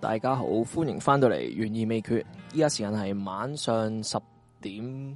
大家好，歡迎翻到嚟懸疑未決。依家時間係晚上10點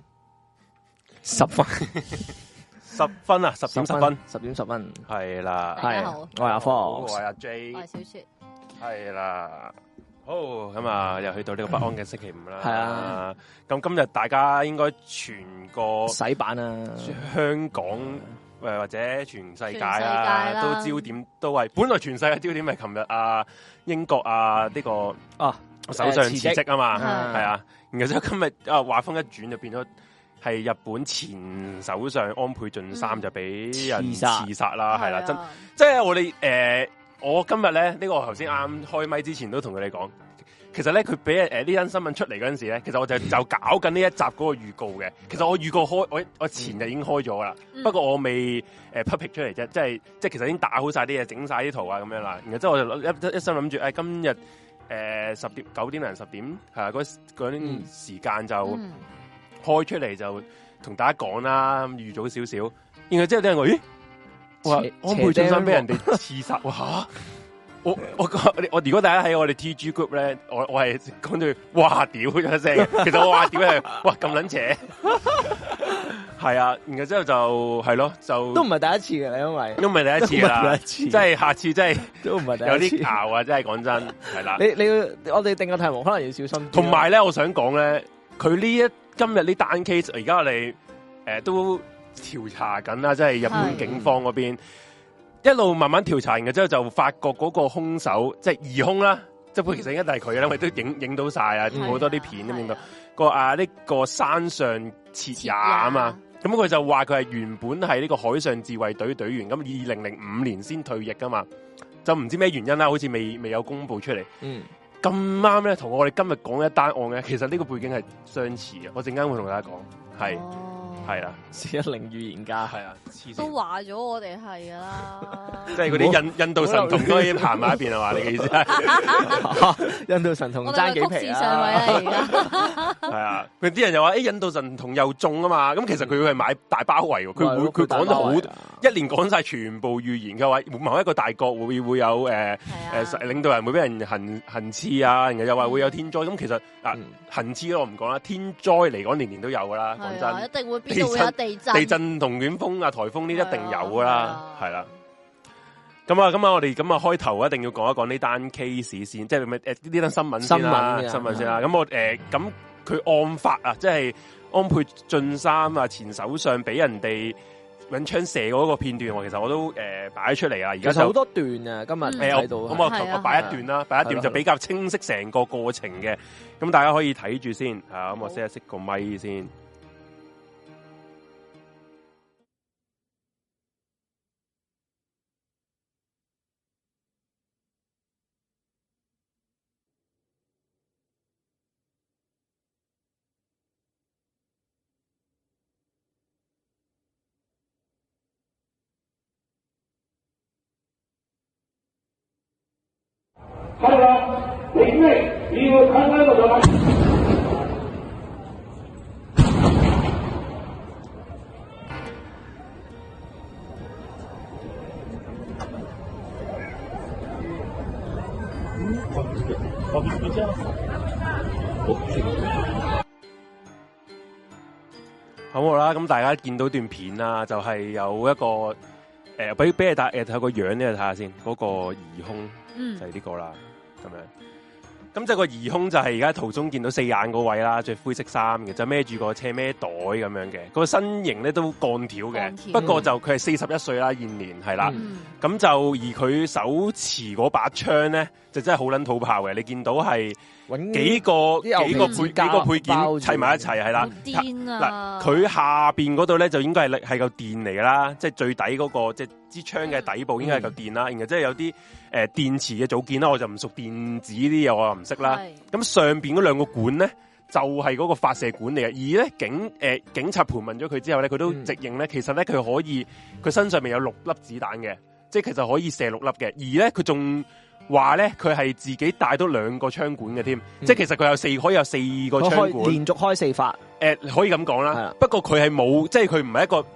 10分 ，10分啊，10點10分 ，10點10分， 係啦， 大家好， 我係阿科， 我係阿 J， 我係小雪， 係啦。好咁啊，又去到呢個不安嘅星期五啦。 係啊， 咁今日大家應該全個洗版啊， 香港或者全世界啊，都焦點都係本來全世界焦點係琴日啊英國啊呢個首相辭職啊嘛，係啊，然後之後今日話風一轉就變咗係日本前首相安倍晉三就俾人刺殺啦，係啦，即係我哋我今日咧呢個我頭先啱開咪之前都同佢哋講，其實咧佢俾呢單新聞出嚟嗰陣時咧，其實我就搞緊呢一集嗰個預告嘅。其實我預告開我前日已經開咗啦，不過我未public 出嚟啫，即係其實已經打好晒啲嘢，整晒啲圖啊咁樣啦。然後之後我就一心諗住今日9點零10點係嗰啲時間就開出嚟就同大家講啦，預早少少。然後之後啲人話咦？哇！安倍晉三俾人哋刺殺，哇！我如果大家喺我哋 TG group 咧，我係講到哇屌咗一聲，其實我話屌係哇咁撚邪，係啊，然後之後就係咯，就都唔係第一次嘅，因為都唔係第一次啦，即係下次真係都唔係第一次， 有啲拗啊！真係講真係啦， 你我哋定個題目可能要小心。 同埋咧，我想講咧，佢今日呢單 case，而家我哋都調查緊啦，即係日本警方嗰邊一路慢慢調查完嘅之後，就發覺嗰個兇手即係疑兇啦，即係其實應該都係佢啦，因為都影到晒啊，好多啲片都影到呢個山上徹也啊嘛，咁佢就話佢係原本係呢個海上自衛隊隊員，咁2005年先退役噶嘛，就唔知咩原因啦，好似未有公布出嚟。咁啱咧，同我哋今日講一單案咧，其實呢個背景係相似嘅，我陣間會同大家講，係啦 ，410預言家係啊， 都話咗我哋係噶啦， 即係嗰啲印度神童都可以行埋一邊係嘛？你嘅意思係印度神童爭幾皮啊？ 上位啦而家係啊，佢啲人又話印度神童又中啊嘛，咁其實佢係買大包圍喎，佢講咗好一連講晒全部預言嘅話，某一個大國會有領導人會俾人行刺啊，然後又話會有天災，咁其實行刺我唔講啦，天災嚟講年年都有噶啦，講真， 一定會邊度會有地震同暖風啊、颱風呢一定有噶啦，係啦。咁啊，我哋開頭一定要講一講呢單 case 先，即係呢單新聞先啦，新聞先啦。咁我咁佢案發啊，即係安倍晉三啊前首相俾人哋揾槍射嗰個片段，其實我都擺咗出嚟啦。而家就好多段啊，今日睇到。 咁我擺一段啦，擺一段就比較清晰成個過程嘅。咁大家可以睇住先，咁我熄個咪先。 彼はできない理由を考えるのではない。 好啦，咁大家見到段片啦，就係有一個俾你睇個樣呢，睇下先，嗰個疑兇就係呢個啦。咁樣，咁即係個疑兇就係而家途中見到四眼嗰位啦，着灰色衫嘅，就孭住個車孭袋咁樣嘅，個身形咧都鋼條嘅，不過就佢係41歲啦，現年係啦，咁就而佢手持嗰把槍咧，就真係好撚土炮嘅，你見到係幾個配件砌埋一齊係啦，嗱佢下邊嗰度咧就應該係嚿電嚟噶啦，即係最底嗰個即係支槍嘅底部應該係嚿電啦，然後即係有啲電池嘅組件啦，我就唔熟電子啲嘢，我又唔識啦。咁上邊嗰兩個管咧就係嗰個發射管嚟嘅，而咧警察盤問咗佢之後咧，佢都直認咧，其實咧佢身上面有6粒子彈嘅，即係其實可以射6粒嘅，而咧佢仲話咧佢係自己帶多2個槍管嘅添，即係其實佢可以有4個槍管， 連續開4發， 可以咁講啦。不過佢係冇，即係佢唔係一個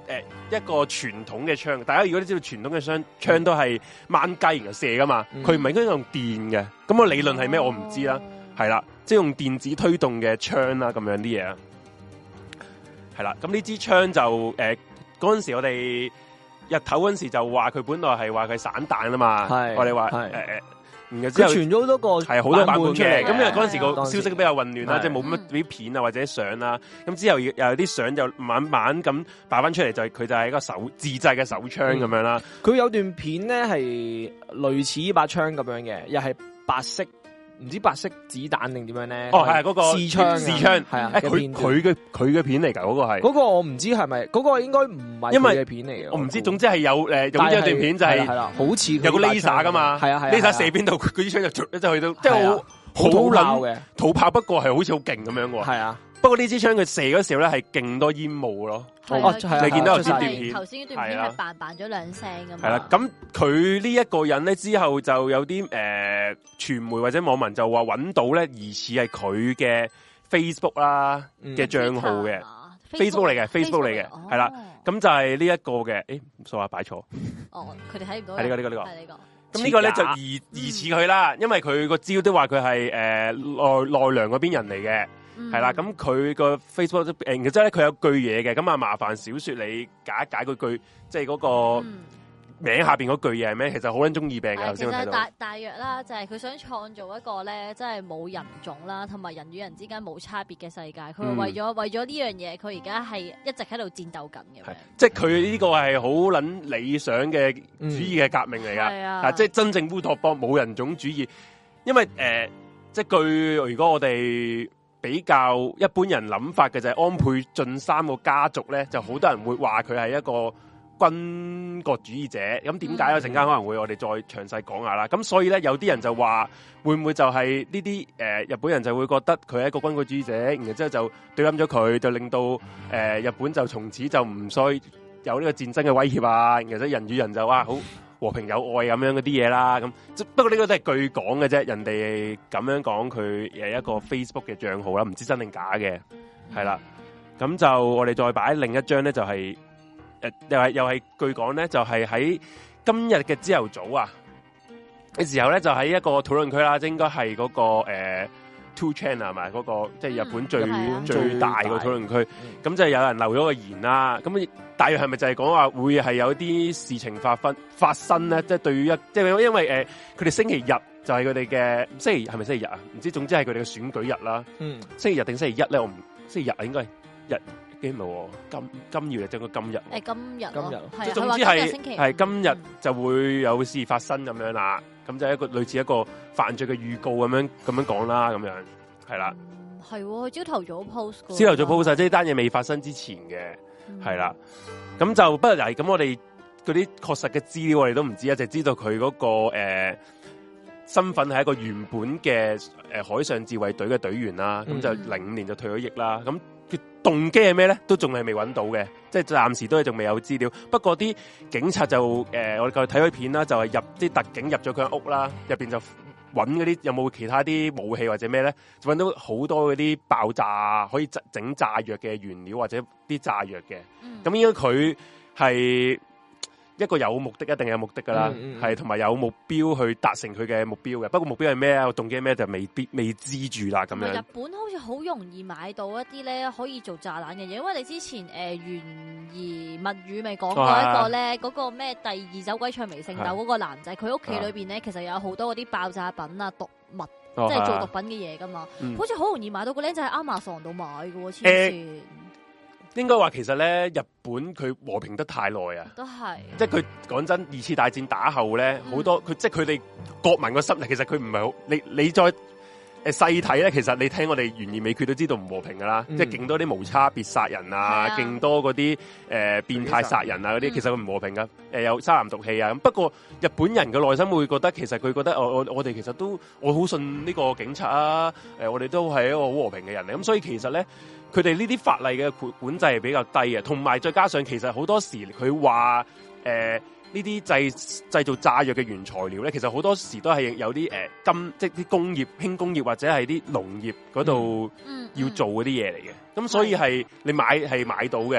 一個傳統嘅槍。大家如果都知道傳統嘅槍都係掹雞然後射噶嘛，佢唔係應該用電嘅。咁個理論係咩？我唔知啦。係啦，即係用電子推動嘅槍啦，咁樣啲嘢啊。係啦，咁呢支槍就嗰陣時我哋日頭嗰陣時就話佢本來係話佢散彈啊嘛。我哋話然後之後傳咗好多個係好多版本嘅，咁因為嗰陣時個當時消息比較混亂啦，即係冇乜啲片啊或者相啦，咁之後又有啲相就慢慢咁擺翻出嚟，就係佢就係一個自製嘅手槍咁樣啦。 佢有段片咧係類似呢把槍咁樣嘅，又係白色，唔知白色子彈定點樣咧？ 哦，係嗰個試槍係啊， 佢嘅片嚟㗎，嗰個係嗰個我唔知係咪嗰個應該唔係佢嘅片嚟嘅， 我唔知。總之係有有一段片就係好似有個 laser 噶嘛， 係啊 ，laser 射邊度，佢啲槍就去到，即係好土炮嘅土炮，不過係好似好勁咁樣喎。係啊。不過呢支槍佢射嗰時候咧係勁多煙霧咯，你見到頭先段片， 頭先段片係扮咗兩聲咁。 係啦，咁佢呢一個人咧之後就有啲傳媒或者網民就話揾到咧疑似係佢嘅 Facebook 啦嘅賬號嘅 Facebook 嚟嘅 Facebook 嚟嘅，係啦，咁就係呢一個嘅，數下擺錯， 佢哋睇唔到， 係呢個。咁呢個咧就疑似佢啦，因為佢個資料都話佢係奈良嗰邊人嚟嘅。係啦，咁佢個 Facebook 然之後咧，佢有句嘢嘅，咁啊麻煩小說你解一解嗰句，即係嗰個名下邊嗰句嘢係咩？其實好撚中二病嘅。 其實大約啦，就係佢想創造一個咧，即係冇人種啦，同埋人與人之間冇差別嘅世界。佢為咗呢樣嘢，佢而家係一直喺度戰鬥緊嘅。 即係佢呢個係好撚理想嘅主義嘅革命嚟噶，即係真正烏托邦冇人種主義。因為即係據如果我哋比較一般人諗法嘅就係安倍晉三個家族咧，就好多人會話佢係一個軍國主義者。咁點解咧？陣間可能會我哋再詳細講下啦。咁所以咧，有啲人就話會唔會就係呢啲日本人就會覺得佢係一個軍國主義者，然之後就對冧咗佢，就令到日本就從此就唔再有呢個戰爭嘅威脅啊。然後人與人就好和平友愛咁樣嗰啲嘢啦，咁不過呢個都係據講嘅啫，人哋咁樣講佢一個 Facebook 嘅賬號啦，唔知真定假嘅，係啦，咁就我哋再擺另一張咧，就係又係據講咧，就係喺今日嘅朝頭早啊嘅時候咧，就喺一個討論區啦，應該係嗰個2chan 係咪嗰個即係日本最大個討論區，咁就有人留咗個言啦，咁大約係咪就係講話會係有啲事情發生咧？即係對於即係因為佢哋星期日就係佢哋嘅星期係咪星期日啊？唔知，總之係佢哋嘅選舉日啦。星期日定星期一咧？我唔星期日啊，應該係日唔係今月定個今日？今日即係總之係今日就會有事發生咁樣啦。咁就係一個類似一個犯罪嘅預告咁樣講啦，咁樣係啦。 係佢朝頭早 post， 朝頭早 post 即係單嘢未發生之前嘅。係啦，咁就不過又係咁，我哋嗰啲確實嘅資料我哋都唔知啊，就知道佢嗰個身份係一個原本嘅海上自衛隊嘅隊員啦，咁就05年就退咗役啦。咁佢動機係咩咧？都仲係未揾到嘅，即係暫時都係仲未有資料。不過啲警察就我哋睇咗片啦，就係入啲特警入咗佢間屋啦，入邊就揾嗰啲有冇其他啲武器或者咩咧，就揾到好多嗰啲爆炸可以整炸藥嘅原料或者啲炸藥嘅。咁應該佢係一個有目的，一定有目的噶啦，係同埋有目標去達成佢嘅目標嘅。不過目標係咩啊？動機係咩就未知住啦。咁樣日本好似好容易買到一啲咧可以做炸彈嘅嘢，因為你之前懸疑物語咪講過一個咧，嗰個咩第二走鬼唱微聖鬥嗰個男仔，佢屋企裏邊咧其實有好多嗰啲爆炸品啊、毒物，即係做毒品嘅嘢噶嘛。好似好容易買到個僆仔喺 Amazon 度買嘅喎，黐線。 應該話其實咧，日本佢和平得太耐啊， 都係， 即係佢講真，2次大戰打後咧，好多佢即係佢哋國民個心理，其實佢唔係好，你再細睇咧，其實你聽我哋懸疑未決都知道唔和平噶啦，即係勁多啲無差別殺人啊，勁多嗰啲變態殺人啊嗰啲，其實佢唔和平噶，有沙林毒氣啊咁。不過日本人嘅內心會覺得，其實佢覺得我哋其實都我好信呢個警察啊，我哋都係一個好和平嘅人嚟，咁所以其實咧。佢哋呢啲法例嘅管制係比較低嘅，同埋再加上其實好多時佢話呢啲製造炸藥嘅原材料咧，其實好多時都係有啲即係啲工業、輕工業或者係啲農業嗰度要做嗰啲嘢嚟嘅，咁所以係你買到嘅，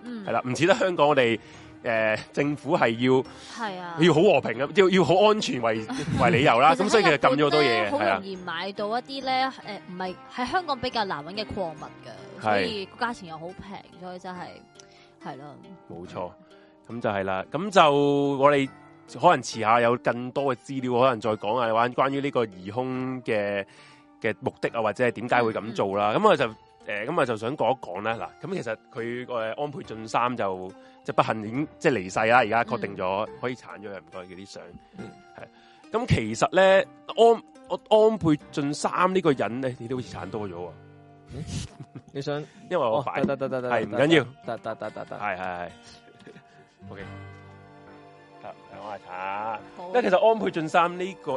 係啦，唔似得香港我哋政府係要好和平嘅，要好安全為理由啦。咁所以其實禁咗好多嘢嘅， 好容易買到一啲咧唔係喺香港比較難揾嘅礦物嘅，所以個價錢又好平，所以真係咯。冇錯，咁就係啦。咁就我哋可能遲下有更多嘅資料，可能再講下關於呢個疑兇嘅目的啊，或者係點解會咁做啦。咁我就咁啊，就想講一講咧。嗱，咁其實佢安倍晉三就即係不幸已經即係離世啦。而家確定咗可以鏟咗佢，唔該佢啲相。係。咁其實咧，安倍晉三呢個人咧，你都好似鏟多咗喎。 你想？ 因為我擺得，係唔緊要，得，係。OK。得，我嚟鏟。因為其實安倍晉三呢個，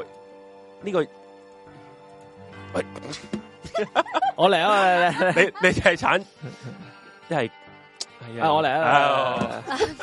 喂。我嚟啊！你係鏟，一係我嚟啊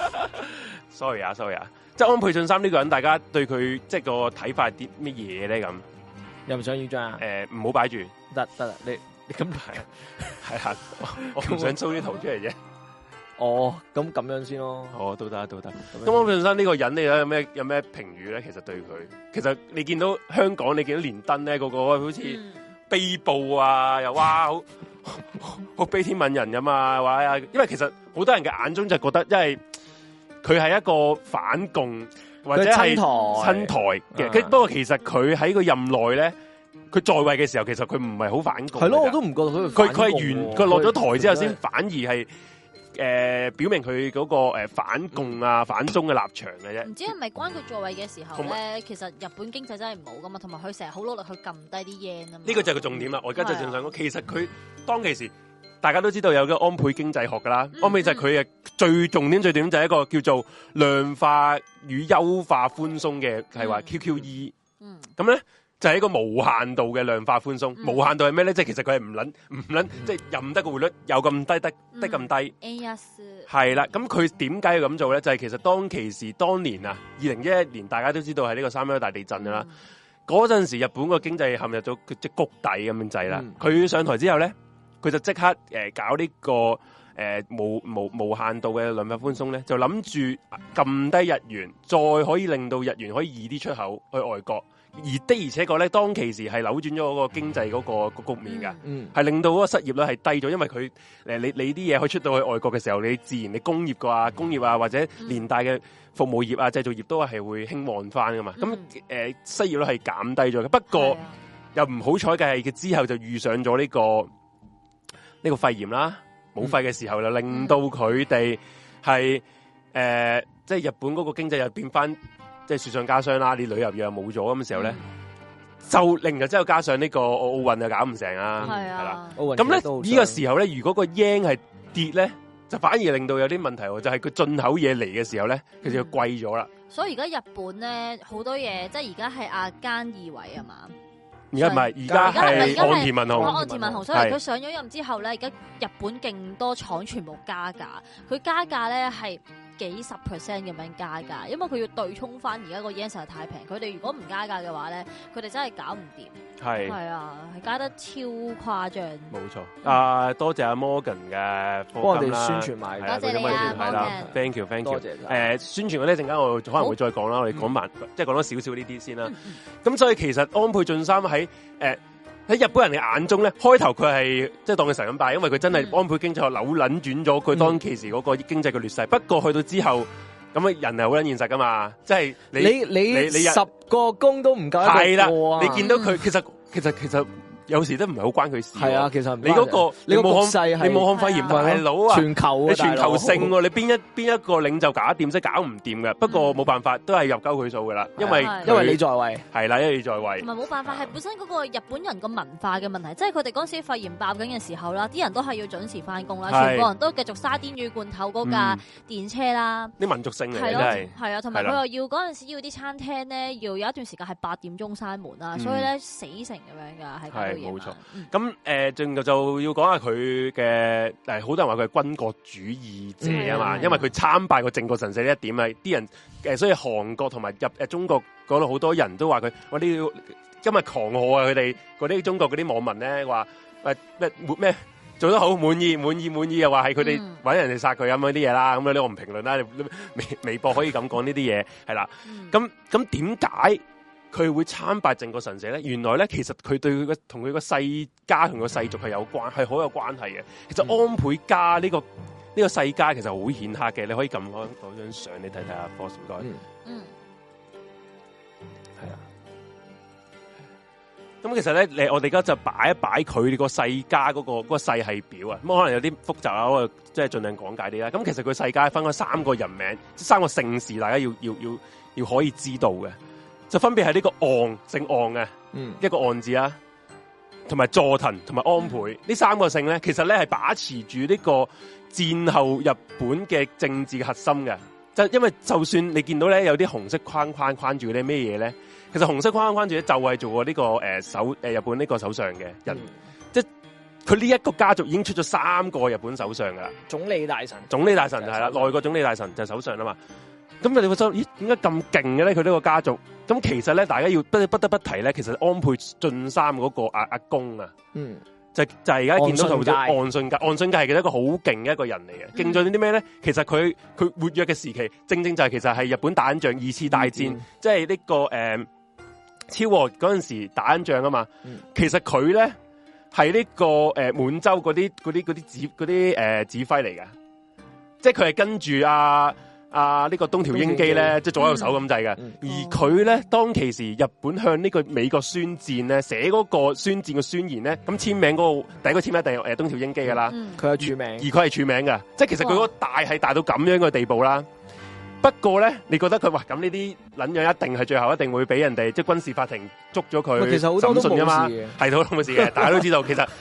！sorry 啊！即係安倍晉三呢個人，大家對佢即係個睇法係啲乜嘢咧？咁又唔想要張啊？ 唔好擺住， 得啦，你咁係啊！我唔想 show 啲圖出嚟啫。 哦，咁樣先咯。 哦，都得。咁安倍晉三呢個人，你有咩評語咧？其實對佢，其實你見到香港，你見到連登咧，個好似。悲報啊，又哇好悲天憫人噶嘛，話因為其實好多人嘅眼中就覺得，因為佢係一個反共或者係親台嘅，不過其實佢喺個任內咧，佢在位嘅時候，其實佢唔係好反共。 係咯，我都唔覺得佢係佢落咗台之後，先反而係。表明佢嗰個反共啊反中嘅立場嘅啫。 唔知係咪關佢在位嘅時候咧？其實日本經濟真係唔好噶嘛，同埋佢成日好努力去撳低啲 yen 啊嘛。 呢個就係個重點啦。我而家就正想講，其實佢當其時大家都知道有個安倍經濟學噶啦，安倍就係佢嘅最重點就係一個叫做量化與優化寬鬆嘅係話 QQE。咁咧。就係一個無限度嘅量化寬鬆，無限度係咩咧？即係其實佢係唔撚，即係任得個匯率有咁低得咁低。係啦，咁佢點解要咁做咧？就係其實當其時當年啊，2011年大家都知道係呢個3·11大地震啦。嗰陣時日本個經濟陷入咗即係谷底咁樣滯啦。佢上台之後咧，佢就即刻搞呢個無限度嘅量化寬鬆咧，就諗住撳低日元，再可以令到日元可以易啲出口去外國。而且確咧，當其時係扭轉咗嗰個經濟嗰個局面㗎，係令到嗰個失業率係低咗，因為佢你啲嘢可以出到去外國嘅時候，你自然你工業啊或者連帶嘅服務業啊製造業都係會興旺翻噶嘛。咁失業率係減低咗嘅，不過又唔好彩嘅係佢之後就遇上咗呢個肺炎啦，冇肺嘅時候就令到佢哋係即係日本嗰個經濟又變翻。即係雪上加霜啦，你旅遊業又冇咗咁嘅時候咧，就另外之後加上呢個奧運又搞唔成啊，係啦，咁咧呢個時候咧，如果個 yen 係跌咧，就反而令到有啲問題喎，就係佢進口嘢嚟嘅時候咧，其實就貴咗啦。 所以而家日本咧好多嘢，即係而家係阿菅義偉啊嘛。 而家唔係，而家係岸田文雄。 岸田文雄，所以佢上咗任之後咧，而家日本勁多廠全部加價，佢加價咧係幾十% 咁樣加價，因為佢要對沖翻而家個 yen 實在太平。佢哋如果唔加價嘅話咧，佢哋真係搞唔掂。係啊，係加得超誇張。冇錯。多謝阿 Morgan 嘅課金啦，幫我哋宣傳埋。 多謝你啊 ，Morgan。Thank you。 多謝。 宣傳嗰啲陣間我可能會再講啦，我哋講埋即係講多少少呢啲先啦。咁所以其實安倍晉三喺日本人嘅眼中咧，開頭佢係即係當佢神咁拜，因為佢真係安倍經濟學扭捻轉咗佢當其時嗰個經濟嘅劣勢。不過去到之後，咁啊人係好捻現實噶嘛，即係你 10個工都唔夠係啦，你見到佢其實。有時都唔係好關佢事。係啊，其實你嗰個你武漢肺炎大佬啊， 全球你全球性喎，你邊一個領袖搞掂，即係搞唔掂嘅。不過冇辦法，都係入鳩佢數噶啦，因為你在位係啦，因為你在位。 唔係冇辦法，係本身嗰個日本人個文化嘅問題，即係佢哋嗰時肺炎爆緊嘅時候啦，啲人都係要準時翻工啦，全部人都繼續沙甸魚罐頭嗰架電車啦。 啲民族性嚟嘅係啊，同埋佢又要嗰陣時要啲餐廳咧，要有一段時間係8點鐘閂門啦，所以咧死成咁樣㗎，係冇錯。咁仲就要講下佢嘅好多人話佢係軍國主義者啊嘛，因為佢參拜個靖國神社呢一點啊，啲人所以韓國同埋中國嗰度好多人都話佢，我哋今日狂賀啊！佢哋嗰啲中國嗰啲網民咧話咩做得好滿意，又話係佢哋搵人哋殺佢咁嗰啲嘢啦。咁呢我唔評論啦，微博可以咁講呢啲嘢係啦。咁點解佢會參拜靖國神社咧？原來咧，其實佢對佢同佢個世家同個世族係係好有關係嘅。其實安倍家呢個世家其實好顯赫嘅，你可以撳嗰張相你睇睇啊 ，Boss 唔該。係啊。咁其實咧，我哋而家就擺一擺佢個世家嗰個世系表啊。咁可能有啲複雜啊，我即係盡量講解啲啦。咁其實佢世家分咗3個人名，即3個姓氏，大家要可以知道嘅。就分別係呢個岸，姓岸嘅，一個岸字啦，同埋佐藤同埋安倍呢3個姓咧，其實咧係把持住呢個戰後日本嘅政治嘅核心嘅。就因為就算你見到咧有啲紅色框住啲咩嘢咧，其實紅色框住咧就係做過呢個日本呢個首相嘅人，即係佢呢一個家族已經出咗3個日本首相噶啦， 總理大臣就係啦，內閣總理大臣就係首相啦嘛。咁你會覺得咦，點解咁勁嘅咧？佢呢個家族咁其實咧，大家要不得不提咧，其實安倍晉三嗰個阿公啊，就係而家見到圖咗岸信介，岸信介係一個好勁嘅一個人嚟嘅。勁在啲咩咧？其實佢活躍嘅時期，正就係其實係日本打緊仗2次大戰，即係呢個昭和嗰陣時打緊仗啊嘛。其實佢咧係呢個滿洲嗰啲指揮嚟嘅，即係佢係跟住呢個東條英機咧，即係左右手咁滯嘅。而佢咧當其時日本向呢個美國宣戰咧，寫嗰個宣戰嘅宣言咧，咁簽名嗰個第一個簽名一定係東條英機噶啦， 佢係署名， 而佢係署名嘅，即係其實佢嗰個大係大到咁樣嘅地步啦。不過咧，你覺得佢話咁呢啲撚樣一定係最後一定會俾人哋即係軍事法庭捉咗佢， 其實好多都冇事嘅， 係好多冇事嘅，大家都知道其實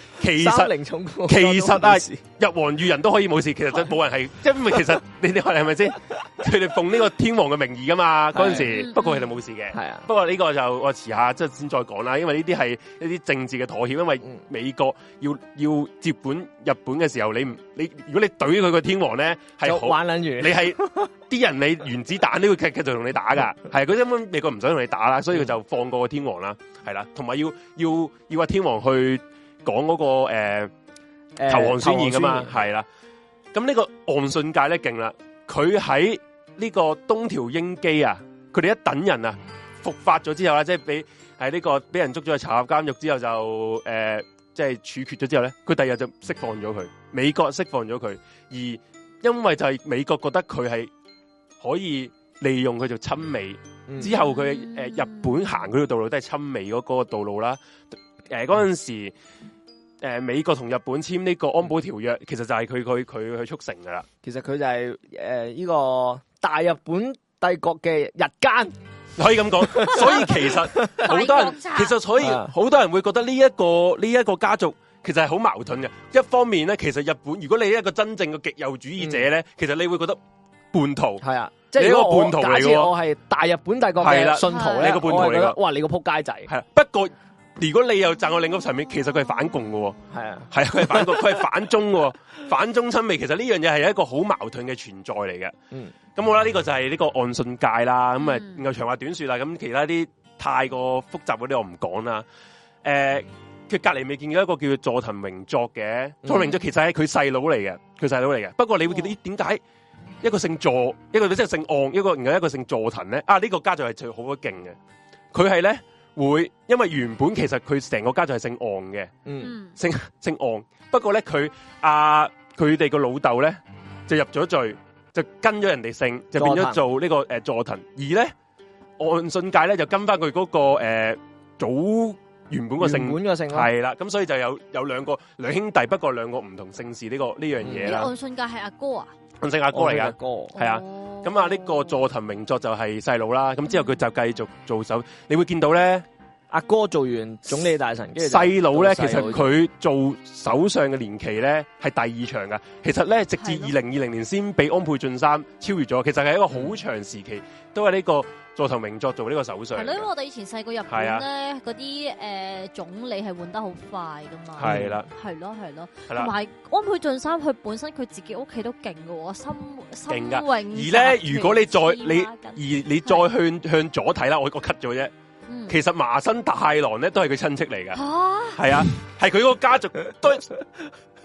日皇裕仁都可以冇事，其實真冇人係，因為其實你話係咪先？佢哋奉呢個天皇嘅名義噶嘛，嗰陣時，不過佢哋冇事嘅。係啊，不過呢個就我遲下即係先再講啦，因為呢啲係一啲政治嘅妥協，因為美國要接管日本嘅時候，你如果你懟佢個天皇咧，係好玩撚住， 你係啲人你原子彈呢個繼續同你打噶，係佢根本美國唔想同你打啦，所以佢就放過個天皇啦，係啦，同埋要話天皇去講嗰個投降宣言噶嘛，係啦。咁呢個岸信介咧勁啦，佢喺呢個東條英機啊，佢哋一等人啊伏法咗之後啦，即係俾人捉咗去查入監獄之後就即係處決咗之後咧，佢第二日就釋放咗佢，美國釋放咗佢，而因為就係美國覺得佢係可以利用佢做親美，之後佢日本行嗰條道路都係親美嗰個道路啦。嗰陣時美國同日本簽呢個安保條約，其實就係佢去促成噶啦。 其實佢就係呢個大日本帝國嘅日奸， 可以咁講。所以其實好多人，其實所以好多人會覺得呢一個家族其實係好矛盾嘅。一方面咧，其實日本如果你係一個真正嘅極右主義者咧，其實你會覺得叛徒係啊，即係一個叛徒嚟嘅。我係大日本帝國嘅信徒咧， 你個叛徒嚟嘅。 哇，你個撲街仔係啊，不過。如果你又站我另一個層面，其實佢係反共嘅，係啊，佢係反共，佢係反中嘅，反中親美。其實呢樣嘢係一個好矛盾嘅存在嚟嘅。咁好啦，呢個就係呢個岸信介啦。咁然後長話短說啦。咁其他啲太過複雜嗰啲我唔講啦。佢隔籬未見到一個叫做佐藤榮作嘅，佐藤榮作其實係佢細佬嚟嘅，不過你會見到點解一個姓佐，一個即係姓岸，然後一個姓佐藤咧？呢個家族係最好勁嘅，佢係咧。因為原本其實佢成個家族係姓岸嘅，姓岸。不過咧，佢哋個老豆咧就入咗罪，就跟咗人哋姓，就變咗做呢個佐藤。而咧岸信介咧就跟翻佢嗰個祖原本個姓，係啦。咁所以就有兩兄弟，不過兩個唔同姓氏呢樣嘢啦。 岸信介係阿哥啊？ 岸信介阿哥嚟噶，係啊。咁呢個佐藤榮作就係細佬啦，咁之後佢就繼續做首，你會見到咧， 阿哥做完總理大臣， 細佬咧，其實佢做首相嘅年期咧係第2長噶，其實咧直至2020年先俾安倍晉三超越咗，其實係一個好長時期都係呢個佐藤榮作做呢個首相。係咯， 因為我哋以前細個日本咧，嗰啲總理係換得好快噶嘛。係啦，係咯，同埋安倍晉三佢本身佢自己屋企都勁噶喎，新永。而咧，如果你再向左睇啦，我 cut 咗啫。其實麻生太郎咧都係佢親戚嚟噶。係啊，係佢個家族都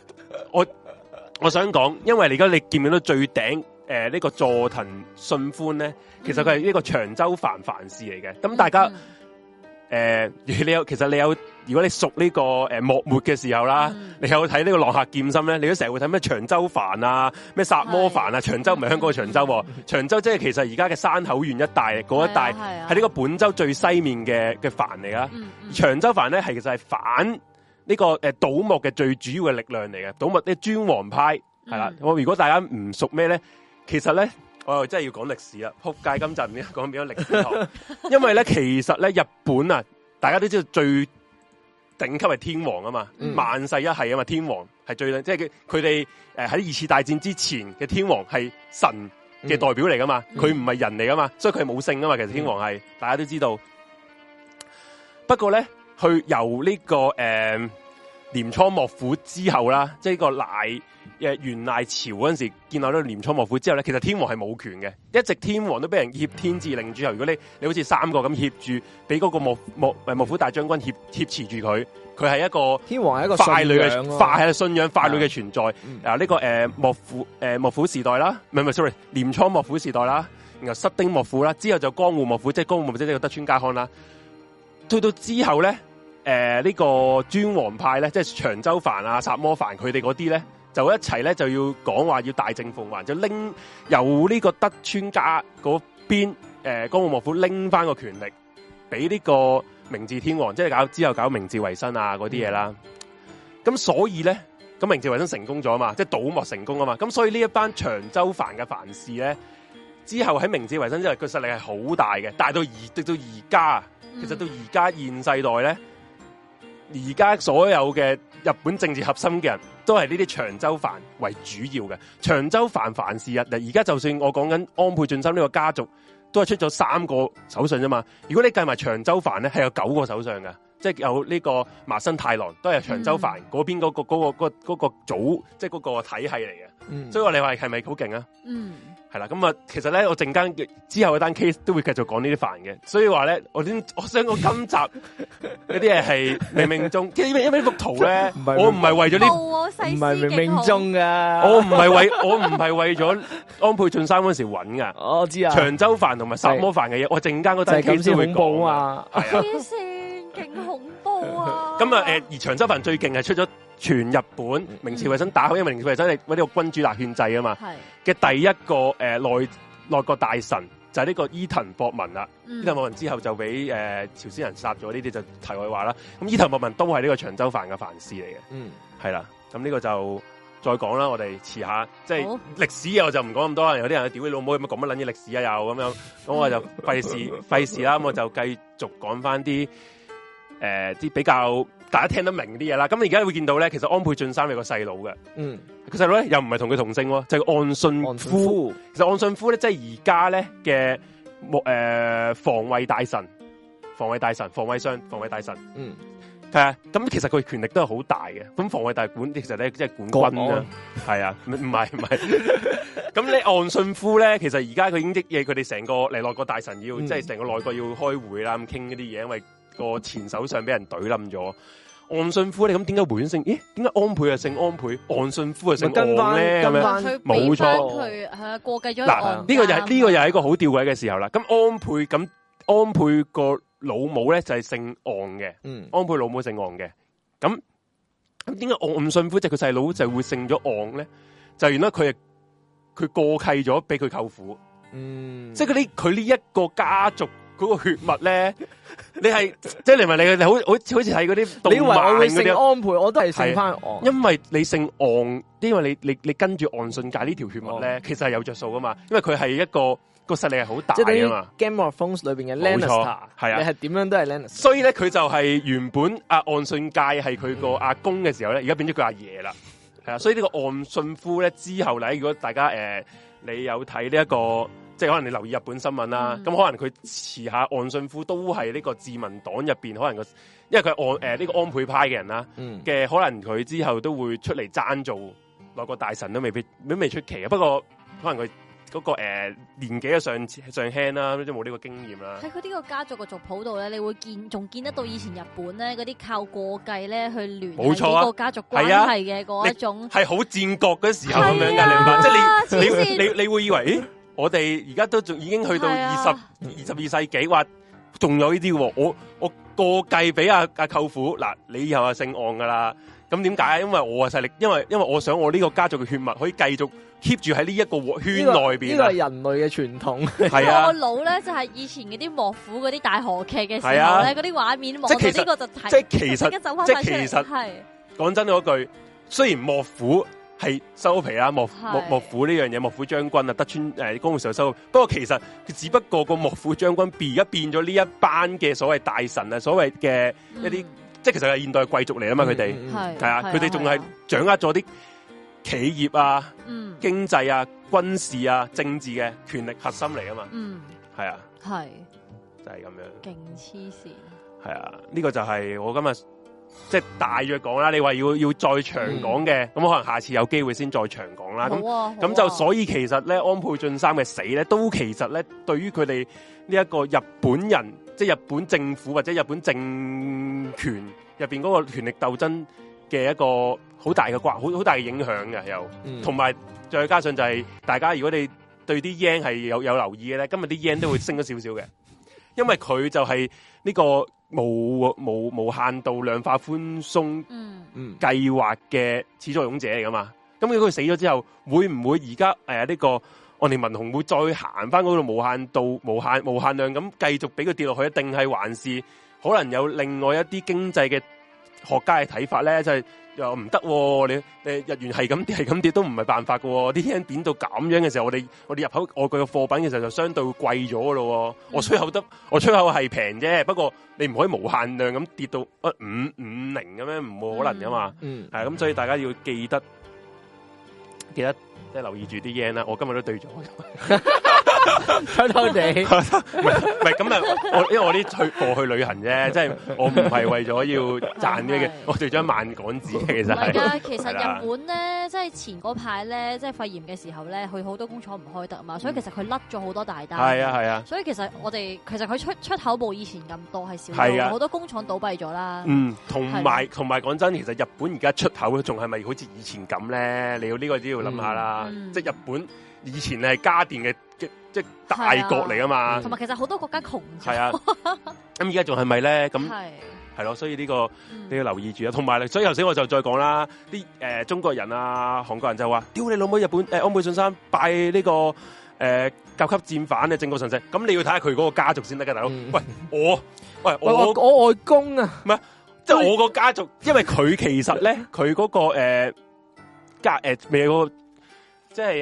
我想講，因為而家你見唔見到最頂呢個佐藤信寬咧，其實佢係呢個長州藩藩士嚟嘅。咁大家其實你有，如果你熟呢個幕末嘅時候啦，你有睇呢個浪客劍心咧，你都成日會睇咩長州藩啊，咩薩摩藩啊，長州唔係香港嘅長州，長州即係其實而家嘅山口縣一帶嗰一帶，係呢個本州最西面嘅藩嚟噶。長州藩咧係其實係反呢個倒幕嘅最主要嘅力量嚟嘅，倒幕啲尊皇派係啦。我如果大家唔熟咩咧，其實咧我又真係要講歷史啦。撲街今集唔知講變咗歷史堂，因為咧其實咧日本啊，大家都知道最頂級係天皇啊嘛，萬世一系啊嘛，天皇係最即係佢哋喺二次大戰之前嘅天皇係神嘅代表嚟噶嘛，佢唔係人嚟噶嘛，所以佢係冇姓噶嘛。其實天皇係大家都知道，不過咧。去由呢個鐮倉幕府之後啦，即係呢個元賴朝嗰陣時建立咗鐮倉幕府之後咧，其實天皇係冇權嘅，一直天皇都俾人挾天子令諸侯。如果你好似三個咁挾住，俾嗰個幕府大將軍挾持住佢係一個天皇係一個傀儡嘅信仰傀儡嘅存在。呢個幕府時代啦，唔係 sorry， 鐮倉幕府時代啦，然後室町幕府啦，之後就江戶幕府，即係江戶幕府即係個德川家康啦。去到之後咧。呢個尊皇派咧，即係長州藩啊、薩摩藩，佢哋嗰啲咧，就一齊咧就要講話要大政奉還，就拎由呢個德川家嗰邊江戶幕府拎翻個權力，俾呢個明治天皇，即係之後搞明治維新啊嗰啲嘢啦。咁所以咧，咁明治維新成功咗啊嘛，即係倒幕成功啊嘛。咁所以呢一班長州藩嘅藩士咧，之後喺明治維新之後，佢實力係好大嘅，大到直到而家，其實到而家現世代咧。而家所有嘅日本政治核心嘅人都係呢啲長州藩為主要嘅，長州藩藩士啊！而家就算我講緊安倍晉三呢個家族，都係出咗3個首相啫嘛。如果你計埋長州藩咧，係有9個首相嘅，即係有呢個麻生太郎都係長州藩嗰邊嗰個組，即係嗰個體系嚟嘅。所以我哋話係咪好勁啊？係啦，咁啊，其實咧，我陣間之後嗰單 case 都會繼續講呢啲藩嘅，所以話咧，我想講今集嗰啲嘢係冥冥中，因為呢幅圖咧，我唔係為咗呢， 唔係冥冥中噶， 我唔係為咗安倍晉三嗰時揾噶， 我知啊， 長州藩同埋薩摩藩嘅嘢，我陣間嗰單 case 都會講啊， 黐線，勁恐怖啊！ 咁啊，而長州藩最勁係出咗全日本明治維新打好，因為明治維新係呢個君主立憲制啊嘛，嘅第一個內閣大臣就係呢個伊藤博文啦。伊藤博文之後就俾朝鮮人殺咗，呢啲就題外話啦。咁伊藤博文都係呢個長州藩嘅藩士嚟嘅，係啦。咁呢個就再講啦。我哋遲下即係歷史嘢我就唔講咁多啦。有啲人屌你老母有乜講乜撚嘢歷史啊又咁樣，咁我就費事啦。咁我就繼續講翻啲比較大家聽得明啲嘢啦，咁而家會見到咧，其實安倍晉三有個細佬嘅，個細佬咧又唔係同佢同姓，就係岸信夫。其實岸信夫咧，即係而家咧嘅防衛大臣、防衛大臣，係啊。咁其實佢權力都係好大嘅。咁防衛大管其實咧即係管軍啦，係啊，唔係。咁你岸信夫咧，其實而家佢已經益嘢，佢哋成個嚟內閣大臣要，即係成個內閣要開會啦，咁傾嗰啲嘢，因為個前首相俾人懟冧咗。岸信夫你咁點解回轉姓？咦，點解安倍啊姓安倍，岸信夫啊姓岸咧？咁樣冇錯， 佢係過繼咗。 嗱，呢個又係一個好吊詭嘅時候啦。咁安倍個老母咧就係姓岸嘅，安倍老母姓岸嘅。咁點解岸信夫即係佢細佬就會姓咗岸咧？就原來佢過契咗俾佢舅父，即係佢呢一個家族。嗰個血脈咧，你係即係你問你好似睇嗰啲動漫嗰啲，你以為我會姓安倍，我都係姓翻岸，因為你姓岸，因為你跟住岸信介呢條血脈咧，其實係有着數噶嘛，因為佢係一個實力係好大啊嘛。Game of Thrones 裏邊嘅 Lannister，係啊，你係點樣都係 Lannister。所以咧，佢就係原本岸信介係佢個阿公嘅時候咧，而家變咗佢阿爺啦，係啊。所以呢個岸信夫咧之後咧，如果大家你有睇呢一個。即係可能你留意日本新聞啦，咁可能佢遲下岸信夫都係呢個自民黨入邊，可能因為佢係呢個安倍派嘅人啦，嘅可能佢之後都會出嚟爭做內閣大臣都未出奇嘅。不過可能佢嗰個年紀嘅上輕啦，即係冇呢個經驗啦。 喺佢呢個家族嘅族譜度咧，你會仲見得到以前日本咧嗰啲靠過繼咧去聯繫幾個家族關係嘅嗰一種， 係好戰國嗰時候咁樣嘅，你明白？即係你會以為，咦？我哋而家都仲已經去到22世紀，話仲有呢啲喎，我過繼俾阿舅父，嗱，你以後係姓岸噶啦。咁點解？因為我嘅勢力，因為我想我呢個家族嘅血脈可以繼續 keep 住喺呢一個圈內邊。 呢個係人類嘅傳統。 係啊， 我腦咧就係以前嗰啲幕府嗰啲大河劇嘅時候咧，嗰啲畫面望到呢個就睇， 即係其實係講真嗰句，雖然幕府係收皮啦，幕府呢樣嘢，幕府將軍啊，德川江戶時代收，不過其實佢只不過個幕府將軍而家變咗呢一班嘅所謂大臣啊，所謂嘅一啲。即係其實係現代貴族嚟啊嘛，佢哋係啊，佢哋仲係掌握咗啲企業啊、經濟啊、軍事啊、政治嘅權力核心嚟啊嘛，係啊，係就係咁樣，勁黐線， 係啊，呢個就係我今日即係大約講啦。你話要再長講嘅，咁可能下次有機會先再長講啦。咁就所以其實咧，安倍晉三嘅死咧，都其實咧對於佢哋呢一個日本人。即係日本政府或者日本政權入邊嗰個權力鬥爭嘅一個好大嘅好大嘅影響嘅，又同埋再加上就係大家如果你對啲 yen 係有留意嘅咧，今日啲 yen 都會升咗少少嘅，因為佢就係呢個無限度量化寬鬆計劃嘅始作俑者嚟噶嘛。咁如果佢死咗之後，會唔會而家呢個？我哋民雄會再行翻嗰度無限度、無限量咁繼續俾佢跌落去，定係還是可能有另外一啲經濟嘅學家嘅睇法咧？就係又唔得，你日元係咁跌都唔係辦法噶。啲 yen 貶到咁樣嘅時候，我哋入口外國嘅貨品嘅時候就相對會貴咗噶咯。我出口係平啫，不過你唔可以無限量咁跌到550咁樣，唔冇可能噶嘛。係咁，所以大家要記得。即係留意住啲 yen 啦，我今日都對咗，偷偷地，唔係咁啊！因為我啲貨去旅行啫，即係我唔係為咗要賺啲嘅，我對咗1萬港紙其實係。唔係㗎， 其實日本咧，即係前嗰排咧，即係肺炎嘅時候咧，佢好多工廠唔開得啊嘛，所以其實佢甩咗好多大單。係啊。所以其實佢出口冇以前咁多，係少咗，好多工廠倒閉咗啦。同埋講真，其實日本而家出口仲係咪好似以前咁咧？你要呢個都要諗下啦。即係日本以前係家電嘅即係大國嚟啊嘛， 同埋其實好多國家窮咗。 係啊，咁而家仲係咪咧？咁係咯，所以呢個你要留意住啊。同埋，所以頭先我就再講啦，啲中國人啊、韓國人就話：屌你老母！日本安倍晉三拜呢個甲級戰犯嘅靖國神社，咁你要睇下佢嗰個家族先得㗎，大佬。喂，我外公啊， 唔係，即係我個家族，因為佢其實咧，佢嗰個未有個。即係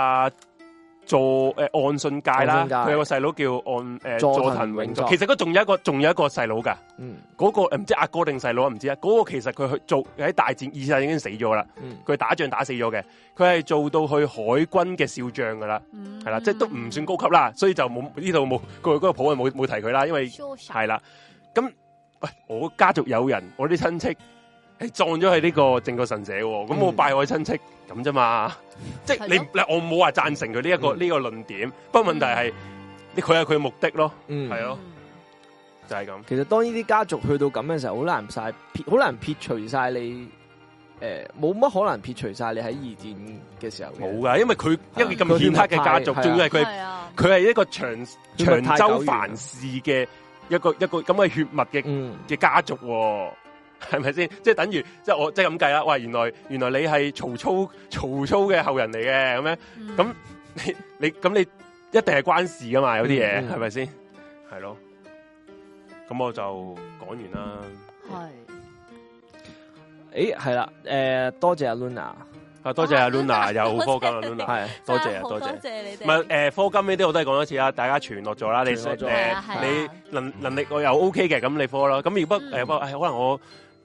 岸信介啦，佢有個細佬叫佐藤永作，其實佢仲有一個細佬噶，嗰個唔知阿哥定細佬唔知啊，嗰個其實佢去做喺大戰二戰已經死咗啦，佢打仗打死咗嘅，佢係做到去海軍嘅少將噶啦，係啦，即係都唔算高級啦，所以就冇呢度冇嗰個譜冇提佢啦，因為係啦，咁喂我家族有人，我啲親戚。係撞咗喺呢個靖國神社，咁我拜我親戚咁啫嘛，即係我冇話贊成佢呢一個論點，不過問題係佢有佢嘅目的咯，係咯，就係咁。 其實當呢啲家族去到咁嘅時候，好難撇除晒你，冇乜可能撇除晒你喺二戰嘅時候。冇噶，因為佢一個咁顯赫嘅家族，仲要係佢係一個長州藩士嘅一個咁嘅血脈嘅家族。係咪先？即係等於，即係我即係咁計啦。喂，原來你係曹操嘅後人嚟嘅，咁樣，咁你一定係關事噶嘛？有啲嘢係咪先？係咯。咁我就講完啦。 係。係啦。多謝阿 Luna。 多謝阿 Luna 有課金啊 Luna。係。多謝。 多謝你哋。 唔係課金呢啲我都係講多次啦，大家傳落咗啦。你能力我又 OK 嘅，咁你課咯。咁如果可能我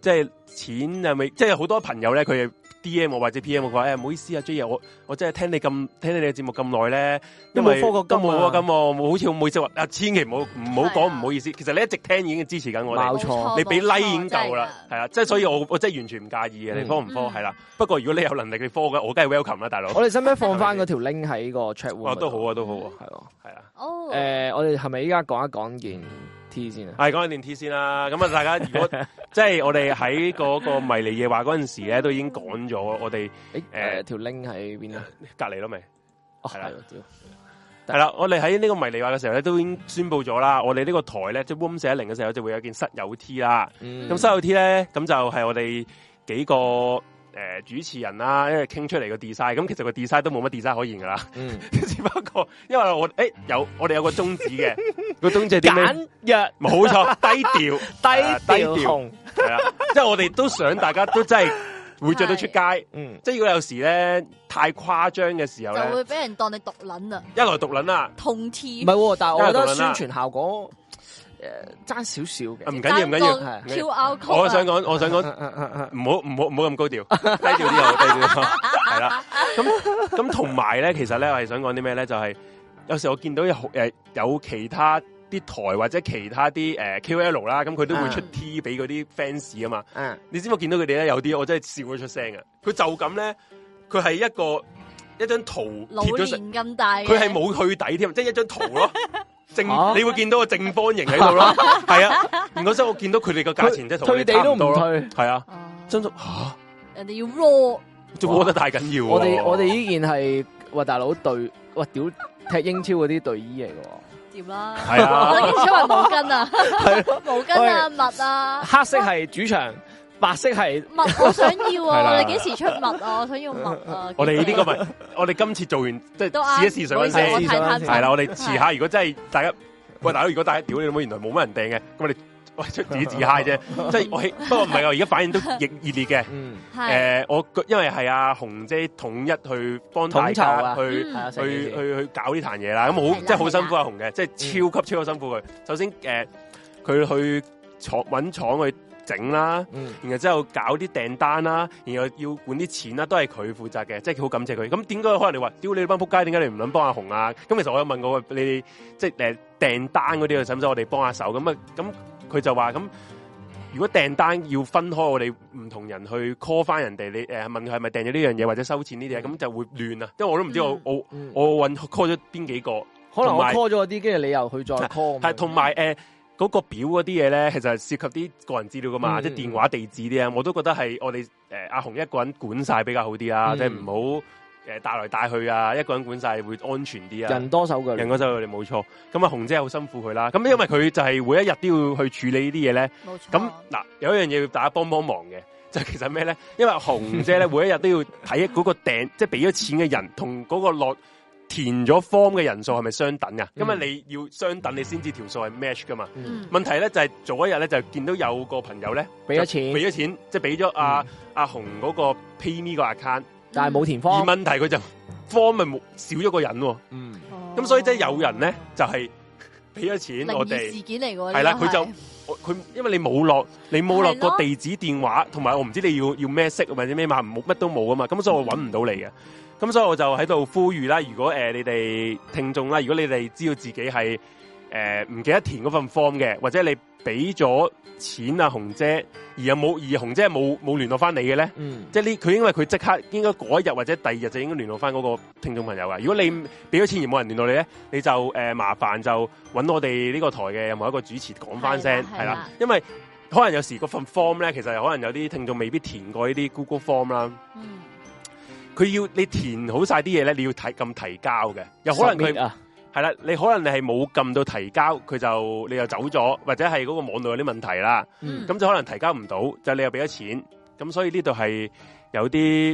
即係錢係咪？即係好多朋友咧，佢 DM 我或者 PM 我話，唔好意思啊 J 爺，我真係聽你嘅節目咁耐咧，因為都冇課金好似好唔好意思話，千祈唔好講唔好意思。其實你一直聽已經支持緊我哋， 冇錯， 你俾 like 已經夠啦，係啊，即係所以我真係完全唔介意嘅，你科唔科係啦。不過如果你有能力你科嘅，我梗係 welcome 啦，大佬。 我哋使唔使放翻嗰條 link 喺個 chat room？ 都好啊，都好啊，係咯，係啊。 我哋係咪依家講一講件 T 先啊？ 係講一件 T 先啦。咁啊，大家如果即係我哋喺嗰個迷離夜話嗰陣時咧，都已經講咗我哋條 link 喺邊啊？ 隔離咯咪？ 係啦， 係啦，我哋喺呢個迷離話嘅時候咧，都已經宣佈咗啦。我哋呢個台咧，即係 Room 410嘅時候，就會有件室友 T 啦。咁室友 T 咧，咁就係我哋幾個主持人啦，因為傾出嚟個 design。咁其實個 design 都冇乜 design 可言噶啦。只不過因為我哋有個宗旨嘅，個宗旨係點咧？簡約，冇錯，低調，低調，係啦。即係我哋都想大家都真係會着到出街。即係如果有時咧太誇張嘅時候咧， 就會俾人當你毒撚啊！ 一來毒撚啊， 痛 T 唔係，但係我覺得宣傳效果爭少少嘅。 唔緊要，唔緊要。我想講，唔好咁高調，低調啲又低調。係啦，咁同埋咧，其實咧我係想講啲咩咧？就係有時我見到有其他啲台或者其他啲KOL 啦，咁佢都會出 T 俾嗰啲 fans 啊嘛。你知唔知我見到佢哋咧有啲我真係笑咗出聲啊！佢就咁咧，佢係一張圖貼咗成咁大， 佢係冇去底添，即係一張圖咯。你會見到個正方形喺度咯，係啊。然後之後我見到佢哋個價錢即係同你差唔多咯，係啊。真嚇， 人哋要 raw， 仲 raw 得太緊要。 我哋呢件係大佬隊，屌踢英超嗰啲隊衣嚟嘅喎， 掂啦。 係啊， 我哋出埋毛巾啊， 係毛巾啊，襪啊， 黑色係主場。白色係襪，我想要啊！你幾時出襪啊？我想要襪啊！ 我哋呢個咪，我哋今次做完即係試一試水溫先，係啦。我哋遲下如果真係大家，喂大佬，如果大家屌你老母，原來冇乜人訂嘅，咁我哋喂出自己自嗨啫。即係我不過唔係啊，而家反應都熱烈嘅。我因為係阿紅姐統一去幫大家去搞呢壇嘢啦。咁好即係好辛苦阿紅嘅，即係超級辛苦佢。首先佢去揾廠去整啦，然後之後搞啲訂單啦，然後要管啲錢啦，都係佢負責嘅，即係好感謝佢。咁點解可能你話屌你班仆街，點解你唔諗幫阿紅啊？咁其實我有問過你哋，即係訂單嗰啲，使唔使我哋幫下手？咁佢就話咁，如果訂單要分開，我哋唔同人去 call 翻人哋，你問佢係咪訂咗呢樣嘢或者收錢呢啲嘢，咁就會亂啊。因為我都唔知我揾 call 咗邊幾個， 可能我 call 咗啲，跟住你又去再 call。 係同埋嗰個表嗰啲嘢咧，其實係涉及啲個人資料噶嘛，即係電話地址啲啊，我都覺得係我哋阿紅一個人管晒比較好啲啦，即係唔好帶來帶去啊，一個人管晒會安全啲啊。 人多手腳， 你冇錯。咁阿紅姐好辛苦佢啦，咁因為佢就係每一日都要去處理呢啲嘢咧。冇錯。咁嗱，有一樣嘢要大家幫忙嘅，就係其實咩咧？因為紅姐咧每一日都要睇嗰個訂，即係俾咗錢嘅人同嗰個落填咗 form 嘅人數係咪相等啊？因為你要相等，你先知條數係 match 噶嘛。問題咧就係早一日咧就見到有個朋友咧俾咗錢，即係俾咗阿紅嗰個 PayMe 個 account， 但係冇填 form。而問題佢就 form 咪少咗個人喎。咁所以即係有人咧就係俾咗錢我哋。事件嚟㗎。係啦，佢因為你冇落個地址電話，同埋我唔知你要咩色或者咩碼，乜都冇啊嘛。咁所以我揾唔到你嘅。咁所以我就喺度呼籲啦，如果你哋聽眾啦，如果你哋知道自己係唔記得填嗰份 form 嘅，或者你俾咗錢啊紅姐，而紅姐冇聯絡翻你嘅咧，即係佢因為佢即刻應該嗰一日或者第二日就應該聯絡翻嗰個聽眾朋友噶。如果你俾咗錢而冇人聯絡你咧，你就麻煩就揾我哋呢個台嘅任何一個主持講翻聲，係啦，因為可能有時嗰份 form 咧，其實可能有啲聽眾未必填過呢啲 Google Form 啦。佢要你填好晒啲嘢咧，你要撳提交嘅，有可能佢係啦，你可能你係冇撳到提交，你又走咗，或者係嗰個網絡有啲問題啦，咁就可能提交唔到，就你又俾咗錢，咁所以呢度係有啲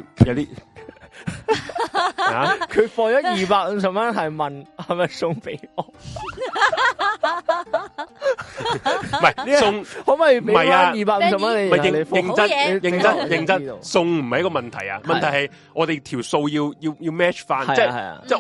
啊， 佢放咗250蚊，係問係咪送俾我？ 唔係送， 可唔可以俾翻250蚊你？ 唔係認真送唔係一個問題啊！問題係我哋條數要 match 翻，即係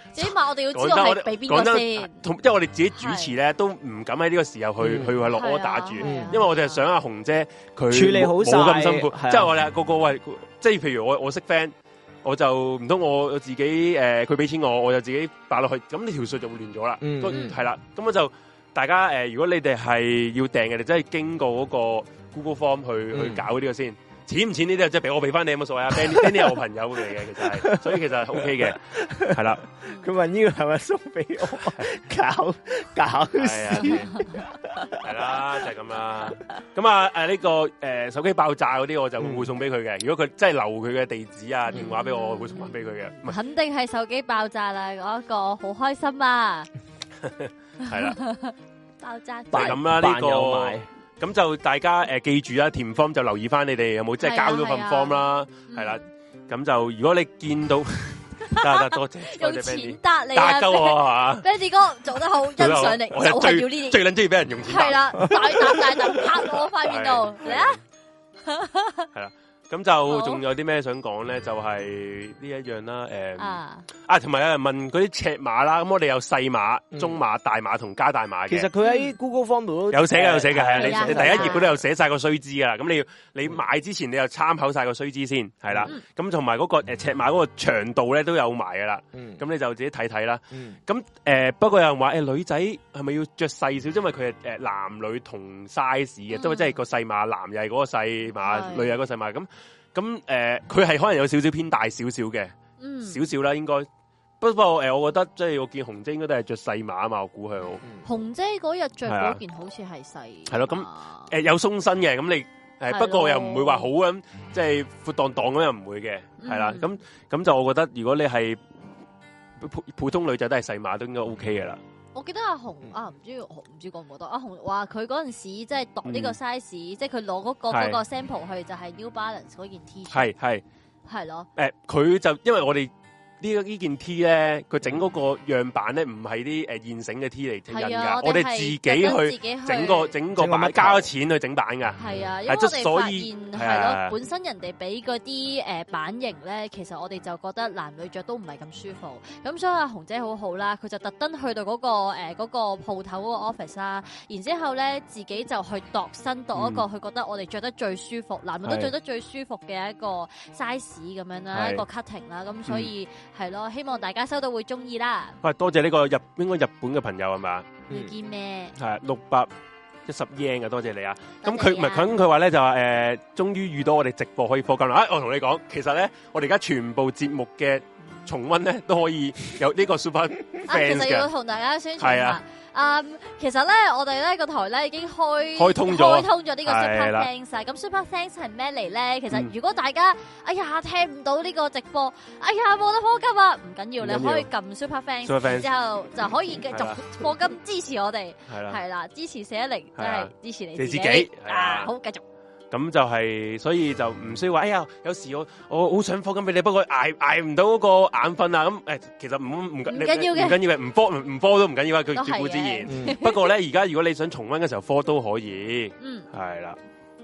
起碼我哋要知道係俾邊個先。 因為我哋自己主持咧，都唔敢喺呢個時候去落order住，因為我哋係想阿紅姐佢處理好晒， 冇咁辛苦。即係我哋個喂，即係譬如我識 friend，我就唔通我自己佢俾錢我就自己擺落去，咁呢條數就會亂咗啦。係啦，咁我就大家如果你哋係要訂嘅，你真係經過嗰個 Google Form 去搞呢個先。錢唔錢呢啲即係俾我俾翻你有冇所謂啊 ？Danny 係我朋友嚟嘅，其實係，所以其實 OK 嘅，係啦。 佢問呢個係咪送俾我？搞笑， 係啦，就係咁啦。咁啊呢個手機爆炸嗰啲，我就會送俾佢嘅。如果佢真係留佢嘅地址啊電話俾我，我會送翻俾佢嘅。 肯定係手機爆炸啦！嗰個好開心啊！ 係啦， 爆炸就咁啦呢個。咁就大家記住啦，填 form 就留意翻你哋有冇即係交咗份 form 啦，係啦。咁就如果你見到，得多謝， 用錢答你啊， 答鳩我係嘛 ，Benny 哥做得好，欣賞你，就係要呢啲， 最撚中意俾人用錢。 係啦，大啖拍我塊面度嚟啊！ 係啦。咁就仲有啲咩想講咧？就係呢一樣啦，同埋有人問嗰啲尺碼啦。咁我哋有細碼、中碼、大碼同加大碼嘅。 其實佢喺 Google Form 度都有寫嘅，係啊。你第一頁嗰度有寫晒個須知噶啦。咁你買之前你又參考晒個須知先，係啦。咁同埋嗰個尺碼嗰個長度咧都有埋噶啦。咁你就自己睇睇啦。咁不過有人話女仔係咪要着細少？因為佢係男女同 size 嘅，即係個細碼，男又係嗰個細碼，女又係嗰個細碼。咁佢係可能有少少偏大少少嘅，少少啦應該。不過我覺得即係我見紅姐應該都係着細碼啊嘛，我估佢。 紅姐嗰日着嗰件好似係細。係咯，咁有鬆身嘅，咁你不過又唔會話好咁，即係闊蕩蕩咁又唔會嘅，係啦。咁就我覺得如果你係普通女仔都係細碼都應該 OK 嘅啦。 我記得阿紅唔知覺唔覺得阿紅話佢嗰陣時即係度呢個 size，即係佢攞嗰個 sample 去就係 New Balance 嗰件 T 恤，係咯。 佢就因為我哋呢件 T 咧，佢整嗰個樣板咧唔係啲現成嘅 T 嚟整印噶，我哋自己去整個版，加咗錢去整版噶。係啊，因為我哋發現係咯，本身人哋俾嗰啲版型咧，其實我哋就覺得男女着都唔係咁舒服。咁所以阿紅姐好好啦，佢就特登去到嗰個鋪頭嗰個 office 啦，然之後咧自己就去度身度一個佢覺得我哋着得最舒服，男女都着得最舒服嘅一個 size 咁樣啦，一個 cutting 啦，咁所以。係咯，希望大家收到會中意啦。喂，多謝呢個應該日本嘅朋友係嘛？ 要見咩？ 係610 yen 嘅，多謝你啊！咁佢唔係佢話咧就話終於遇到我哋直播可以課金啦！我同你講，其實咧我哋而家全部節目嘅重溫咧都可以有呢個 Super Fans 嘅。 其實要同大家宣傳下。其實咧，我哋咧個台咧已經開通咗呢個 Super Thanks。咁 Super Thanks 係咩嚟咧？其實如果大家聽唔到呢個直播，冇得課金啊，唔緊要，你可以撳 Super Thanks， 之後就可以繼續課金支持我哋。係啦，支持410，即係支持你自己。好，繼續。 咁就係，所以就唔需要話，有時我好想課金俾你，不過捱唔到嗰個眼瞓啊！咁其實唔緊要嘅，唔課都唔緊要啊！佢照顧自然。不過咧，而家如果你想重溫嘅時候，課都可以。係啦。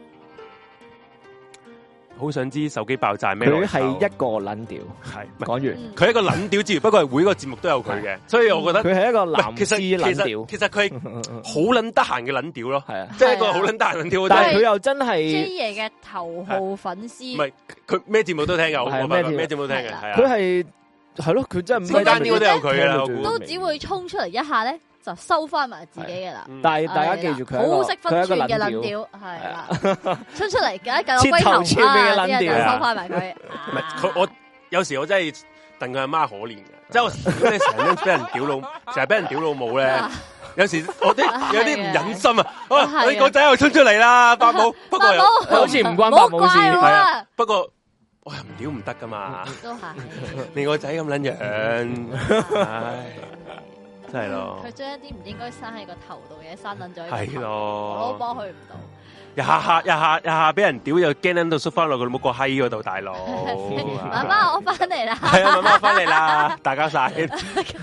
好想知手機爆炸咩？ 佢係一個撚屌，係講完。 佢係一個撚屌之餘，不過係每個節目都有佢嘅，所以我覺得佢係一個男士撚屌。 其實佢好撚得閒嘅撚屌咯，係啊，即係一個好撚得閒撚屌。 但係佢又真係 J 爺嘅頭號粉絲。 唔係佢咩節目都聽㗎，咩節目都聽嘅，係啊。 佢係咯，佢真係每單啲都有佢啦， 都只會衝出嚟一下咧。就收翻埋自己嘅啦， 但係大家記住佢好識分寸嘅撚屌，係啦，出嚟嘅一嚿龜頭啊，啲人就收翻埋佢。 唔係我有時我真係戥佢阿媽可憐嘅，即係如果你成日俾人屌老，成日俾人屌老母咧，有時我有啲唔忍心啊！你個仔又衝出嚟啦，伯母，不過好似唔關伯母事，係啊，不過我又唔屌唔得噶嘛， 都係你個仔咁撚樣，唉。真係咯， 佢將一啲唔應該生喺個頭度嘅嘢生撚咗， 係咯， 我都幫佢唔到。 一下俾人屌又驚撚到縮翻落佢冇個閪嗰度，大佬。 媽媽我翻嚟啦， 係啊，媽媽我翻嚟啦，大家晒，係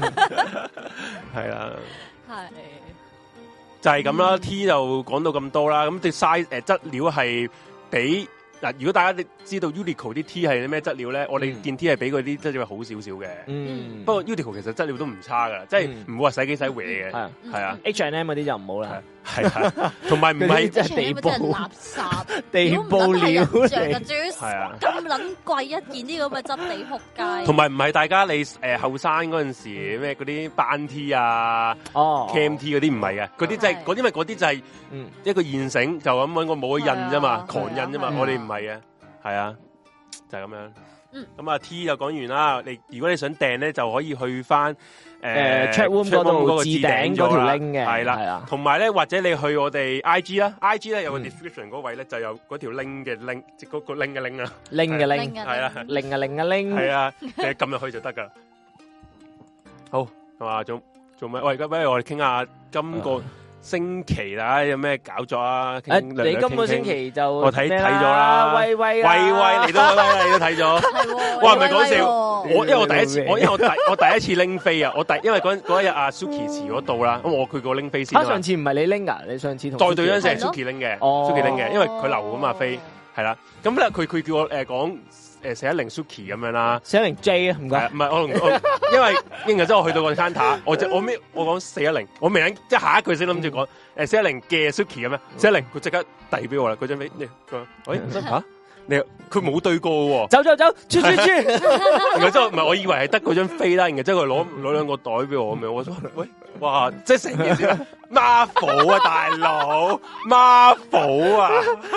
啦，係就係咁啦。T 就講到咁多啦，咁啲 size 質料係比嗱，如果大家知道 Uniqlo 啲 T 係啲咩質料咧，我哋件 T 係比佢啲質料好少少嘅。不過 Uniqlo 其實質料都唔差噶，即係唔會話洗幾洗搲嘅。係啊 H&M 嗰啲就唔好啦。 係同埋唔係即係地布垃圾， 地布料嚟。 係啊， 咁撚貴一件啲咁嘅質地仆街。 同埋唔係大家你後生嗰陣時咩嗰啲班 T 啊、Cam T 嗰啲唔係嘅，嗰啲即係嗰啲咪嗰啲就係一個現成就咁揾個冇印啫嘛，狂印啫嘛，我哋唔係嘅，係啊，就係咁樣。咁啊 T 就講完啦，如果你想訂咧，就可以去翻 Chatroom 嗰度置頂嗰條 link 嘅， 係啦，同埋咧或者你去我哋 IG 啦 ，IG 咧有個 description 嗰位咧就有嗰條 link 嘅 link， 即嗰個 link 嘅 link 啊 ，link 嘅 link， 係啊 ，link 嘅 link 嘅 link， 係啊，你撳入去就得噶。好，係嘛，做咩？喂，不如我哋傾下今個星期啦，有咩搞作啊？ 你今個星期就我睇咗啦，威嚟到，你都睇咗。哇，唔係講笑，因為我第一次拎飛啊，因為嗰一日阿 Suki 遲咗到啦，咁我佢個拎飛先。 上次唔係你拎噶，你上次同再對嗰陣時係 Suki 拎嘅，Suki 拎嘅，因為佢留咁啊飛，係啦。咁咧佢叫我講410 Suki 咁樣啦 ，410 J 啊，唔該。唔係因為之後我去到個 counter，我講410，我未諗即係下一句先諗住講410嘅 Suki 咁樣，410佢即刻遞俾我啦，嗰張飛，佢話喂嚇。佢冇對過喎， 走，出， 然後之後唔係，我以為係得嗰張飛啦，然後之後佢攞兩個袋俾我咁樣，我話喂，哇，即係成件事Marvel 啊，大佬 Marvel 啊，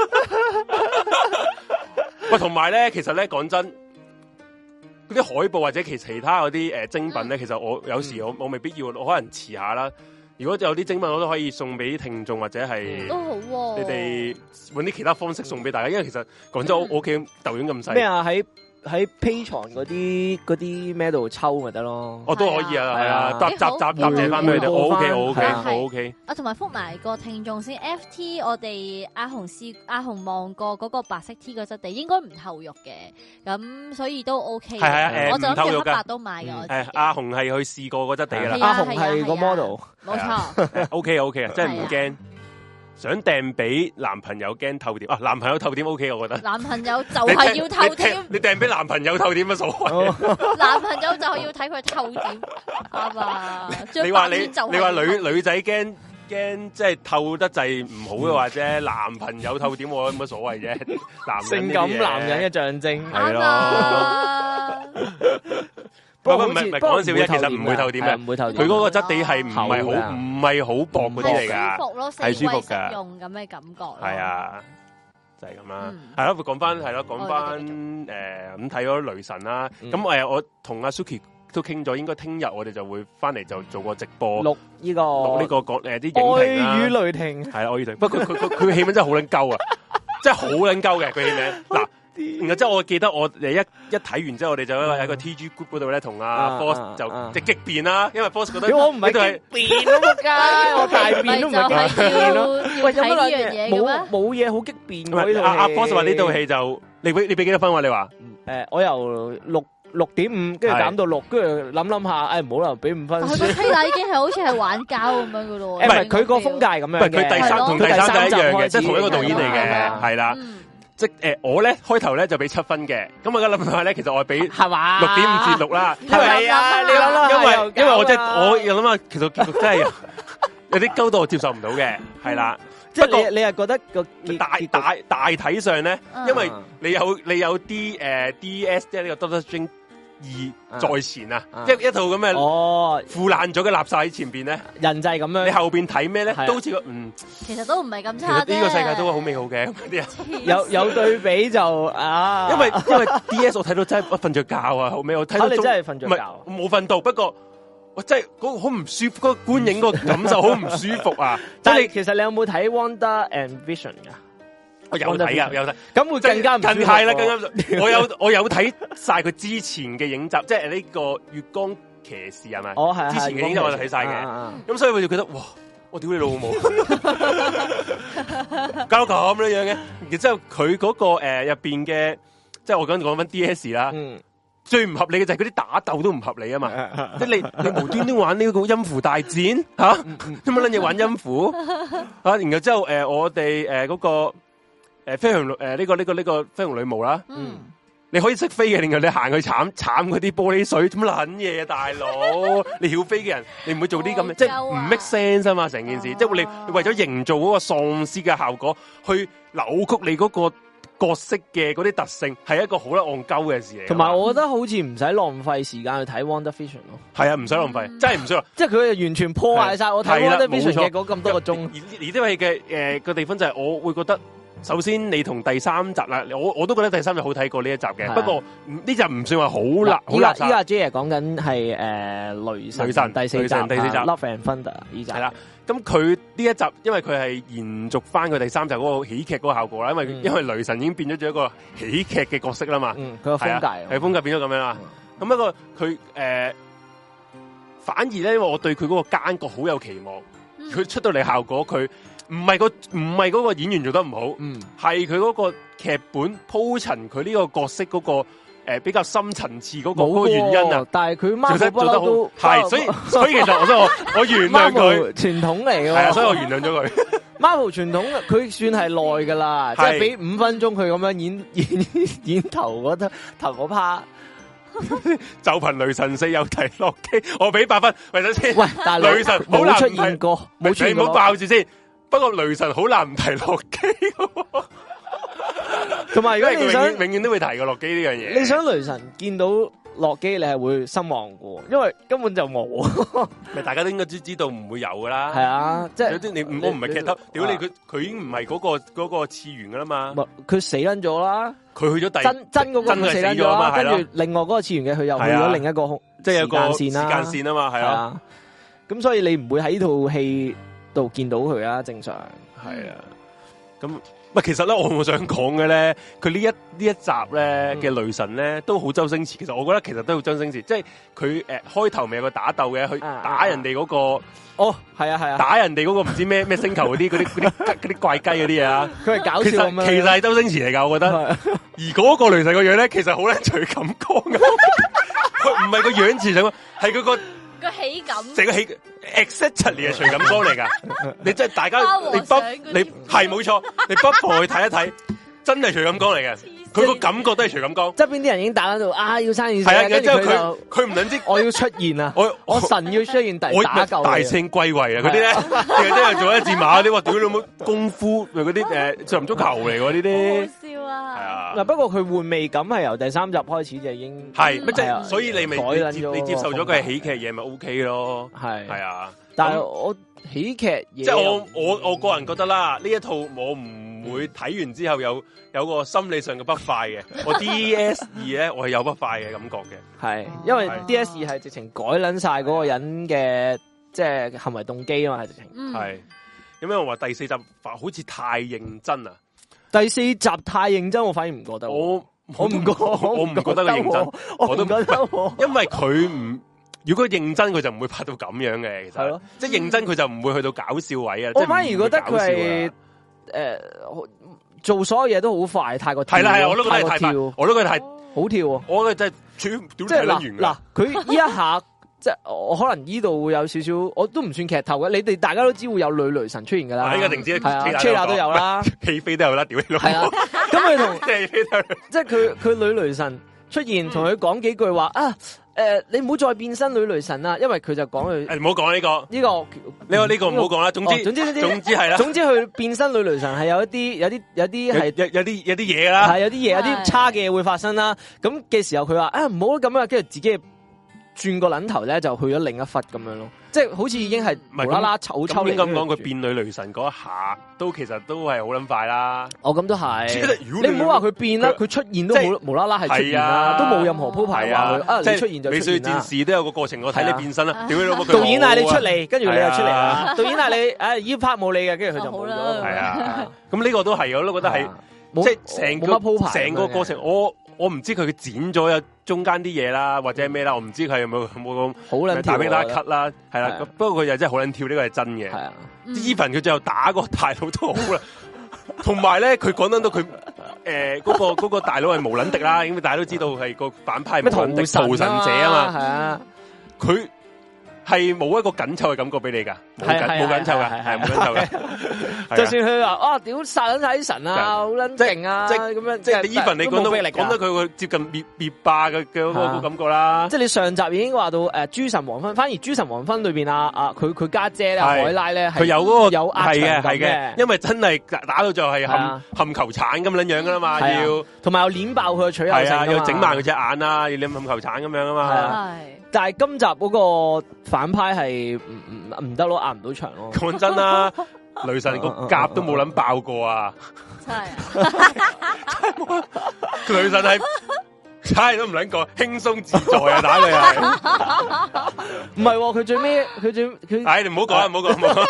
喂，同埋咧，其實咧講真，嗰啲海報或者其他嗰啲精品咧，其實我有時我未必要，我可能遲下啦。如果有啲精品，我都可以送俾聽眾或者係都好， 你哋揾啲其他方式送俾大家，因為其實講真，我屋企豆丸咁細。 咩啊？喺 Patreon 嗰啲咩度抽咪得咯？ 我都可以啊，係啊，集謝翻俾佢哋，我 OK。 啊，同埋覆埋個聽眾先 ，FT 我哋阿紅望過嗰個白色 T 個質地應該唔透肉嘅，咁所以都 OK。 係啊， 我就諗住黑白都買嘅。 阿紅係去試過個質地噶啦， 阿紅係個 model， 冇錯。 OK 啊，真係唔驚。想訂俾男朋友驚透點啊！男朋友透點 OK， 我覺得。男朋友就係要透點。你訂俾男朋友透點乜所謂？ 男朋友就係要睇佢透點啊嘛。 你話女仔驚即係透得滯唔好嘅話啫，男朋友透點我有乜所謂啫？ 性感男人嘅象徵係咯。唔係講笑啫，其實唔會透點嘅，唔會透點。佢嗰個質地係唔係好薄嗰啲嚟噶， 舒服咯， 係舒服噶， 用咁嘅感覺。 係啊，就係咁啦。係咯，講翻咁睇咗雷神啦。咁我同阿 Suki 都傾咗，應該聽日我哋就會翻嚟就做個直播，錄呢個講啲影評啦。 愛與雷霆係啦，愛與雷霆。不過佢戲名真係好撚鳩啊，真係好撚鳩嘅佢戲名嗱。然後之後我記得我哋一睇完之後，我哋就喺個 TG group 嗰度咧，同阿 Boss 就即係激辯啦。因為 Boss 覺得我唔係激辯咯，仆街，我大辯都唔係激辯咯。喂，有乜嘢冇嘢好激辯嘅呢套戲？ 阿 Boss 話呢套戲就你俾幾多分？你話我由6.5，跟住減到6，跟住諗下，唔好啦，俾5分。 佢個推理已經係好似係玩膠咁樣噶咯。 唔係佢個風格係咁樣嘅， 佢同第三集一樣嘅，即係同一個導演嚟嘅，係啦。即我咧開頭咧就俾7分嘅，咁我而家諗下咧，其實我係俾係嘛 6.5至6啦。 係啊，你諗因為我又諗下，其實結局真係有啲高度我接受唔到嘅，係啦。 即係你係覺得個大體上咧，因為你有啲DS 即係呢個 Doctor Strange 2在前啊，一套咁嘅腐爛咗嘅垃圾喺前邊咧， 人就係咁樣。 你後邊睇咩咧，都似個其實都唔係咁差啫。 呢個世界都好美好嘅，啲人有對比就因為 DS 我睇到真係瞓着覺啊，後尾我睇到你真係瞓着覺， 我冇瞓到，不過我真係嗰個好唔舒服，嗰個觀影個感受好唔舒服啊！ 但係其實你有冇睇 Wanda and Vision 噶？ 我有睇啊，有睇， 咁會更加唔近係啦，更加我有睇晒佢之前嘅影集，即係呢個月光騎士係咪？ 係之前嘅影集我就睇晒嘅，咁所以我就覺得哇，我屌你老母，搞到咁樣嘅，然之後佢嗰個入邊嘅，即係我講翻 DS 啦，最唔合理嘅就係嗰啲打鬥都唔合理啊嘛，即係你無端端玩呢個音符大戰吓，做乜撚嘢玩音符啊？然後之後我哋嗰個。 飛行呢個飛行女巫啦，你可以識飛嘅，另外你行去慘嗰啲玻璃水，做乜撚嘢啊，大佬？你曉飛嘅人，你唔會做啲咁嘅，即係唔 make sense 啊嘛，成件事，即係你為咗營造嗰個喪屍嘅效果，去扭曲你嗰個角色嘅嗰啲特性，係一個好得戇鳩嘅事嚟。 同埋我覺得好似唔使浪費時間去睇 WandaVision 咯。係啊，唔使浪費，真係唔需要。 即係佢完全破壞晒我睇 WandaVision 嘅嗰咁多個鐘。 而呢位嘅個地方就係我會覺得。首先，你同第三集啦，我都覺得第三集好睇過呢一集嘅。不過呢集唔算話好垃圾。依家 J 講緊係雷神第四集 Love and Thunder 呢集。係啦，咁佢呢一集，因為佢係延續翻佢第三集嗰個喜劇嗰個效果啦。因為雷神已經變咗做一個喜劇嘅角色啦嘛。佢個風格係風格變咗咁樣啦。咁不過佢反而咧，因為我對佢嗰個奸角好有期望。佢出到嚟效果，佢唔係嗰個演員做得唔好，係佢嗰個劇本鋪陳佢呢個角色嗰個比較深層次嗰個原因啊。但係佢 Marvel 做得好，係所以其實我原諒佢傳統嚟嘅，係啊，所以我原諒咗佢。Marvel 傳統佢算係耐噶啦，即係俾5分鐘佢咁樣演頭嗰 part。就憑雷神4有提洛基，我俾8分。喂，等先。喂，但係雷神冇出現過，冇出現過，你唔好爆住先。不過雷神好難唔提洛基。同埋，如果你想永遠都會提過洛基呢樣嘢，你想雷神見到洛基，你係會失望嘅，因為根本就冇。咪大家都應該知道唔會有噶啦。係啊，即係我唔係劇透，屌你佢已經唔係嗰個次元噶啦嘛。佢死撚咗啦。佢去咗真嗰個死咗啊嘛，跟住另外嗰個次元嘅佢又去咗另一個即係有個時間線啊嘛，係啊。咁所以你唔會喺呢套戲度見到佢啊，正常係啊。咁其實咧，我想講嘅咧，佢呢一集咧嘅雷神咧都好周星馳。其實我覺得其實都好周星馳，即係佢開頭咪有個打鬥嘅，去打人哋嗰個係啊，打人哋嗰個唔知咩星球嗰啲怪雞嗰啲嘢啊，佢係搞笑咁樣。其實係周星馳嚟噶，我覺得。而嗰個雷神個樣咧，其實好撚徐錦江嘅，佢唔係個樣似咁，係佢個喜感，成個喜 exactly 係徐錦江嚟噶。你真係大家你係冇錯，你不妨去睇一睇，真係徐錦江嚟嘅。佢個感覺都係徐錦江。側邊啲人已經打喺度要生意，係啊，跟住佢唔撚知我要出現啊，我神要出現打救大聖歸位啊嗰啲咧，即係做一字馬嗰啲，屌你老母功夫嗰啲上唔足球嚟喎呢啲。好笑啊！係啊。嗱，不過佢換味感係由第3集開始就已經係乜即係，所以你咪你接受咗佢係喜劇嘢咪 OK 咯。係啊，但係我喜劇嘢，即係我個人覺得啦，呢一套我唔會睇完之後有個心理上嘅不快嘅。我 DS2咧，我係有不快嘅感覺嘅。係，因為 DS2係直情改撚晒嗰個人嘅即係行為動機啊嘛，係直情。係，因為我話第4集好似太認真啊。第4集太認真，我反而唔覺得。我唔覺得佢認真，我都唔覺得。因為佢唔。如果認真，佢就唔會拍到咁樣嘅。其實，即係認真，佢就唔會去到搞笑位啊。我反而覺得佢係做所有嘢都好快，太過跳。係啦，我都覺得太快，我都覺得太好跳。我覺得真係即係嗱，佢呢一下即係我可能呢度會有少少，我都唔算劇透嘅。你哋大家都知會有女雷神出現噶啦，呢個定知係啊 ，Trailer 都有啦，戲飛都有啦，屌你老母！係啊，咁佢同即係佢女雷神出現，同佢講幾句話啊。你唔好再變身女雷神啦，因為佢就講佢唔好講呢個唔好講啦。總之係啦。總之佢變身女雷神係有一啲係有啲嘢啦，係有啲嘢有啲差嘅嘢會發生啦。咁嘅時候佢話唔好咁啊，跟住自己轉個撚頭咧就去咗另一忽咁樣咯，即係好似已經係無啦啦抽離。咁講佢變女雷神嗰一下，都其實都係好撚快啦。咁都係。你唔好話佢變啦，佢出現都無啦啦係出現啦，都冇任何鋪排話佢你出現就出現啦。美少女戰士都有個過程，我睇你變身啦。屌你老母！導演嗌你出嚟，跟住你又出嚟啦。導演嗌你，依 part 冇你嘅，跟住佢就冇咗。係啊，咁呢個都係，我都覺得係，即係成個過程，我唔知佢剪咗有中間啲嘢啦，或者咩啦，我唔知佢有冇咁好撚跳啦 cut 啦，係啦。不過佢又真係好撚跳，呢個係真嘅。係啊，Even 佢最後打個大佬都好啦，同埋咧佢講到佢嗰個大佬係無撚敵啦，因為大家都知道係個反派無撚敵屠神者啊嘛。係啊，佢係冇一個緊湊嘅感覺俾你噶。 冇緊湊噶，係冇緊湊嘅。 就算佢話屌殺緊晒啲神啊，好撚勁啊，咁樣即係 even 你講得佢會接近滅霸嘅嗰個感覺啦。 即係你上集已經話到諸神黃昏，反而諸神黃昏裏邊佢家姐咧海拉咧， 佢有嗰個有壓場嘅， 因為真係打到就係冚球鏟咁樣噶啦嘛，要同埋又捻爆佢嘅取口性， 要整埋佢隻眼啊，要冚球鏟咁樣啊嘛。 但係今集嗰個反派係唔得咯，壓唔到場咯。 講真啦，雷神個甲都冇諗爆過啊！ 真係， 雷神係猜都唔撚過，輕鬆自在啊！打佢係唔係？佢最尾佢唉，你唔好講，唔好講。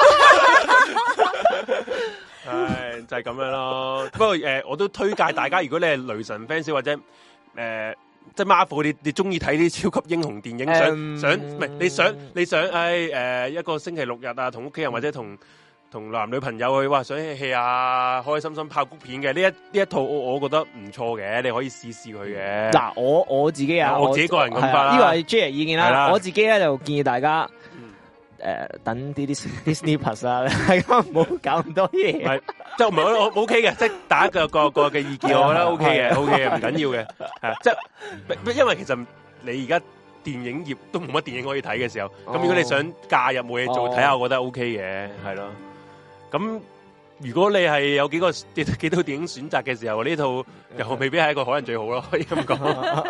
唉，就係咁樣咯。不過我都推介大家，如果你係雷神 fans 或者即係 Marvel，你中意睇啲超級英雄電影，想唔係你想一個星期六日啊，同屋企人或者同男女朋友去想戲啊，開心心爆谷片嘅呢一套我覺得唔錯嘅，你可以試試佢嘅。嗱， 我自己我自己個人咁法啦， 呢個係 J 意見啦。我自己咧就建議大家等啲 Disney Plus 啊，大家唔好搞咁多嘢。 即係唔係我 OK 嘅，即係大家個嘅意見，我覺得 OK 嘅，OK 嘅，唔緊要嘅。係即係因為其實你而家電影業都冇乜電影可以睇嘅時候，咁如果你想假日冇嘢做睇下，我覺得 OK 嘅，係咯。咁如果你係有幾套電影選擇嘅時候，呢套又未必係一個可能最好咯，可以咁講。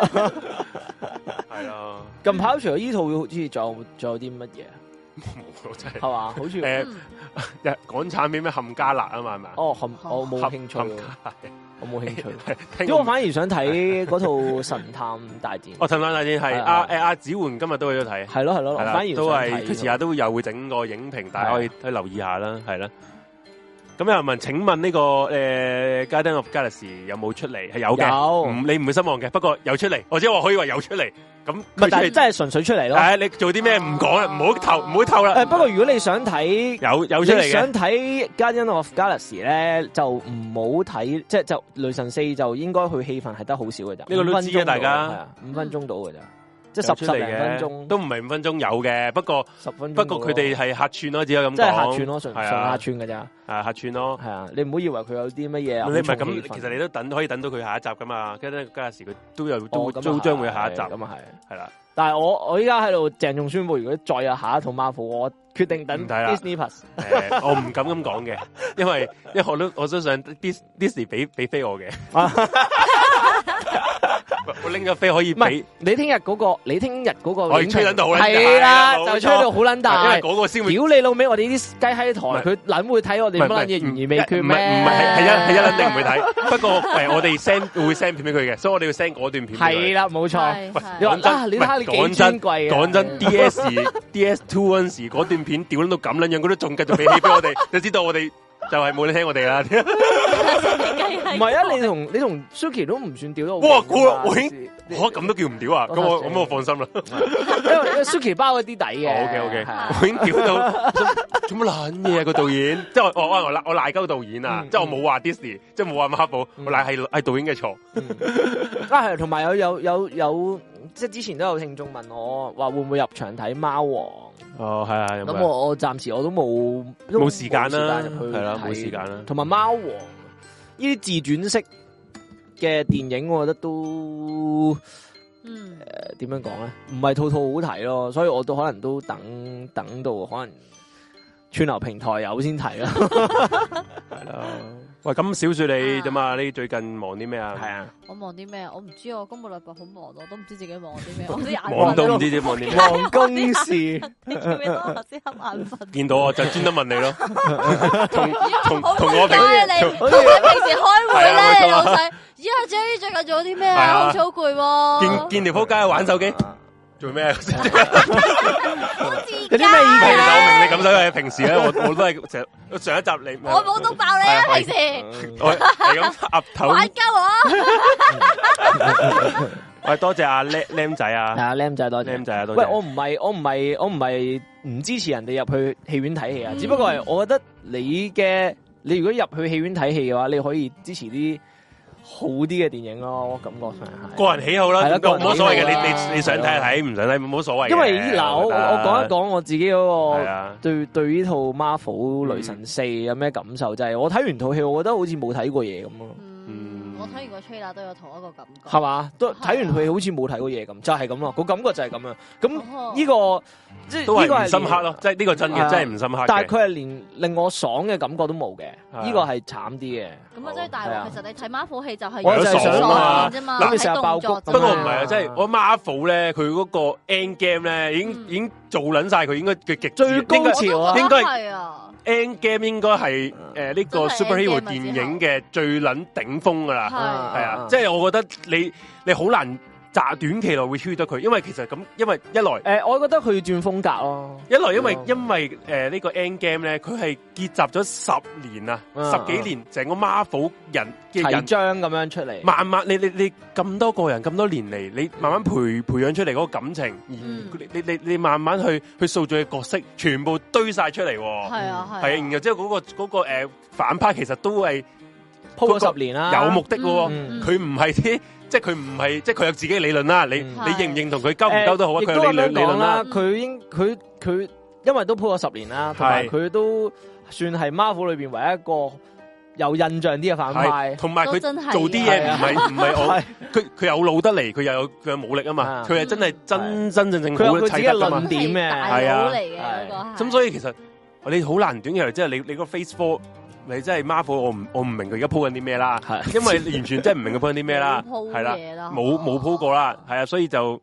係咯。 近排除咗呢套，好似仲有啲乜嘢？ 冇真係。 係嘛？好似港產片咩冚家辣啊嘛，係咪？ 哦，我冇興趣。我冇興趣，因為我反而想睇嗰套神探大戰。哦， 神探大戰係阿子桓今日都去咗睇。 係咯，反而都係佢遲下都又會整個影評，大家可以去留意下啦，係啦。咁有人問，請問呢個Guardians of Galaxy 有冇出嚟？係有嘅，你唔會失望嘅。不過有出嚟，或者我可以話有出嚟。咁但係真係純粹出嚟咯。 你做啲咩唔講啦，唔好透啦。 不過如果你想睇有出嚟嘅， 想睇 Guardians of Galaxy 咧，就唔好睇，即係就雷神4就應該佢戲份係得好少嘅咋。 呢個都知嘅，大家 5分鐘到嘅咋。即係10零分鐘， 都唔係5分鐘有嘅，不過 10分鐘。 不過佢哋係客串咯，只有咁講。 即係客串咯，純客串嘅咋。 係客串咯。係啊， 你唔好以為佢有啲乜嘢。 你唔係咁，其實你都可以等到佢下一集噶嘛。跟住嗰陣時佢都將會有下一集。咁啊係啦。但係我依家喺度鄭重宣布，如果再有下一套 Marvel，我決定等 Disney Plus。 我唔敢咁講嘅，因為我都想 Disney 俾飛我嘅。我拎咗飛可以俾你聽日嗰個， 可以吹到好撚大， 係啦，就吹到好撚大， 因為嗰個先會屌你老味，我哋啲雞喺台，佢撚會睇我哋乜撚嘢懸而未決咩？ 唔係一撚定唔會睇。不過我哋會 send 片俾佢嘅，所以我哋要 send 嗰段片。 係啦，冇錯。你話你睇下你幾尊貴啊？ 講真 DS2 嗰陣時嗰段片屌撚到咁撚樣，佢都仲繼續俾戲俾我哋，就知道我哋就係冇你聽我哋啦。 唔係啊，你同 Suki 都唔算屌到。 哇，我咁都叫唔屌啊？咁我放心啦。 因為 Suki 包嗰啲底嘅。 OK， 我已經屌到做乜撚嘢個導演？即係我賴鳩導演啊！即係我冇話 Disney，即係冇話Marvel，我賴係導演嘅錯。 係，同埋有即係之前都有聽眾問我話會唔會入場睇貓王？ 哦，係啊。 咁我暫時我都冇時間啦，係啦，冇時間啦。 同埋貓王呢啲自傳式嘅電影，我覺得都點樣講咧？唔係套套好睇咯，所以我都可能都等到可能串流平台有先睇啦。係啦。喂，咁小雪你點啊？你最近忙啲咩啊？係啊， 我忙啲咩？我唔知啊，今個禮拜好忙，我都唔知自己忙啲咩。我啲眼忙到唔知自己忙啲咩。 忙公事， 你記唔記得我先瞌眼瞓？ 見到我就專登問你咯。同我平時開會咧，老細，阿 J 最近做啲咩啊？好似好攰喎。 見條仆街玩手機。做咩？有啲咩意見啊？ 我明你感受嘅。平時咧，我都係成日上一集你， 我冇督爆你啊！平時我係咁岌頭玩鳩我。 喂，多謝阿僆仔啊！ 阿僆仔多謝。 僆仔啊，多謝。 喂，我唔係唔支持人哋入去戲院睇戲啊！只不過係我覺得你如果入去戲院睇戲嘅話，你可以支持啲好啲嘅電影咯，感覺上係個人喜好啦，冇所謂嘅。你想睇睇，唔想睇冇所謂。 因為嗱，我講一講我自己嗰個對呢套 Marvel 雷神4有咩感受，就係我睇完套戲，我覺得好似冇睇過嘢咁咯。 我睇完個 trailer 都有同一個感覺， 係嘛？都睇完佢好似冇睇過嘢咁，就係咁咯。個感覺就係咁樣。咁呢個即係呢個係深刻咯，即係呢個真嘅，真係唔深刻。 但係佢係連令我爽嘅感覺都冇嘅，呢個係慘啲嘅。 咁啊，真係大鑊。其實你睇 Marvel 戲就係我就係爽啊啫嘛， 諗住成日爆谷。 不過唔係啊，即係我 Marvel 咧，佢嗰個 End Game 咧，已經做撚晒佢應該嘅極最高潮啊， 應該係啊。 End Game 應該係呢個 superhero 電影嘅最撚頂峰噶啦，係啊，即係我覺得你好難短期內會超越得佢，因為其實咁，因為一來我覺得佢要轉風格咯， 一來因為呢個 End Game 咧，佢係結集咗10年啊，10幾年成個 Marvel 人嘅人章咁樣出嚟， 慢慢你咁多個人咁多年嚟，你慢慢培養出嚟嗰個感情，你慢慢去塑造嘅角色，全部堆晒出嚟， 係啊， 然後之後嗰個反派其實都係鋪咗10年啦， 有目的嘅，佢唔係啲。即係佢唔係，即係佢有自己嘅理論啦。你認唔認同佢鳩唔鳩都好啊。佢有理論啦。 佢因為都鋪咗10年啦，同埋佢都算係 Marvel 裏邊唯一一個有印象啲嘅反派。同埋佢做啲嘢唔係我，佢有腦得嚟，佢又有武力啊嘛。佢係真係真正佢有佢自己嘅論點嘅， 係啊。嚟嘅咁所以其實你好難短期內，即係你個 Phase 4。你真係 Marvel，我唔明佢而家鋪緊啲咩啦，因為完全真係唔明佢鋪緊啲咩啦，係啦，冇鋪過啦，係啊，所以就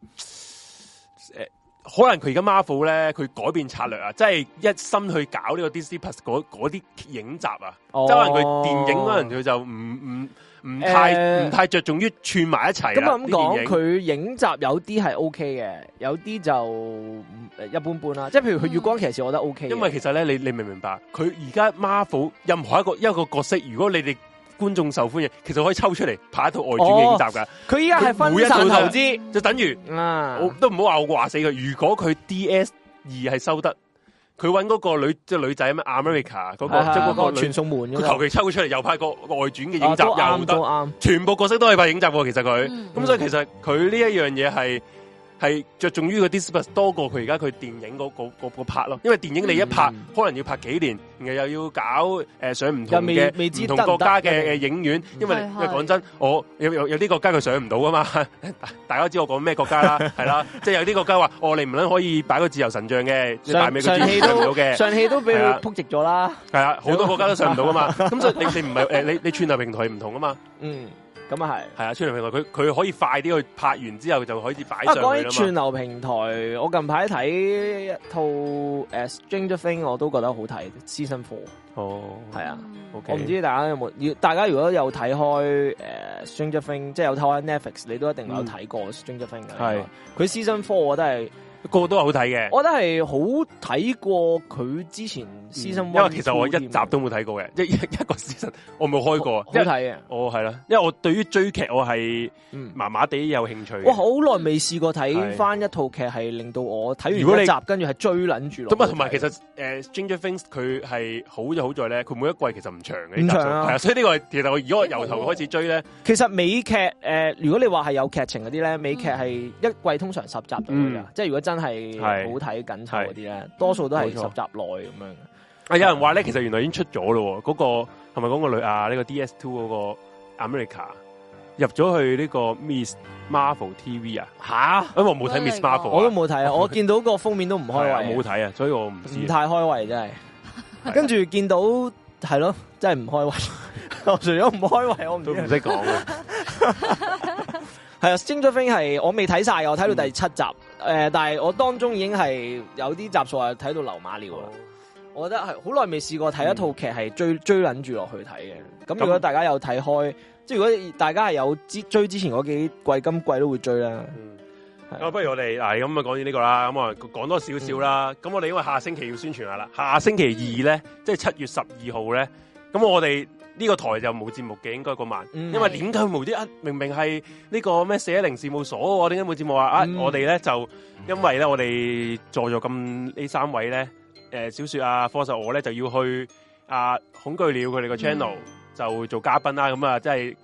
可能佢而家 Marvel 咧，佢改變策略啊，即係一心去搞呢個 Disney Plus 嗰啲影集啊，即係可能佢電影可能佢就唔太着重於串埋一齊。 咁講，佢影集有啲係 OK 嘅，有啲就一般般啦。即係譬如佢月光騎士，我覺得 OK。因為其實咧，你明唔明白？佢而家 Marvel 任何一個角色，如果你哋觀眾受歡迎，其實可以抽出嚟拍一套外傳嘅影集噶。 佢依家係分散投資， 就等於我都唔好話死佢。如果佢 DS2係收得。佢揾嗰個女仔咩 America 嗰個即係嗰個傳送門，佢求其抽出嚟又拍個外傳嘅影集又得， 全部角色都係拍影集喎。其實佢咁所以其實佢呢一樣嘢係着重於個 Disney 多過佢而家佢電影嗰 part 咯。因為電影你一拍可能要拍幾年，然後又要搞上唔同嘅唔同國家嘅影院。因為講真，我有啲國家佢上唔到噶嘛。大家知我講咩國家啦，係啦，即係有啲國家話你唔撚可以擺個自由神像嘅， 上戲都俾佢撲直咗啦。 係啊，好多國家都上唔到噶嘛。咁所以你唔係你串流平台唔同啊嘛。 咁啊係啊，串流平台佢可以快啲去拍完之後就可以擺上去啦嘛。 講起串流平台，我近排睇一套Stranger Things 我都覺得好睇 Season 4。係啊，我唔知大家有冇？大家如果有睇開Stranger Things，即係有睇開 Netflix，你都一定有睇過 Stranger Things 嘅。係佢 Season 4，我覺得係個個都係好睇嘅。 我覺得係好睇過佢之前 Season 1。 因為其實我一集都冇睇過嘅，一個 Season 我冇開過。 好睇嘅， 係啦，因為我對於追劇我係麻麻地有興趣。 我好耐未試過睇翻一套劇係令到我睇完一集跟住係追撚住落。 咁啊，同埋其實Stranger Things 佢係好就好在咧，佢每一季其實唔長嘅， 唔長啊。 係啊，所以呢個其實如果我由頭開始追咧， 其實美劇如果你話係有劇情嗰啲咧，美劇係一季通常10集到嘅，即係如果真係好睇緊湊嗰啲咧，多數都係10集內咁樣。 有人話咧，其實原來已經出咗咯，嗰個係咪講個女啊？呢個 DS2 嗰個 America 入咗去呢個 Miss Marvel TV 啊？ 吓？ 因為我冇睇 Miss Marvel， 我都冇睇啊！我見到個封面都唔開胃， 冇睇啊，所以我唔知。 唔太開胃真係。跟住見到係咯，真係唔開胃。我除咗唔開胃，我唔識講啊。 係啊，Stranger Things係我未睇晒，我睇到第7集。但係我當中已經係有啲集數係睇到流馬尿啦。我覺得係好耐未試過睇一套劇係追捻住落去睇嘅。咁如果大家有睇開，即係如果大家係有追之前嗰幾季，今季都會追啦。 咁不如我哋咁啊講完呢個啦，咁啊講多少少啦。咁我哋因為下星期要宣傳下啦，下星期2咧，即係7月12號咧，咁我哋呢個台就冇節目嘅，應該嗰晚。因為點解無啲明明係呢個咩410事務所，點解冇節目啊？我哋咧就因為咧我哋坐咗咁呢3位咧。小雪啊，科實我咧就要去恐懼鳥佢哋個 channel 就做嘉賓啦，咁啊真係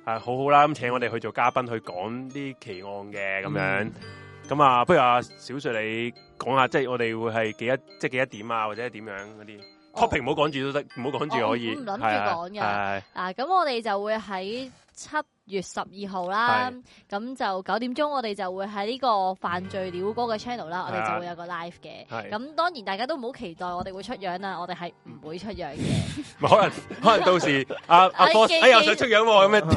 好好啦，咁請我哋去做嘉賓去講啲奇案嘅咁樣。咁啊，不如阿小瑞你講下，即係我哋會係幾多點啊，或者點樣嗰啲 topic 唔好講住都得，唔好講住可以。 唔諗住講嘅。咁我哋就會喺7月12號啦，咁就9點鐘，我哋就會喺呢個犯罪鳥哥嘅 channel 啦，我哋就會有個 live 嘅。咁當然大家都唔好期待我哋會出樣啦，我哋係唔會出樣嘅。 可能到時阿 boss 又想出樣喎，咁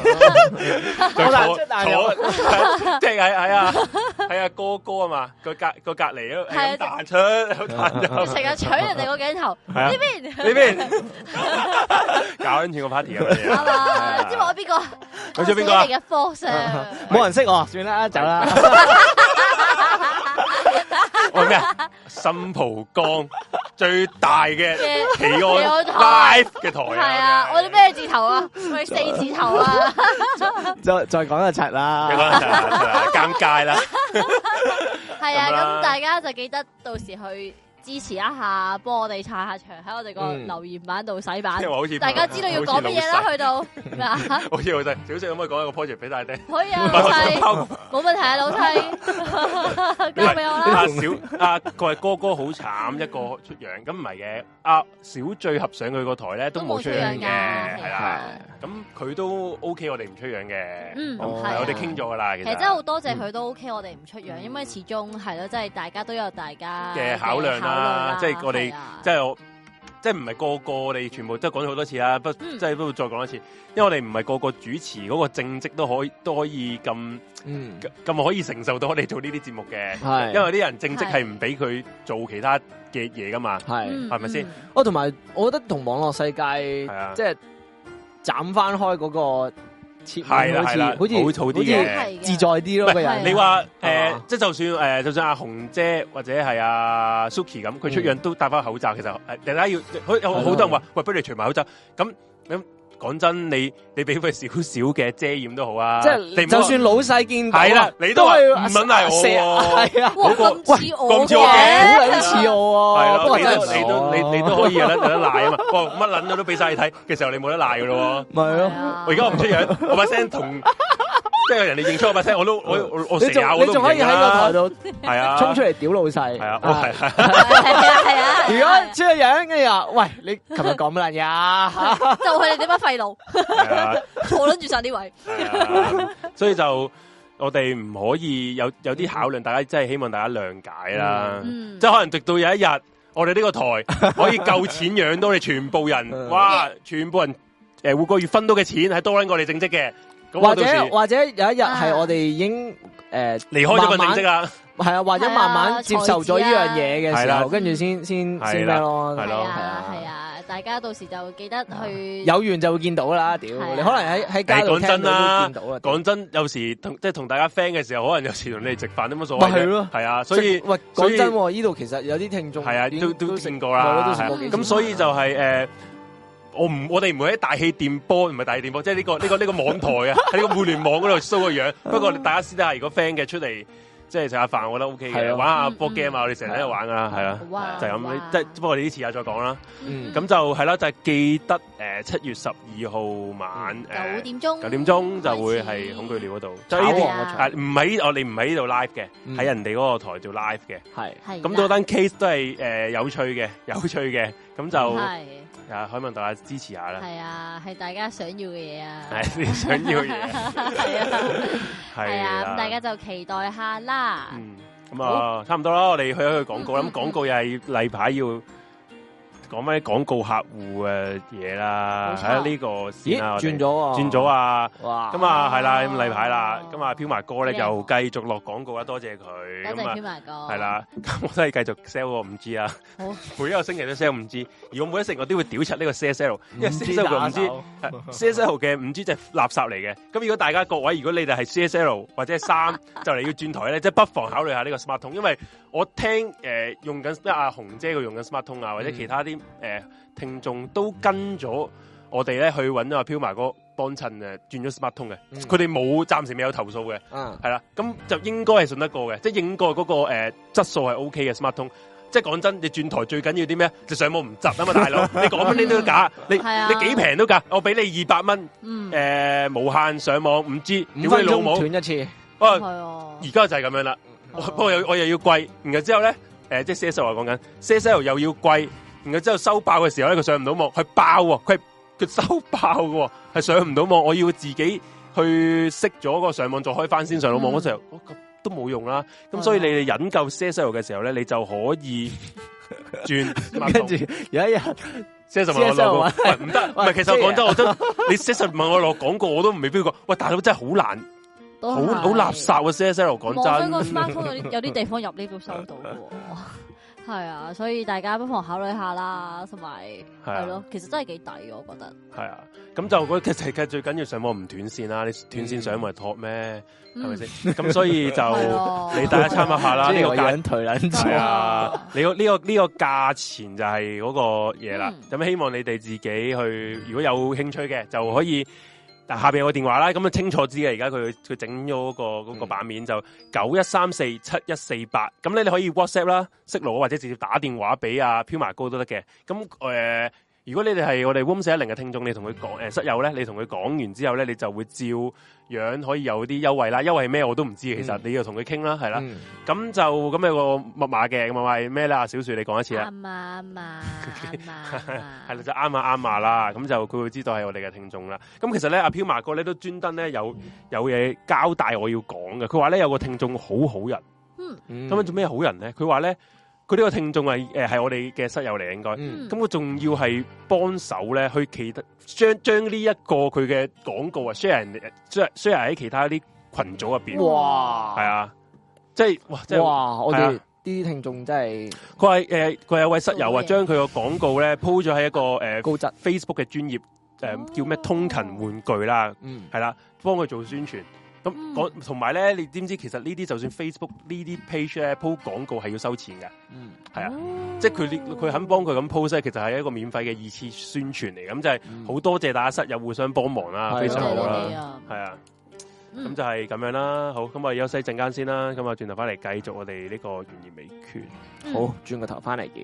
樣即係係啊哥啊嘛，個隔離咯，係彈出成日搶人哋個鏡頭呢邊搞緊住個 party 咁樣。 知我邊個？ 佢做邊個啊？ 嘅科上冇人識我，算啦，走啦。 我咩啊？新蒲崗最大嘅奇案 live 嘅台係啊！我哋咩字頭啊？我哋4字頭啊！ 再講就柒啦， 尷尬啦。 係啊，咁大家就記得到時去支持一下，幫我哋撐下場，喺我哋個留言板度洗版。大家知道要講乜嘢啦，去到咩啊？ 好似老細，小細可唔可以講一個 project 俾大家聽？ 可以啊，老細，冇問題啊，老細，交俾我啦。 佢係哥好慘，一個出樣，咁唔係嘅。阿小聚合上佢個台咧都冇出樣嘅，係啦。咁佢都 OK，我哋唔出樣嘅。我哋傾咗噶啦。其實真係好多謝佢都 OK，我哋唔出樣，因為始終係咯，即係大家都有大家嘅考量啦。即係我哋，即係唔係個個我哋全部都講咗好多次啦。即係都再講一次，因為我哋唔係個個主持嗰個正職都可以咁可以承受到我哋做呢啲節目嘅。因為啲人正職係唔俾佢做其他嘅嘢噶嘛。係咪先？ 同埋我覺得同網絡世界即係斬翻開嗰個切面，好似好啲嘅，自在啲咯。 你話即係就算阿紅姐或者係阿 Suki 咁，佢出樣都戴翻口罩。其實大家要有好多人話，喂，不如你除埋口罩。咁講真，你俾佢少少嘅遮掩都好啊。即係就算老細見到， 係啦，你都係唔撚係我。係啊， 咁似我嘅， 好撚似我。 係咯，你都可以有得賴啊嘛。乜撚都俾晒你睇嘅時候，你冇得賴噶咯。 咪係咯， 我而家我唔出樣，我把聲同。即係人哋認出我把聲，我成日我都唔認啦。你仲可以喺個台度係啊，衝出嚟屌老細。係啊， 係啊。如果出個樣跟住話，喂，你琴日講乜撚嘢？ 就係你點乜廢路？坐撚住晒呢位。 所以就我哋唔可以有啲考量，大家真係希望大家諒解啦。即係可能直到有一日，我哋呢個台可以夠錢養到你全部人，哇！全部人每個月分到嘅錢係多撚過我哋正職嘅。 或者有一日係我哋已經離開咗份正職啦， 係啊，或者慢慢接受咗呢樣嘢嘅時候，跟住先咩咯，係啊，大家到時就記得去有緣就會見到啦。屌，你可能喺街度聽到都見到啦。 講真，有時同大家 friend 嘅時候，可能有時同你哋食飯都冇所謂。 係咯， 係啊，所以講真，呢度其實有啲聽眾係啊，都食過啦。咁所以就係我哋唔會喺大氣電波，唔係大氣電波，即係呢個網台啊，喺呢個互聯網嗰度 show 個樣。不過大家私底下如果 friend 嘅出嚟，即係食下飯，我覺得 OK 嘅，玩下波 game 啊，我哋成日喺度玩噶啦，係啦，就係咁。即係不過我哋呢次下再講啦。咁就係啦，就係記得7月12號晚9點鐘就會係恐懼鳥嗰度。就呢啲唔係我哋唔喺呢度 live 嘅，喺人哋嗰個台做 live 嘅。係咁，嗰單 case 都係有趣嘅，咁就。希望大家支持下啦。係啊，係大家想要嘅嘢啊。 係你想要嘅嘢。 係啊，咁大家就期待下啦。 咁啊，差唔多啦，我哋去一去廣告啦。咁廣告又係例牌要講咩廣告客戶嘅嘢啦。喺呢個先啦，轉咗啊！哇！咁啊，係啦，咁例牌啦。咁啊，飄埋哥咧又繼續落廣告啦，多謝佢。 多謝飄埋哥。係啦，咁我都係繼續 sell 個 5G 啊。好，每一個星期都 sell 5G，而我每一成我都會屌柒呢個 CSL，因為 CSL 嘅 5G，CSL 嘅 5G 就係垃圾嚟嘅。咁如果大家各位，如果你哋係 CSL 或者係3就嚟要轉台咧，即係不妨考慮下呢個 Smart 通，因為我聽用緊阿紅姐佢用緊 Smart 通啊，或者其他啲聽眾都跟咗我哋咧去揾阿飄埋哥幫襯轉咗 Smart 通嘅，佢哋暫時未有投訴嘅，係啦，咁就應該係信得過嘅，即係應該嗰個質素係 OK 嘅 Smart 通。 即係講真，你轉台最緊要啲咩？就上網唔窒啊嘛，大佬！你講乜呢都假，你幾平都假，我俾你200蚊，無限上網5G， 5分鐘斷一次。 而家就係咁樣啦。不過我又要貴，然後之後咧，即係 CSL 話講緊 CSL 又要貴，然後之後收爆嘅時候咧，佢上唔到網，佢爆喎，佢收爆嘅，係上唔到網，我要自己去熄咗個上網，再開翻先上到網嗰時候，都冇用啦。咁所以你哋引夠 CSL 嘅時候咧，你就可以轉。跟住有一日 CSL 問我落唔得，唔係其實講真，我真你 CSL 問我落廣告，我都未必過。喂，大佬真係好難。好垃圾啊 CSL 講真， 我想個 smartphone 有啲地方入呢度收到嘅，係啊，所以大家不妨考慮下啦，同埋係咯，其實真係幾抵嘅，我覺得。係啊， 咁就我其實最緊要上網唔斷線啦，你斷線上咪托咩？係咪先？咁所以就你大家參考下啦，呢個價退撚係啊，呢個價錢就係嗰個嘢啦。咁希望你哋自己去，如果有興趣嘅就可以。但下邊有個電話啦，咁啊清楚知嘅，而家佢整咗嗰個版面就91347148，咁咧你可以 WhatsApp 啦，識路或者直接打電話俾阿飄麻哥都得嘅。咁如果你哋係我哋 Room 410嘅聽眾，你同佢講室友咧，你同佢講完之後咧，你就會照樣可以有啲優惠啦。優惠係咩我都唔知，其實你要同佢傾啦，係啦。咁就咁有個密碼嘅，密碼係咩啦？小樹你講一次啊。啱係啦，就啱啦。咁就佢會知道係我哋嘅聽眾啦。咁其實咧，阿飄麻哥咧都專登咧有嘢交代我要講嘅。佢話咧有個聽眾好好人。咁樣做咩好人咧？佢話咧。佢呢個聽眾係我哋嘅室友嚟，應該咁佢仲要係幫手咧，去將呢一個佢嘅廣告啊 share 喺其他啲群組入邊。哇，係啊，即係哇，我哋啲聽眾真係佢有位室友啊，將佢個廣告咧鋪咗喺一個高質 Facebook 嘅專頁叫咩通勤玩具啦，係啦，幫佢做宣傳。咁同埋咧，你知唔知其實呢啲就算 Facebook 呢啲 page 咧鋪廣告係要收錢嘅，係啊，即係佢肯幫佢咁 post，其實係一個免費嘅2次宣傳嚟，咁就係好多謝大家室友互相幫忙啦，非常好啦，係啊，咁就係咁樣啦。好，咁我休息陣間先啦，咁啊轉頭翻嚟繼續我哋呢個懸疑未決。好，轉個頭翻嚟嘅。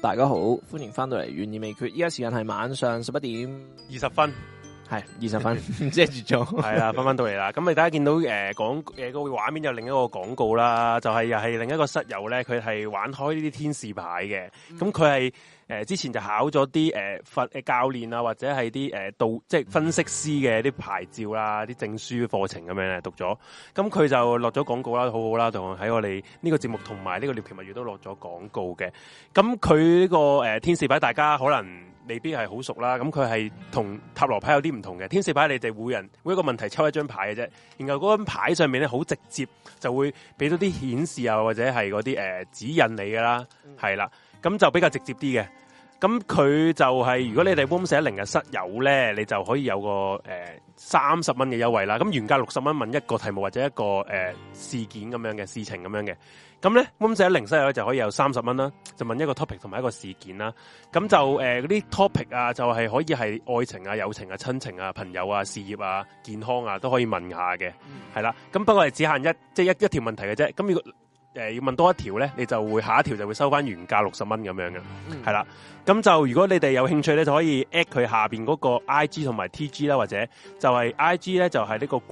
大家好，歡迎翻到嚟懸疑未決。依家時間係晚上11點 20分， 係20分，唔知係住咗。係啦，翻到嚟啦。咁大家見到個畫面有另一個廣告啦，就係又係另一個室友咧，佢係玩開呢啲天使牌嘅。咁佢係之前就考咗啲教練啊，或者係啲即係分析師嘅啲牌照啦，啲證書課程咁樣咧讀咗。咁佢就落咗廣告啦，好好啦，同喺我哋呢個節目同埋呢個獵奇物語都落咗廣告嘅。咁佢呢個天使牌，大家可能未必係好熟啦。咁佢係同塔羅牌有啲唔同嘅。天使牌你哋每一個問題抽一張牌嘅啫，然後嗰張牌上面咧好直接就會俾到啲顯示啊，或者係嗰啲指引你噶啦，係啦。咁就比較直接啲嘅，咁佢就係如果你哋 Room 410嘅室友咧，你就可以有個30蚊嘅優惠啦。咁原價60蚊問一個題目或者一個事件咁樣嘅事情咁樣嘅，咁咧 Room 410室友就可以有30蚊啦，就問一個 topic 同埋一個事件啦。咁就嗰啲 topic 啊，就係可以係愛情啊、友情啊、親情啊、朋友啊、事業啊、健康啊都可以問下嘅，係啦。咁不過係只限一條問題嘅啫。咁如果要問多一條咧，你就會下一條就會收翻原價60蚊咁樣嘅，係啦。咁就如果你哋有興趣咧，就可以 at 佢下邊嗰個 IG 同埋 TG 啦，或者就係 IG 咧就係呢個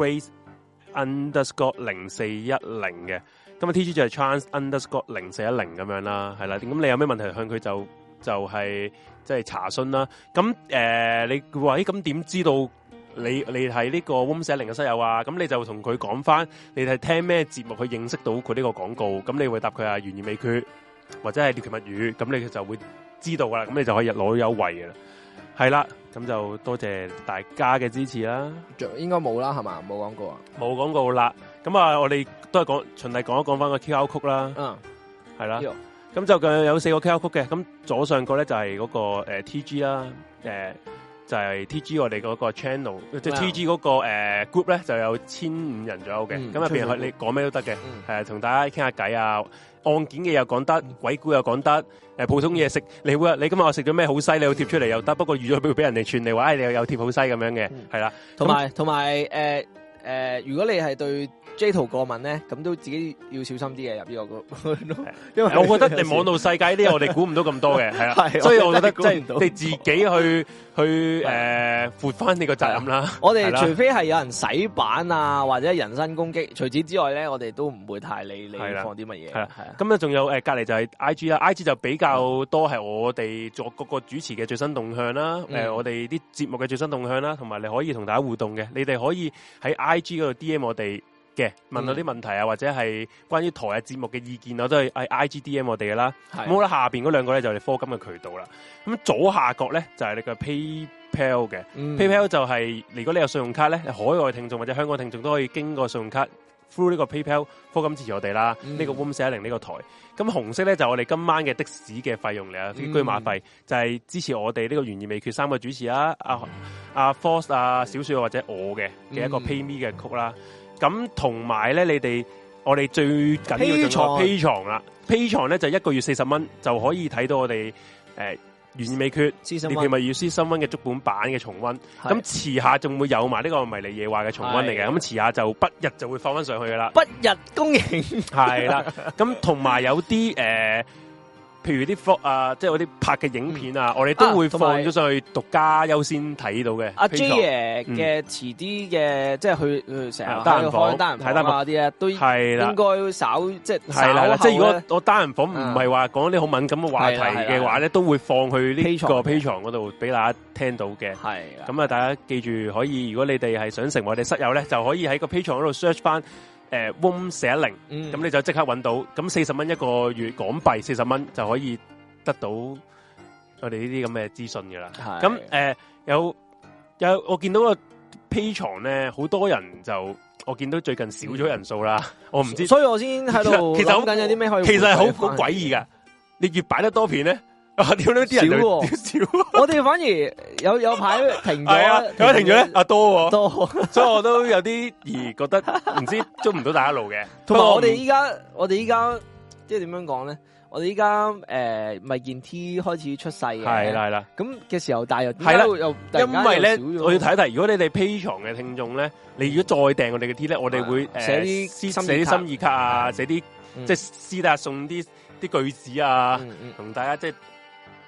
Grace_0410嘅，咁啊 TG 就係 Trans_0410咁樣啦，係啦。咁你有咩問題向佢就係即係查詢啦。咁你話咁點知道？你係呢個 Room 410嘅室友啊，咁你就同佢講翻，你係聽咩節目去認識到佢呢個廣告，咁你會答佢懸疑未決或者係獵奇物語，咁你就會知道噶啦，咁你就可以攞優惠嘅啦，係啦，咁就多謝大家嘅支持啦。 應該冇啦，係嘛？冇廣告啊？ 冇廣告啦。咁啊，我哋都係循例講一講翻個 QR code 啦。係啦。咁就有4個 QR code嘅，咁左上角咧就係嗰個TG 啦，就係 TG 我哋嗰個 channel， 即係 TG 嗰個group 咧就有1500人左右嘅，咁入邊你講咩都得嘅，同大家傾下偈啊，案件嘅又講得，鬼故又講得，普通嘢食，你今日我食咗咩好西，你要貼出嚟又得，不過預咗俾人哋傳你話，你又有貼好西咁樣嘅，係啦， 同埋如果你係對 J 圖過敏咧，咁都自己要小心啲嘅入呢個 group， 因為我覺得你網絡世界啲我哋估唔到咁多嘅，係啦，所以我覺得即係你自己去負翻呢個責任啦。 我哋除非係有人洗版啊，或者人身攻擊，除此之外咧，我哋都唔會太理你放啲乜嘢。係啦， 咁咧仲有隔籬就係 IG 啦 ，IG 就比較多係我哋作各個主持嘅最新動向啦，我哋啲節目嘅最新動向啦，同埋你可以同大家互動嘅，你哋可以喺 IG 嗰度 DM 我哋嘅，問到啲問題啊，或者係關於台嘅節目嘅意見，我都係喺 IGDM 我哋嘅啦。咁好啦，下邊嗰兩個咧就係課金嘅渠道啦。咁左下角咧就係你嘅 PayPal 嘅，PayPal 就係如果你有信用卡咧，海外聽眾或者香港聽眾都可以經過信用卡 through 呢個 PayPal 課金支持我哋啦。呢個 Room 410呢個台，咁紅色咧就我哋今晚嘅的士嘅費用嚟啊，啲居馬費就係支持我哋呢個懸疑未決3個主持啦，阿 Force 啊、小雪或者我嘅一個 PayMe 嘅曲啦。咁同埋咧，我哋最緊要就係 Patreon 啦。Patreon 咧就1個月40蚊就可以睇到我哋懸疑未決獵奇物語Season 1嘅足本版嘅重溫。咁遲下仲會有埋呢個迷離夜話嘅重溫嚟嘅。咁遲下就不日就會放翻上去噶啦。 不日公映係啦。咁同埋有啲譬如啲 vlog 啊，即係嗰啲拍嘅影片啊，我哋都會放咗上去獨家優先睇到嘅。 阿 J 爺嘅遲啲嘅，即係佢成日開單人房啊啲咧，都係啦，應該稍即係係啦。即係如果我單人房唔係話講啲好敏感嘅話題嘅話咧，都會放去呢個 Patreon 嗰度俾大家聽到嘅。係咁啊，大家記住可以，如果你哋係想成為我哋室友咧，就可以喺個 Patreon 嗰度 search 翻。Room 410，咁你就即刻揾到，咁40蚊一個月港幣，40蚊就可以得到我哋呢啲咁嘅資訊嘅啦。咁有我見到個 Patreon 咧，好多人就我見到最近少咗人數啦，我唔知， 所以我先喺度其實諗緊有啲咩可以， 其實係好詭異噶，你越擺得多片咧。屌呢啲人少， 我哋反而有排停咗， 有排停咗咧，多，所以我都有啲而覺得唔知捉唔到大家路嘅。 同埋我哋依家即係點樣講咧？我哋依家咪件 T 開始出世嘅， 係啦， 咁嘅時候，但係係啦，因為咧，我要睇一睇，如果你哋 Patreon 嘅聽眾咧，你如果再訂我哋嘅 T 咧，我哋會寫啲心意卡啊，寫啲即係私底下送啲句子啊，同大家即係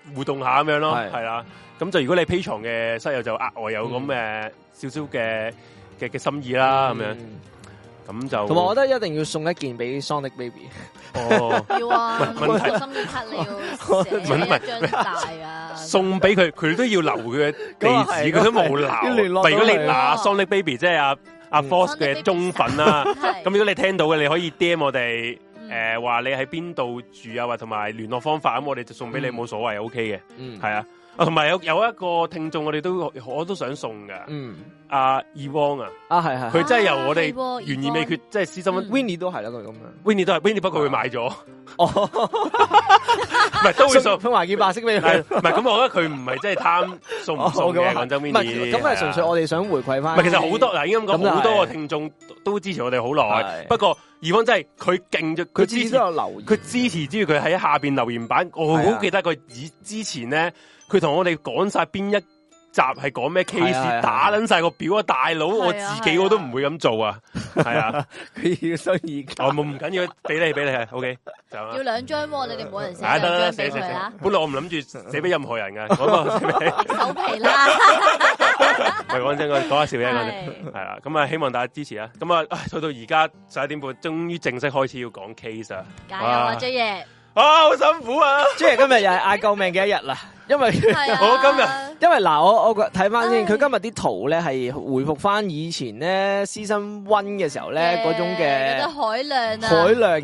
互動下咁樣咯，係啦。咁就如果你 Patreon 嘅室友就額外有咁嘅少少嘅心意啦，咁樣。咁就同埋，我覺得一定要送一件俾 Sonic Baby。 哦，要啊！個心意卡你要寫一張大啊！ 送俾佢，佢都要留佢嘅地址，佢都冇留。如果你嗱 Sonic Baby 即係阿 Force 嘅忠粉啦，咁如果你聽到嘅，你可以 DM 我哋，話你喺邊度住啊，或同埋聯絡方法，咁我哋就送俾你冇所謂 ，OK 嘅，係啊。同埋有一個聽眾，我都想送嘅，阿 Ewan 係，佢真係由我哋懸而未決，即係私心 Winnie 都係啦，佢咁樣 ，Winnie 都係 Winnie，不過佢買咗，唔係都會送華健白色俾佢， 唔係咁，我覺得佢唔係真係貪送唔送嘅，廣州 Winnie， 咁係純粹我哋想回饋翻。 唔係，其實好多嗱，應該咁講，好多個聽眾都支持我哋好耐，不過 Ewan 真係佢勁咗，佢支持有留言，佢支持之餘，佢喺下邊留言版，我好記得佢之前咧。佢同我哋講晒邊一集係講咩 case， 打撚晒個表啊！大佬，我自己我都唔會咁做啊，係啊， 佢要收意見。 我唔緊要，俾你 ，OK， 就要2張喎，你哋冇人寫 2 張俾佢啦。 本來我唔諗住寫俾任何人㗎，嗰個寫俾手皮啦。 唔係講真，講下笑啫，係啦。咁啊，希望大家支持啦。咁啊，去到而家11點半，終於正式開始要講 case 啊！ 加油啊，J 爺！ 好辛苦啊 ！J 爺今日又係嗌救命嘅一日啦。因為我今日， 因為嗱，我睇翻先，佢今日啲圖咧係回復翻以前咧 Season 1嘅時候咧嗰種嘅海量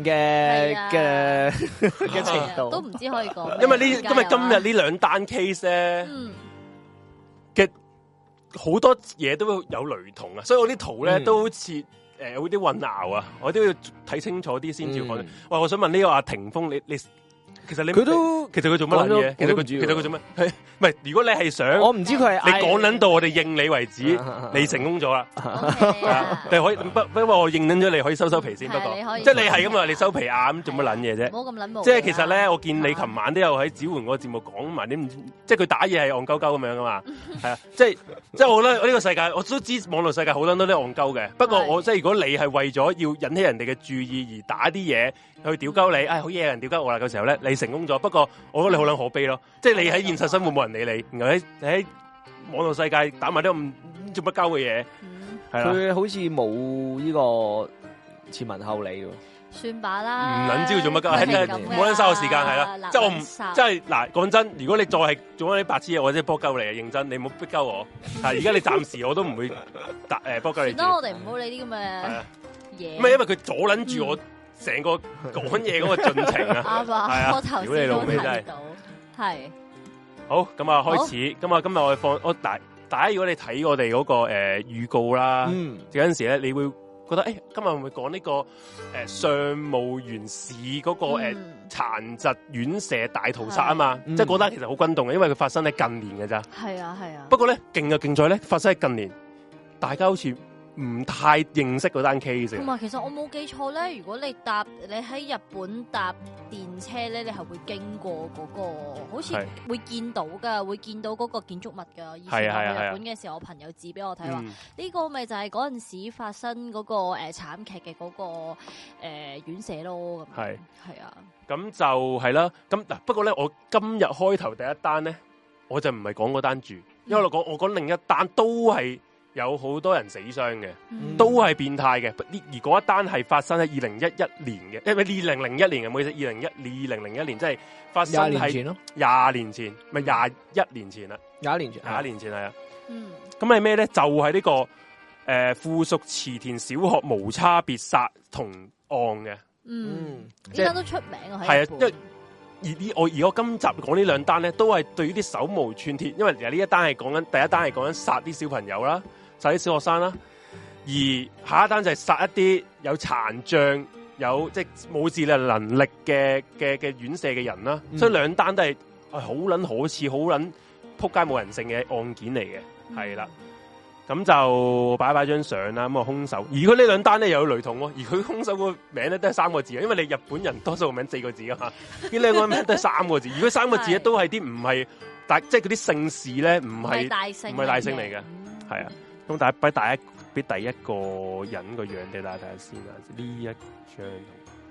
嘅程度， 都唔知可以講。 因為今日呢兩單 case 咧嘅好多嘢都有雷同啊，所以我啲圖咧都好似有啲混淆啊，我都要睇清楚啲先至講。喂，我想問呢個阿霆鋒，你其實佢做乜嘢？其實佢做乜？唔係，如果你係想， 我唔知佢係你講捻到我哋應你為止，你成功咗啦。你可以不過我認捻咗，你可以收皮先。不過即係你係咁啊，你收皮啊，咁做乜捻嘢啫？ 唔好咁捻。 即係其實咧，我見你琴晚都有喺子桓個節目講埋啲，即係佢打嘢係戇鳩鳩咁樣噶嘛。係啊，即係我覺得呢個世界，我都知網絡世界好多都啲戇鳩嘅。不過我即係如果你係為咗要引起人哋嘅注意而打啲嘢去屌鳩你，好嘢人屌鳩我啦嘅時候咧，你成功咗。不過我覺得你好撚可悲咯，即係你喺現實生活冇人理你，然後喺網絡世界打埋啲咁做乜鳩嘅嘢， 佢好似冇呢個前文後理喎。 算罷啦， 唔撚知佢做乜鳩，冇撚嘥我時間係啦。即係我唔，即係嗱，講真，如果你再係做啲白痴嘢，或者波鳩你啊，認真，你唔好逼鳩我。而家你暫時我都唔會波鳩你。 算啦，我哋唔好理啲咁嘅嘢。 唔係因為佢阻撚住我成個講嘢嗰個進程啊。 啱啊，我頭先都睇到，係。 好，咁啊開始，咁啊今日我哋放大家如果你睇我哋嗰個預告啦，有陣時咧你會覺得今日會唔會講呢個上務員市嗰個殘疾院舍大屠殺啊嘛？即係嗰單其實好轟動嘅，因為佢發生喺近年嘅咋。係啊係啊。不過咧勁就勁在咧發生喺近年，大家好似唔太認識嗰單 case。 同埋其實我冇記錯咧，如果你喺日本搭電車咧，你係會經過嗰個，好似會見到噶，會見到嗰個建築物噶。以前我去日本嘅時候，我朋友指俾我睇話，呢個咪就係嗰陣時發生嗰個慘劇嘅嗰個院舍咯。咁係啊， 咁就係啦。咁嗱，不過咧，我今日開頭第一單咧，我就唔係講嗰單住，因為我講另一單都係有好多人死傷嘅，都係變態嘅。而嗰一單係發生喺2011年嘅，因為2001年嘅，唔好意思，2001年即係發生喺20年前，咪21年前啦，21年前係啊。咁係咩咧？就係呢個附屬池田小學無差別殺童案嘅。呢單都出名啊。 係啊，因為而我今集講呢兩單咧，都係對於啲手無寸鐵，因為其實呢一單係講緊第一單係講緊殺啲小朋友啦。殺啲小學生啦，而下一單就係殺一啲有殘障、有即係冇自理能力嘅院舍嘅人啦，所以兩單都係好撚可恥、好撚撲街冇人性嘅案件嚟嘅，係啦。咁就擺張相啦。咁啊，兇手，而佢呢兩單咧又有雷同喎，而佢兇手個名咧都係3個字，因為你日本人多數個名4個字啊嘛，呢兩個名都係3個字。如果3個字咧都係啲唔係即係嗰啲姓氏咧唔係大姓嚟嘅，係啊。咁俾第一個人個樣俾大家睇下先啊！呢一張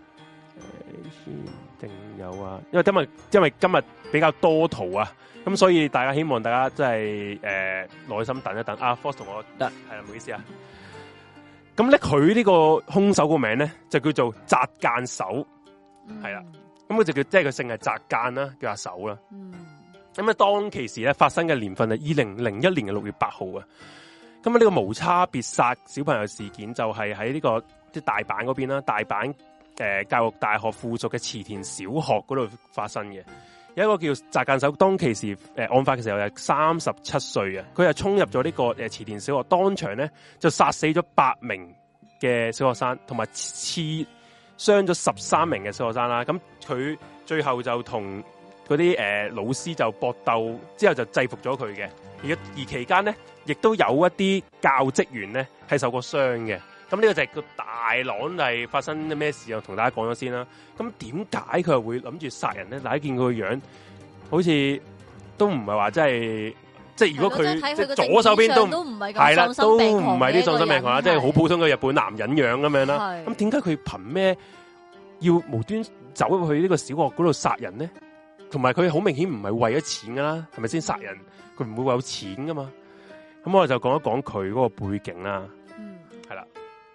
定有啊，因為今日比較多圖啊，咁所以大家希望大家真係耐心等一等。啊 ，Fox 同我得係啦，唔好意思啊。咁咧，佢呢個兇手個名咧就叫做澤間守，係啦。咁佢就叫即係佢姓係澤間啦，叫阿守啦。咁啊，當其時咧發生嘅年份係2001年嘅6月8號啊。咁啊，呢個無差別殺小朋友事件就係喺呢個即係大阪嗰邊啦，大阪教育大學附屬嘅池田小學嗰度發生嘅。有一個叫澤間守，當其時案發嘅時候係37歲啊，佢係衝入咗呢個池田小學，當場咧就殺死咗8名嘅小學生，同埋刺傷咗13名嘅小學生啦。咁佢最後就同嗰啲老師就搏鬥，之後就制服咗佢嘅。而期間咧，亦都有一啲教職員咧係受過傷嘅。咁呢個就係個大朗係發生咩事啊？同大家講咗先啦。咁點解佢係會諗住殺人咧？大家見佢個樣，好似都唔係話真係，即係如果佢即係左手邊都唔係係啦，都唔係啲喪心病狂啦，即係好普通嘅日本男人樣咁樣啦。咁點解佢憑咩要無端走入去呢個小學嗰度殺人咧？同埋佢好明顯唔係為咗錢噶啦，係咪先殺人？佢唔會為有錢噶嘛？咁我就講一講佢嗰個背景啦。係啦。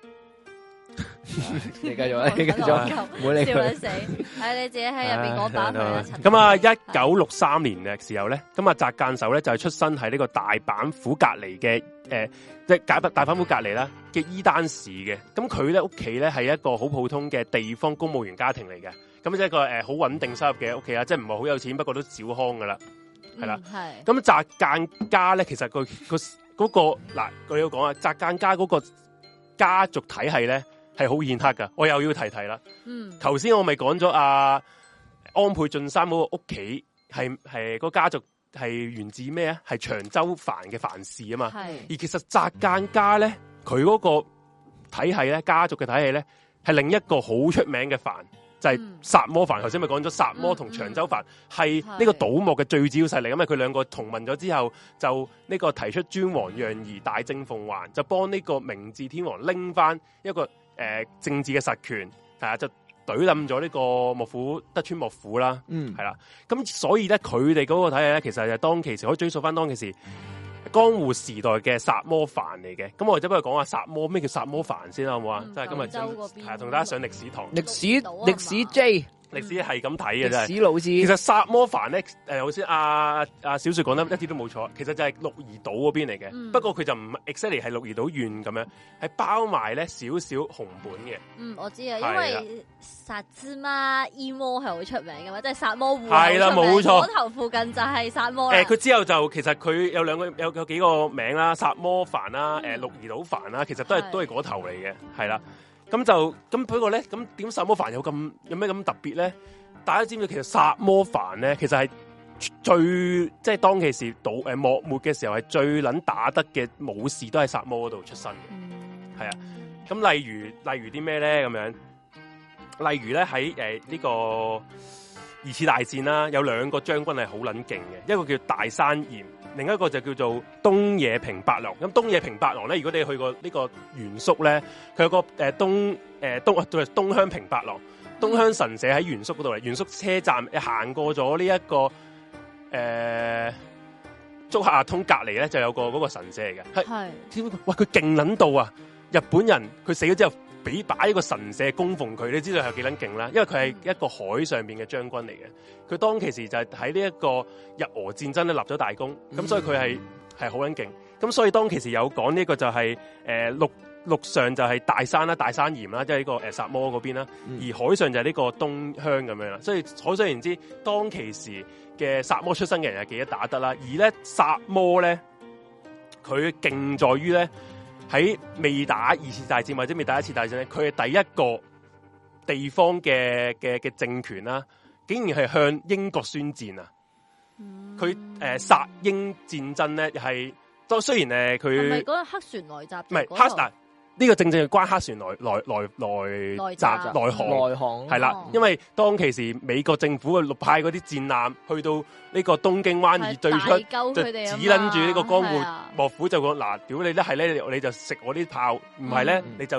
你繼續，你繼續，唔好理佢。 笑死！係你自己喺入邊講打佢啦。 咁啊，1963年嘅時候咧，咁啊，澤間守咧就係出生喺呢個大阪府隔籬嘅即係大阪府隔籬啦嘅伊丹市嘅。咁佢咧屋企咧係一個好普通嘅地方公務員家庭嚟嘅。咁即係一個好穩定收入嘅屋企啦，即係唔係好有錢，不過都小康噶啦，係啦。係。咁澤間家咧，其實佢嗰個嗱，我要講啊，澤間家嗰個家族體系咧。係好顯赫噶，我又要提啦。頭先我咪講咗阿安倍晉三嗰個屋企係個家族係源自咩啊？係長州藩嘅藩士啊嘛。而其實澤間家咧，佢嗰個體系咧，家族嘅體系咧，係另一個好出名嘅藩，就係薩摩藩。頭先咪講咗薩摩同長州藩係呢個倒幕嘅最主要勢力，因為佢兩個同盟咗之後，就呢個提出尊王攘夷、大政奉還，就幫呢個明治天皇拎翻一個。政治嘅實權係啊，就懟冧咗呢個德川幕府啦，係啦。咁所以咧，佢哋嗰個體系咧，其實就當其時可以追溯翻當其時江戶時代嘅薩摩藩嚟嘅。咁我哋就不如講下薩摩，咩叫薩摩藩先啦，好唔好啊？即係今日係同大家上歷史堂， 歷史 J。 歷史係咁睇嘅，真係。 歷史老師， 其實薩摩藩咧，頭先阿小雪講得一啲都冇錯，其實就係鹿兒島嗰邊嚟嘅。不過佢就唔 exactly 係鹿兒島縣咁樣，係包埋咧少少熊本嘅。我知啊，因為薩茲馬伊摩係好出名嘅嘛，即係薩摩戶係啦，冇錯。嗰頭附近就係薩摩啦。佢之後就其實佢有有幾個名啦，薩摩藩啦，鹿兒島藩啦，其實都係嗰頭嚟嘅，係啦。咁不過咧，咁點薩摩藩有咩咁特別咧？大家知唔知其實薩摩藩咧，其實係即係當其時幕末嘅時候係最撚打得嘅武士都喺薩摩嗰度出身嘅，係啊。咁例如啲咩咧咁樣？例如咧喺呢個二次大戰啦，有兩個將軍係好撚勁嘅，一個叫大山嚴。另一個就叫做東野平八郎。咁東野平八郎咧，如果你去過呢個原宿咧，佢有個東鄉平八郎，東鄉神社喺原宿嗰度嚟。原宿車站行過咗呢一個竹下通隔離咧，就有個嗰個神社嚟嘅。係，哇！佢勁撚到啊！日本人佢死咗之後，擺一個神社供奉佢，你知道係幾撚勁啦？因為佢係一個海上邊嘅將軍嚟嘅。佢當其時就係喺呢一個日俄戰爭咧立咗大功，咁所以佢係好撚勁。咁所以當其時有講呢個就係陸上就係大山啦、大山嚴啦，即係呢個薩摩嗰邊啦，而海上就係呢個東鄉咁樣啦。所以可想而知，當其時嘅薩摩出身嘅人係幾得打得啦。而咧薩摩咧，佢勁在於咧。喺未打二次大戰或者未打一次大戰咧，佢係第一個地方嘅政權啦，竟然係向英國宣戰啊！佢殺英戰爭咧係，都雖然佢係咪嗰個黑船來襲？唔係黑嗱，呢個正係關黑船來航係啦，因為當其時美國政府嘅派嗰啲戰艦去到呢個東京灣以對出，就指撚住呢個江戶幕府就講嗱，屌你咧係咧，你就食我啲炮，唔係咧你就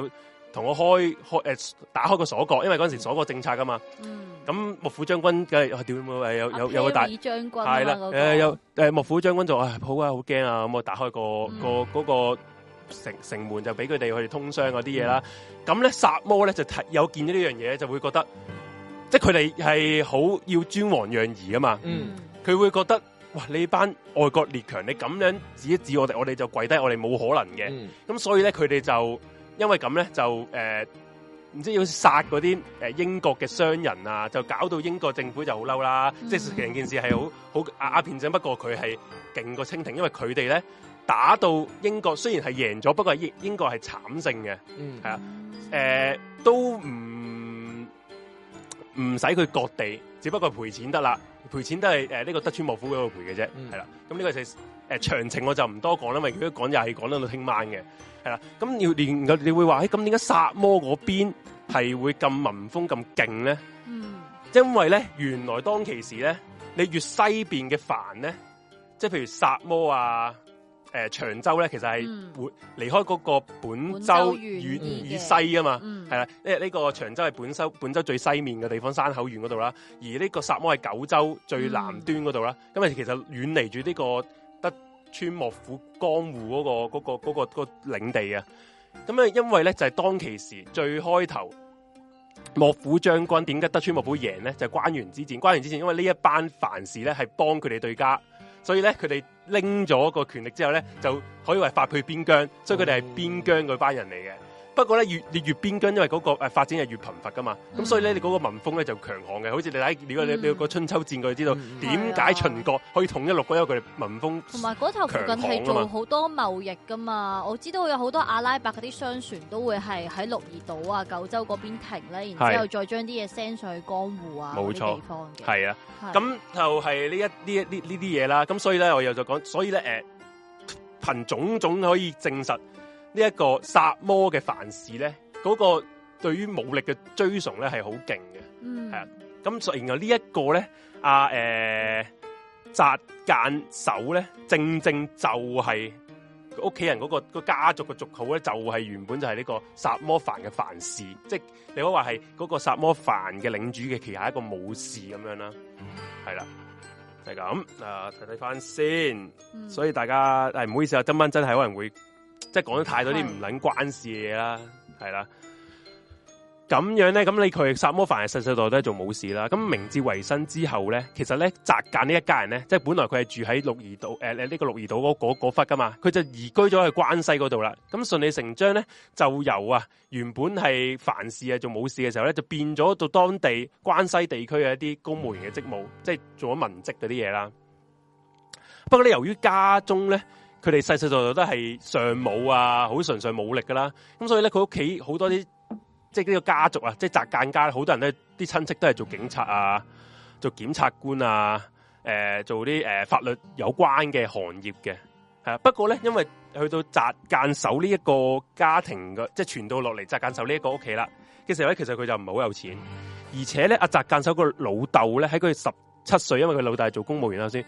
同我打開個鎖角，因為嗰陣時鎖角政策噶嘛。咁幕府將軍梗係屌有個大將軍係啦，幕府將軍就好啊，好驚啊！咁我打開嗰個城門就俾佢哋去通商嗰啲嘢啦。咁咧薩摩咧就有見到呢樣嘢，就會覺得即係佢哋係好要尊王攘夷啊嘛。佢會覺得哇，你班外國列強，你咁樣指一指我哋就跪低，我哋冇可能嘅。咁所以咧，佢哋就因為咁咧，就唔知要殺嗰啲英國嘅商人啊，就搞到英國政府就好嬲啦。即係成件事係好鴉片戰，不過佢係勁過清廷，因為佢哋咧打到英國雖然係贏咗，不過英國係慘勝嘅。係啊，都唔使佢割地，只不過賠錢得啦。賠錢都係呢個德川幕府嗰度賠嘅啫，係啦。咁呢個就詳情我就唔多講啦，因為如果講又係講到聽晚嘅，係啦。咁你會話咁點解薩摩嗰邊係會咁民風咁勁咧？因為咧原來當其時咧，你越西邊嘅藩咧，即係譬如薩摩啊、長州咧，其實係會離開嗰個本州以西啊嘛，係啦。呢個長州係本州最西面嘅地方，山口縣嗰度啦。而呢個薩摩係九州最南端嗰度啦。咁其實遠離住呢個德川幕府江戶嗰個領地啊。咁因為咧就係當其時最開頭幕府將軍點解德川幕府贏咧？就係關原之戰。關原之戰因為呢一班藩士咧係幫佢哋對家，所以咧佢哋拎咗個權力之後咧，就可以話發配邊疆，所以佢哋係邊疆嗰班人嚟嘅。不過咧，越邊疆，因為嗰個發展係越頻繁噶嘛，咁所以咧，你嗰個民風咧就強悍嘅。好似你睇，如果你個春秋戰，佢知道點解秦國可以統一六國，因為佢哋民風同埋嗰頭附近係做好多貿易噶嘛。我知道有好多阿拉伯嗰啲商船都會係喺鹿兒島啊、九州嗰邊停咧，然之後再將啲嘢 send 上去江戶啊嗰啲地方嘅。係啊， 咁就係呢啲嘢啦。咁所以咧，我又就講，所以咧，憑種種可以證實。呢一個薩摩嘅藩士咧，嗰個對於武力嘅追崇咧係好勁嘅，係啊。咁然後呢一個咧，澤間守咧，正就係屋企人嗰個家族嘅族號咧，就係原本就係呢個薩摩藩嘅藩士，即係你可以話係嗰個薩摩藩嘅領主嘅旗下一個武士咁樣啦，係啦，就係咁睇翻先。所以大家唔好意思啊，今晚真係可能會。即係講咗太多啲唔撚關事嘅嘢啦，係啦，咁樣咧，咁你佢薩摩藩係世世代代都係做武士啦。咁明治維新之後咧，其實咧澤間呢一家人咧，即係本來佢係住喺鹿兒島呢個鹿兒島嗰忽噶嘛，佢就移居咗去關西嗰度啦。咁順理成章咧，就由原本係藩士做武士嘅時候咧，就變咗到當地關西地區嘅一啲公務員嘅職務，即係做咗文職嗰啲嘢啦。不過咧，由於家中咧，佢哋世世代代都係尚武啊，好純粹武力噶啦。咁所以咧，佢屋企好多啲即係呢個家族啊，即係澤間家，好多人咧啲親戚都係做警察啊，做檢察官啊，做啲法律有關嘅行業嘅。係啊，不過咧，因為去到澤間守呢一個家庭嘅，即係傳到落嚟澤間守呢一個屋企啦嘅時候咧，其實佢就唔係好有錢，而且咧阿澤間守個老豆咧喺佢17歲，因為佢老豆係做公務員啦先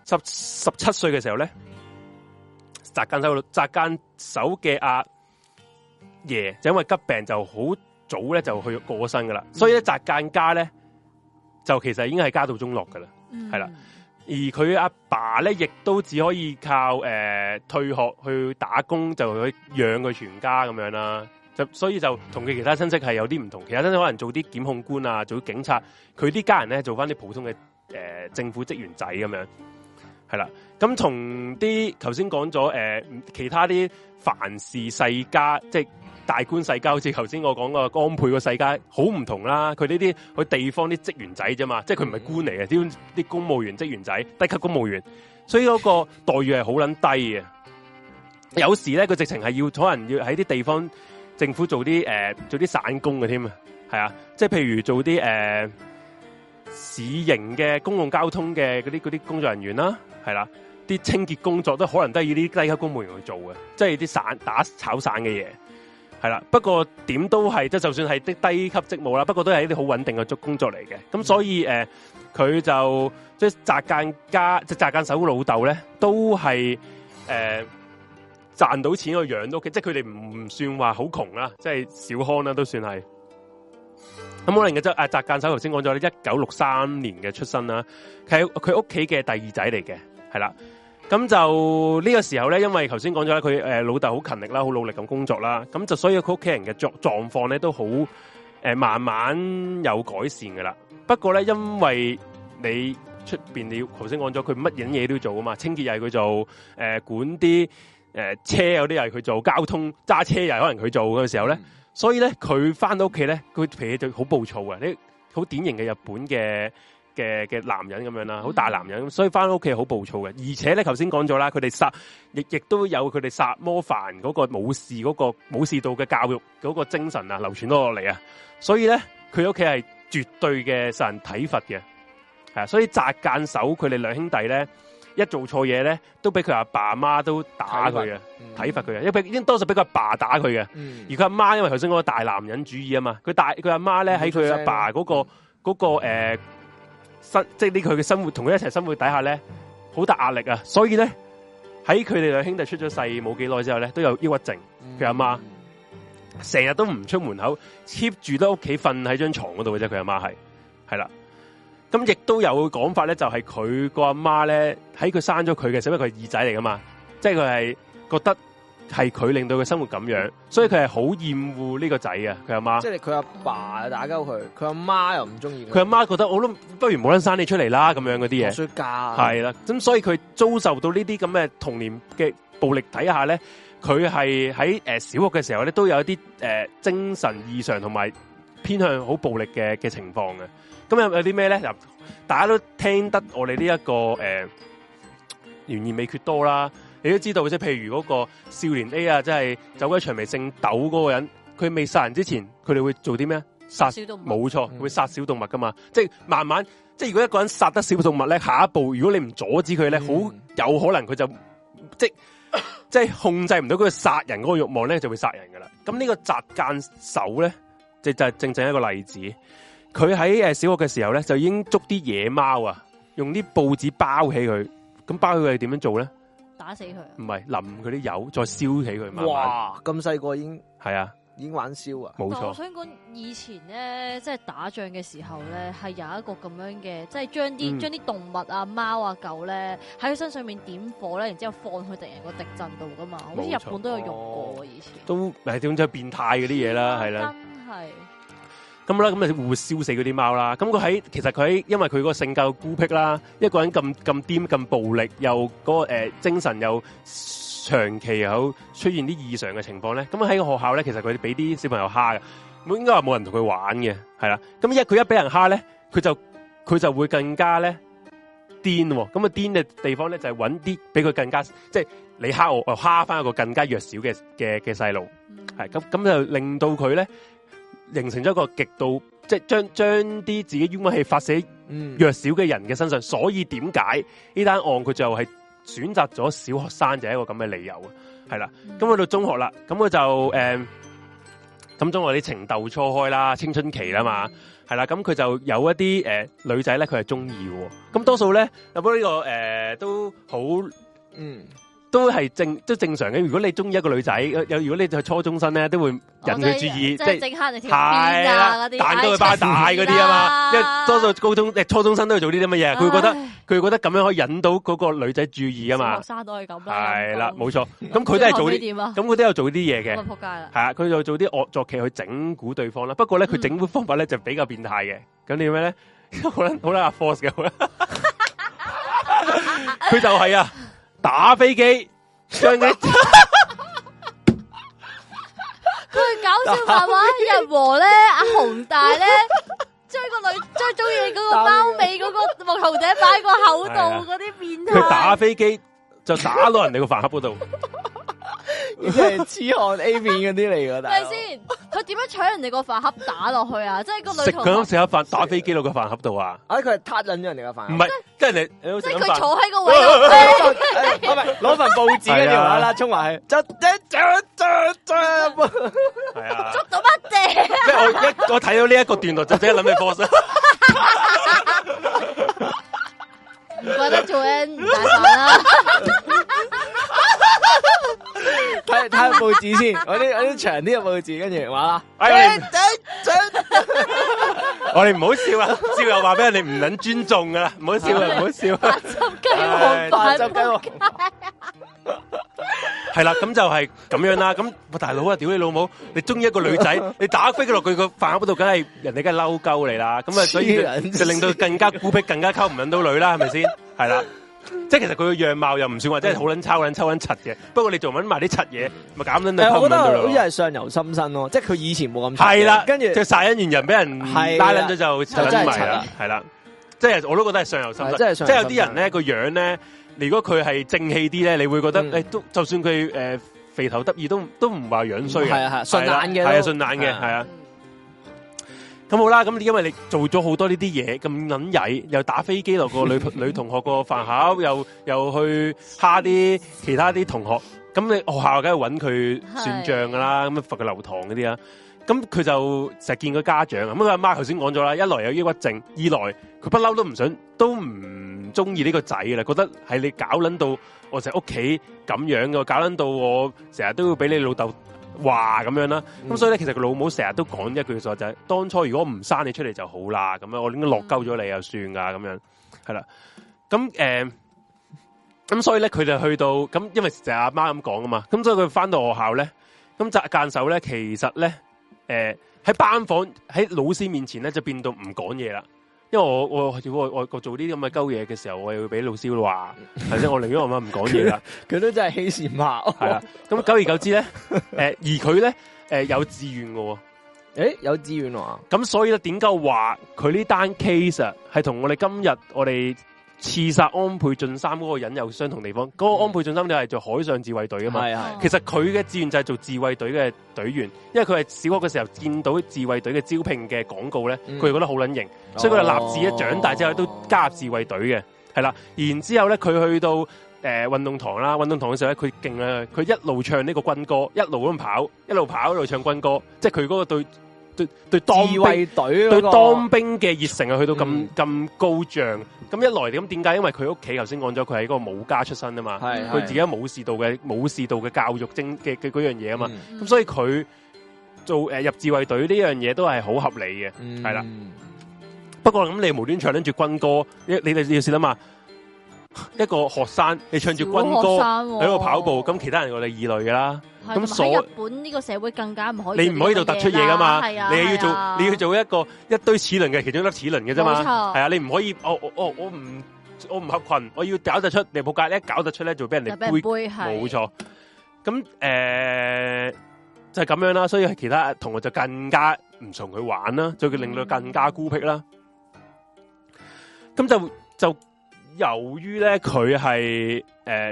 ，17歲嘅時候咧。澤間守嘅阿爺就因為急病就好早咧就去過身噶啦，所以咧澤間家咧就其實已經係家道中落噶啦，係啦。而佢阿爸咧亦都只可以靠退學去打工就去養佢全家咁樣啦。就所以就同佢其他親戚係有啲唔同，其他親戚可能做啲檢控官啊，做啲警察，佢啲家人咧做翻啲普通嘅政府職員仔咁樣。係啦，咁同啲頭先講咗其他啲藩士世家，即係大官世家，好似頭先我講個安倍個世家，好唔同啦。佢呢啲佢地方啲職員仔啫嘛，即係佢唔係官嚟嘅，啲公務員職員仔，低級公務員，所以嗰個待遇係好撚低嘅。有時咧，佢直情係要可能要喺啲地方政府做啲散工嘅添啊，係啊，即係譬如做啲市營嘅公共交通嘅嗰啲工作人員啦。係啦，啲清潔工作都可能都係要啲低級公務員去做嘅，即係啲打炒散嘅嘢。係啦，不過點都係，即係就算係啲低級職務啦，不過都係一啲好穩定嘅工作嚟嘅。咁所以佢就即係澤間守老豆咧，都係賺到錢去養到屋企，即係佢哋唔算話好窮啦，即係小康啦，都算係。咁可能嘅即係澤間守頭先講咗咧，1963年嘅出生啦，佢屋企嘅第二仔嚟嘅，係啦。咁就呢個時候咧，因為頭先講咗咧，佢老豆好勤力啦，好努力咁工作啦，咁就所以佢屋企人嘅狀況咧都好慢慢有改善噶啦。不過咧，因為你出邊你頭先講咗，佢乜嘢都要做啊嘛，清潔又係佢做，管啲車有啲又係佢做，交通揸車又係可能佢做嘅時候咧，所以咧佢翻到屋企咧，佢脾氣就好暴躁啊！呢好典型嘅日本嘅男人咁樣啦，好大男人，所以翻到屋企好暴躁嘅。而且咧，頭先講咗啦，佢哋亦都有佢哋殺魔凡嗰個武士道嘅教育嗰個精神啊，流傳咗落嚟啊。所以咧，佢屋企係絕對嘅受人體罰嘅，係啊。所以澤間守佢哋兩兄弟咧，一做錯嘢咧，都俾佢阿爸阿媽都打佢嘅，體罰佢嘅，因為多數俾佢阿爸打佢嘅。而佢阿媽因為頭先嗰個大男人主義啊嘛，佢阿媽咧喺佢阿爸嗰個即係呢佢嘅生活同佢一齊生活底下咧，好大壓力啊！所以咧喺佢哋兩兄弟出咗世冇幾耐之後咧，都有抑鬱症。佢阿媽成日都唔出門口 ，keep 住喺屋企瞓喺張床嗰度嘅啫。佢阿媽係啦，咁亦都有講法咧，就係佢個阿媽咧喺佢生咗佢嘅時候，因為佢係二仔嚟噶嘛，即係佢係覺得係佢令到佢生活咁樣，所以佢係好厭惡呢個仔啊！佢阿媽， 即係佢阿爸打鳩佢，佢阿媽又唔中意佢。 佢阿媽覺得我都不如冇得生你出嚟啦，咁樣嗰啲嘢。 衰家係啦，咁所以佢遭受到呢啲咁嘅童年嘅暴力底下咧，佢係喺小學嘅時候咧都有一啲精神異常同埋偏向好暴力嘅情況嘅。咁有啲咩咧？大家都聽得我哋呢一個懸而未決多啦。你都知道，即係譬如嗰個少年 A 啊，即係走鬼薔薇姓竇嗰個人，佢未殺人之前，佢哋會做啲咩？殺小動物，冇錯，會殺小動物噶嘛。即係慢慢，即係如果一個人殺得小動物咧，下一步如果你唔阻止佢咧，好有可能佢就即係控制唔到佢殺人嗰個慾望咧，就會殺人噶啦。咁呢個澤間守咧，就係正正一個例子。佢喺小學嘅時候咧，就已經捉啲野貓啊，用啲報紙包起佢。咁包起佢係點樣做咧？ 打死佢？ 唔係淋佢啲油，再燒起佢。慢慢哇！咁細個已經係啊， 已經玩燒啊！ 冇錯。 我想講以前咧，即係打仗嘅時候咧，係有一個咁樣嘅，即係將啲動物啊、貓啊、狗咧喺佢身上面點火咧，然之後放去敵人個敵陣度噶嘛。好似日本都有用過以前。都係點就變態嗰啲嘢啦，係啦。 真係。咁啦，咁咪會燒死嗰啲貓啦。咁其實佢喺因為佢個性格孤僻啦，一個人咁癲咁暴力，又嗰個精神又長期有出現啲異常嘅情況咧。咁喺個學校咧，其實佢哋俾啲小朋友蝦嘅，應該話冇人同佢玩嘅，係啦。咁佢一俾人蝦咧，佢就會更加咧癲。咁啊癲嘅地方咧就係揾啲俾佢更加，即係你蝦我蝦翻一個更加弱小嘅細路，係咁就令到佢咧。形成咗一個極度，即係將啲自己冤屈氣發射弱小嘅人嘅身上，所以點解呢單案佢就係選擇咗小學生就係一個咁嘅理由啊，係啦。咁去到中學啦，咁佢就咁中學啲情竇初開啦，青春期啦嘛，係啦。咁佢就有一啲女仔咧，佢係中意嘅。咁多數咧，不過呢個都好都係正常嘅。如果你中意一個女仔，如果你係初中生咧，都會引佢注意，即係即刻你條邊啊嗰啲，彈到佢巴大嗰啲啊嘛。因為多數初中生都會做呢啲乜嘢，佢會覺得咁樣可以引到嗰個女仔注意啊嘛。學生都係咁啦。係啦，冇錯。咁佢都係做啲，咁佢都有做啲嘢嘅。仆街啦。係啊，佢就做啲惡作劇去整蠱對方啦。不過咧，佢整蠱方法咧就比較變態嘅。咁點樣咧？好啦 force 嘅，好啦。佢就係啊。打飛機，將佢搞笑漫畫日和咧，阿紅大咧將中意嗰個貓尾嗰個木頭仔擺個口度嗰啲變態。 佢打飛機就打到人哋個飯盒嗰度， 即係痴漢 A 片嗰啲嚟噶。 係先？佢點樣搶人哋個飯盒打落去啊？即係個女同學食盒飯打飛機落個飯盒度啊！ 佢係撻緊咗人哋個飯， 唔係，即係即係佢坐喺個位度，攞份報紙跟住啦，衝埋去，係啊， 捉到乜嘢？ 即係我睇到呢一個段落就即刻諗起 boss。 唔怪得做 N 唔大飯啦。 打個報紙先，我啲長啲嘅報紙，跟住話啦， 我哋唔好笑啊！笑又話俾人哋唔撚尊重噶啦，唔好笑啊！唔好笑。 白汁雞皇，白汁雞皇。 係啦，咁就係咁樣啦。咁大佬啊，屌你老母！你中意一個女仔，你打飛佢落佢個飯盒度，梗係人哋梗係嬲鳩你啦。咁啊，所以就令到更加孤僻，更加溝唔撚到女啦，係咪先？係啦。即係其實佢個樣貌又唔算話真係好撚抽撚柒嘅，不過你仲揾埋啲柒嘢，咪減撚到溝唔撚到咯。 好似係相由心生咯，即係佢以前冇咁係啦， 跟住就殺人完人俾人拉撚咗就柒撚埋啦，係啦，即係我都覺得係相由心生，即係有啲人咧個樣咧，如果佢係正氣啲咧，你會覺得誒都就算佢肥頭得意都唔話樣衰嘅，係啊順眼嘅，係啊順眼嘅，係啊。咁好啦，咁因為你做咗好多呢啲嘢，咁撚曳，又打飛機落個女同學個飯盒，又去蝦啲其他啲同學，咁你學校梗係揾佢算賬噶啦，咁罰佢留堂嗰啲啊，咁佢就成日見個家長，咁佢阿媽頭先講咗啦，一來有抑鬱症，二來佢不嬲都唔中意呢個仔啦，覺得係你搞撚到我成日屋企咁樣嘅，搞撚到我成日都要俾你老豆話咁樣啦，咁所以咧，其實佢老母成日都講一句說話就係，當初如果唔生你出嚟就好啦，咁樣我應該落鳩咗你又算噶，咁樣係啦，咁所以咧佢就去到咁，因為成日阿媽咁講啊嘛，咁所以佢翻到學校咧，咁間手咧，其實咧，喺班房喺老師面前咧就變到唔講嘢啦。因為我做呢啲咁嘅鳩嘢嘅時候，我又會俾老師話，係先我寧願我媽唔講嘢啦。 佢都真係欺善罵惡。係啦， 咁久而久之咧，而佢咧，有志願嘅喎。 有志願喎。 咁所以咧，點解話佢呢單 case 啊，係同我哋今日我哋刺殺安倍晉三嗰個人有相同地方？嗰個安倍晉三就係做海上自衛隊啊嘛。係。其實佢嘅志願就係做自衛隊嘅隊員，因為佢係小學嘅時候見到自衛隊嘅招聘嘅廣告咧，佢就覺得好撚型。所以佢就立志咧，長大之後都加入自衛隊嘅，係啦。然之後咧，佢去到運動堂啦，運動堂嘅時候咧，佢勁啊！佢一路唱呢個軍歌，一路咁跑，一路唱軍歌，即係佢嗰個對當兵對當兵嘅熱誠啊，去到咁高漲。咁一來咁點解？因為佢屋企頭先講咗，佢係一個武家出身啊嘛，佢自己武士道嘅教育精嘅嗰樣嘢啊嘛，咁所以佢做入自衛隊呢樣嘢都係好合理嘅，係啦。不過咁你無端唱住軍歌，你哋要試諗下，一個學生你唱住軍歌喺度跑步，咁其他人我哋異類噶啦。咁喺日本呢個社會更加唔可以， 你唔可以度突出嘢噶嘛？你要做一堆齒輪嘅其中一粒齒輪嘅啫嘛。係啊，你唔可以我唔合群，我要搞得出，你仆街一搞得出咧，就俾人哋背。冇錯。咁就係咁樣啦，所以其他同學就更加唔同佢玩啦，就令到更加孤僻啦。咁就由於咧佢係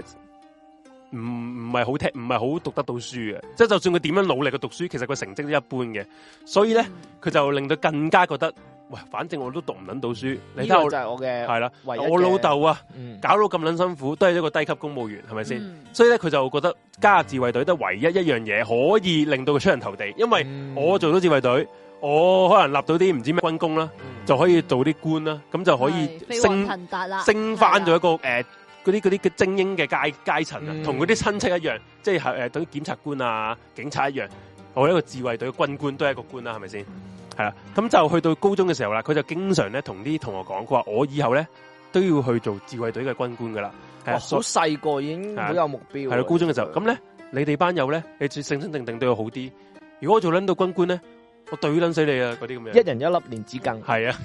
唔係好讀得到書嘅，即係就算佢點樣努力去讀書，其實佢成績都一般嘅，所以咧佢就令到更加覺得，喂，反正我都讀唔撚到書，你睇下我就係我嘅係啦，我老豆啊，搞到咁撚辛苦，都係一個低級公務員，係咪先？所以咧佢就覺得加入自衛隊得唯一一樣嘢可以令到佢出人頭地，因為我做到自衛隊。我可能立到啲唔知咩軍功啦，就可以做啲官啦，咁就可以升翻咗一個嗰啲嘅精英嘅階層啊，同嗰啲親戚一樣，即係等於檢察官啊、警察一樣，我一個自衛隊嘅軍官都係一個官啦，係咪先？係啦，咁就去到高中嘅時候啦，佢就經常咧同啲同學講，佢話我以後咧都要去做自衛隊嘅軍官噶啦。 好細個已經好有目標。 係啦，高中嘅時候，咁咧你哋班友咧，你最醒醒定定對我好啲。如果我做撚到軍官咧，我對撚死你啊！嗰啲咁樣， 一人一粒蓮子羹。 係啊，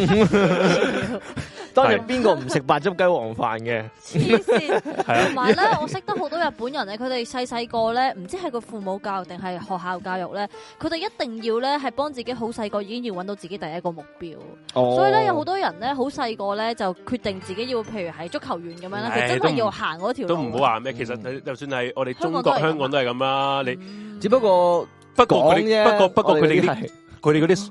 當日邊個唔食白汁雞皇飯嘅？ 黐線！同埋咧，我識得好多日本人咧，佢哋細個咧，唔知係個父母教育定係學校教育咧，佢哋一定要咧係幫自己好細個已經要揾到自己第一個目標。所以咧有好多人咧好細個咧就決定自己要，譬如係足球員咁樣啦，佢真係要行嗰條路。 都唔好話咩，其實就算係我哋中國香港都係咁啦，你只不過。不過佢哋嗰啲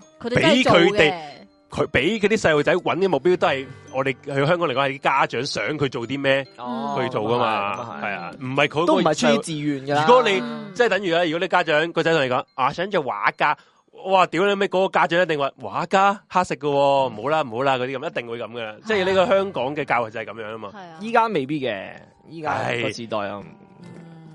俾佢啲細路仔揾嘅目標都係我哋去香港嚟講係家長想佢做啲咩去做噶嘛，係啊，唔係佢都唔係出於自願噶。 如果你即係等於如果你家長個仔同你講啊想做畫家，哇屌你咩嗰個家長一定話畫家乞食噶，唔好啦嗰啲咁，一定會咁噶，即係呢個香港嘅教育就係咁樣啊嘛。 依家未必嘅，依家個時代啊。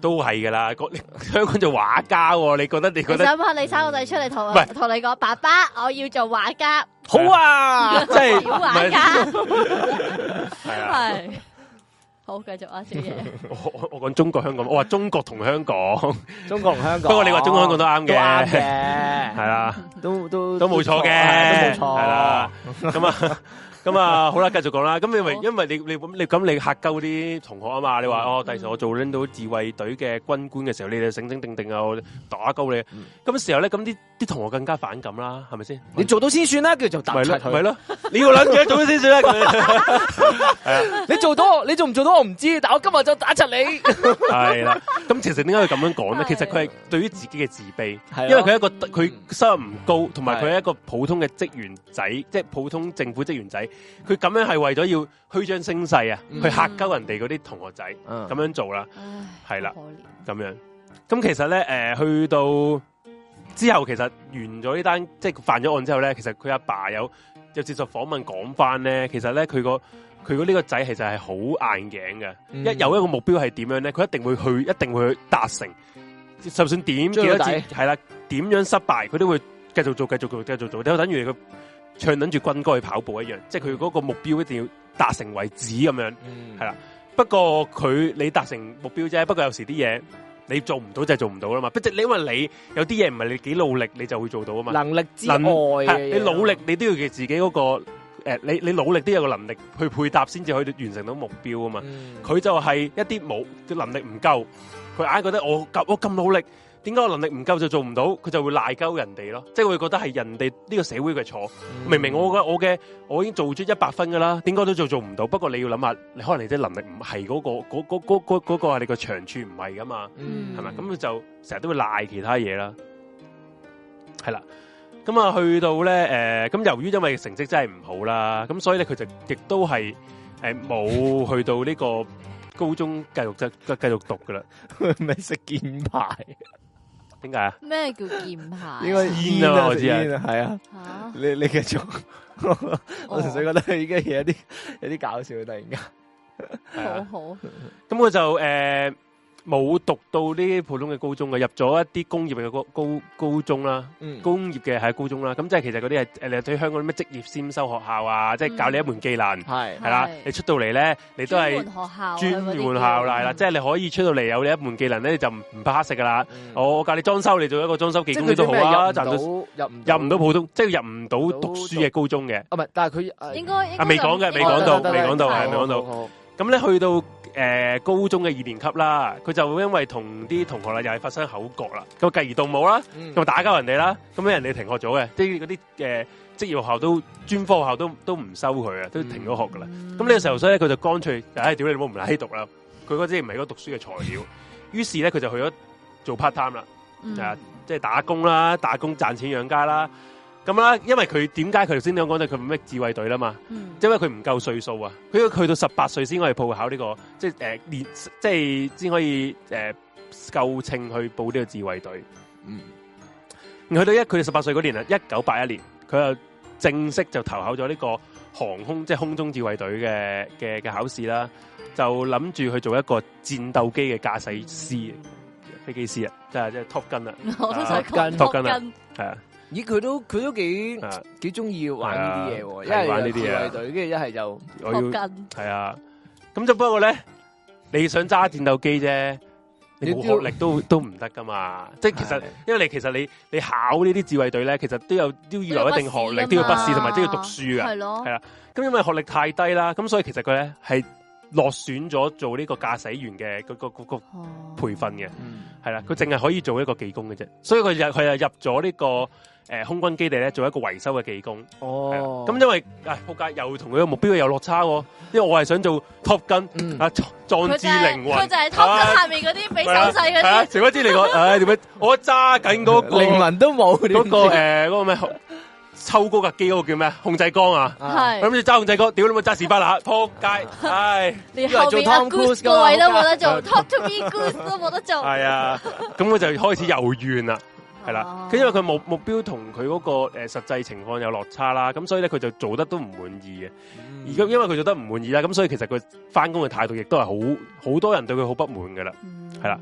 都係噶啦，香港做畫家喎，你覺得？你想唔想你生個仔出嚟同你講，爸爸，我要做畫家。 好啊，即係小畫家。 係啊。 好，繼續啊，小爺。 我講中國香港，我話中國同香港， 中國同香港。 不過你話中國香港都啱嘅， 啱嘅， 係啦， 都冇錯嘅，都冇錯，係啦，咁啊，好啦，繼續講啦。咁因為你咁你嚇鳩啲同學啊嘛，你話第時我做拎到自衛隊嘅軍官嘅時候，你哋醒醒定定啊，我打鳩你。咁時候咧，咁啲同學更加反感啦，係咪先？你做到先算啦，叫做突出佢。咪咯，你要諗住做到先算啦。係啊，你做到，你做唔做到我唔知，但我今日就打柒你。係啦，咁其實點解佢咁樣講咧？其實佢係對於自己嘅自卑，因為佢收入唔高，同埋佢係一個普通嘅職員仔，即係普通政府職員仔。佢咁樣係為咗要虛張聲勢啊，去嚇鳩人哋嗰啲同學仔咁樣做啦，係啦，咁樣。咁其實咧，去到之後，其實完咗呢單即係犯咗案之後咧，其實佢阿爸有接受訪問講翻咧，其實咧佢呢個仔其實係好硬頸嘅，一有一個目標係點樣咧，佢一定會去達成，就算點幾多次係啦，點樣失敗，佢都會繼續做，就等於佢唱緊住軍歌去跑步一樣，即係佢嗰個目標一定要達成為止咁樣，係啦。不過你達成目標啫，不過有時啲嘢你做唔到就係做唔到啦嘛。你因為你有啲嘢唔係你幾努力你就會做到啊嘛。能力之外你努力你都要嘅自己嗰個你努力都有個能力去配搭先至可以完成到目標啊嘛。佢就係一啲冇嘅能力唔夠，佢硬係覺得我咁努力。點解我能力唔夠就做唔到？佢就會賴鳩人哋咯，即係會覺得係人哋呢個社會嘅錯。明明我已經做出100分噶啦，點解都做唔到？不過你要諗下，你可能你啲能力唔係嗰個係你個長處唔係噶嘛，係咪？咁佢就成日都會賴其他嘢啦，係啦。咁啊，去到咧咁由於因為成績真係唔好啦，咁所以咧佢就亦都係冇去到呢個高中繼續讀噶啦，咪識劍牌。點解啊？ 咩叫劍牌？ 應該煙啊，我知啊，係啊。你繼續，我純粹覺得佢依家嘢有啲搞笑，突然間。 好。 咁佢就冇讀到呢啲普通嘅高中嘅，入咗一啲工業嘅高中啦，工業嘅係高中啦。咁即係其實嗰啲係對香港啲咩職業先修學校啊，即係教你一門技能，係啦。你出到嚟咧，你都係專門學校啦，即係你可以出到嚟有你一門技能咧，你就唔怕黑食噶啦。我教你裝修，你做一個裝修技工都好啊。入唔到普通，即係入唔到讀書嘅高中嘅。唔係，但係佢應該未講到。咁咧去到高中嘅2年級啦，佢就因為同啲同學啦又係發生口角啦，咁繼而動武啦，咁打交人哋啦，咁俾人哋停學咗嘅，即係嗰啲職業學校都專科學校都唔收佢啊，都停咗學噶啦。咁呢個時候所以咧佢就乾脆，屌你冇唔嚟喺讀啦，佢嗰啲唔係嗰個讀書嘅材料，於是咧佢就去咗做 part time 啦，即係打工啦，打工賺錢養家啦。咁啦，因為佢點解佢頭先你講到佢咩自衛隊啦嘛？因為佢唔夠歲數啊，佢要去到18歲先可以報考呢個，即係即係先可以夠稱去報呢個自衛隊。去到佢哋18歲嗰年啊，1981年，佢就正式就投考咗呢個航空即係空中自衛隊嘅考試啦，就諗住去做一個戰鬥機嘅駕駛師、飛機師啊，即係 Top Gun 啊， 我都想 Top Gun 啊，係啊。 咦，佢都幾中意玩呢啲嘢喎，一係玩呢啲自衛隊，跟住一係就我要係啊，咁就不過咧，你想揸戰鬥機啫，你冇學歷都唔得噶嘛，即係其實因為你考呢啲自衛隊咧，其實都要有一定學歷，都要筆試同埋都要讀書噶，係啦，咁因為學歷太低啦，咁所以其實佢咧係落選咗做呢個駕駛員嘅嗰個培訓嘅，係啦，佢淨係可以做一個技工嘅啫，所以佢又入咗呢個空軍基地咧做一個維修嘅技工。咁因為仆街又同佢嘅目標有落差，因為我係想做 Top Gun 啊，壯志凌雲， 佢就係 Top Gun 下面嗰啲俾手勢嗰啲。 誰不知你講，點解我揸緊嗰個靈魂都冇嗰個嗰個咩？抽高架機嗰個叫咩？控制杆啊，係諗住揸控制杆，屌你冇揸士巴拿，撲街，唉！ 連後面阿 Goose 個位都冇得做，Talk to me Goose 都冇得做。係啊， 咁佢就開始有怨啦，係啦。咁因為佢目標同佢嗰個實際情況有落差啦，咁所以咧佢就做得都唔滿意嘅。而家因為佢做得唔滿意啦，咁所以其實佢翻工嘅態度亦都係好多人對佢好不滿噶啦，係啦。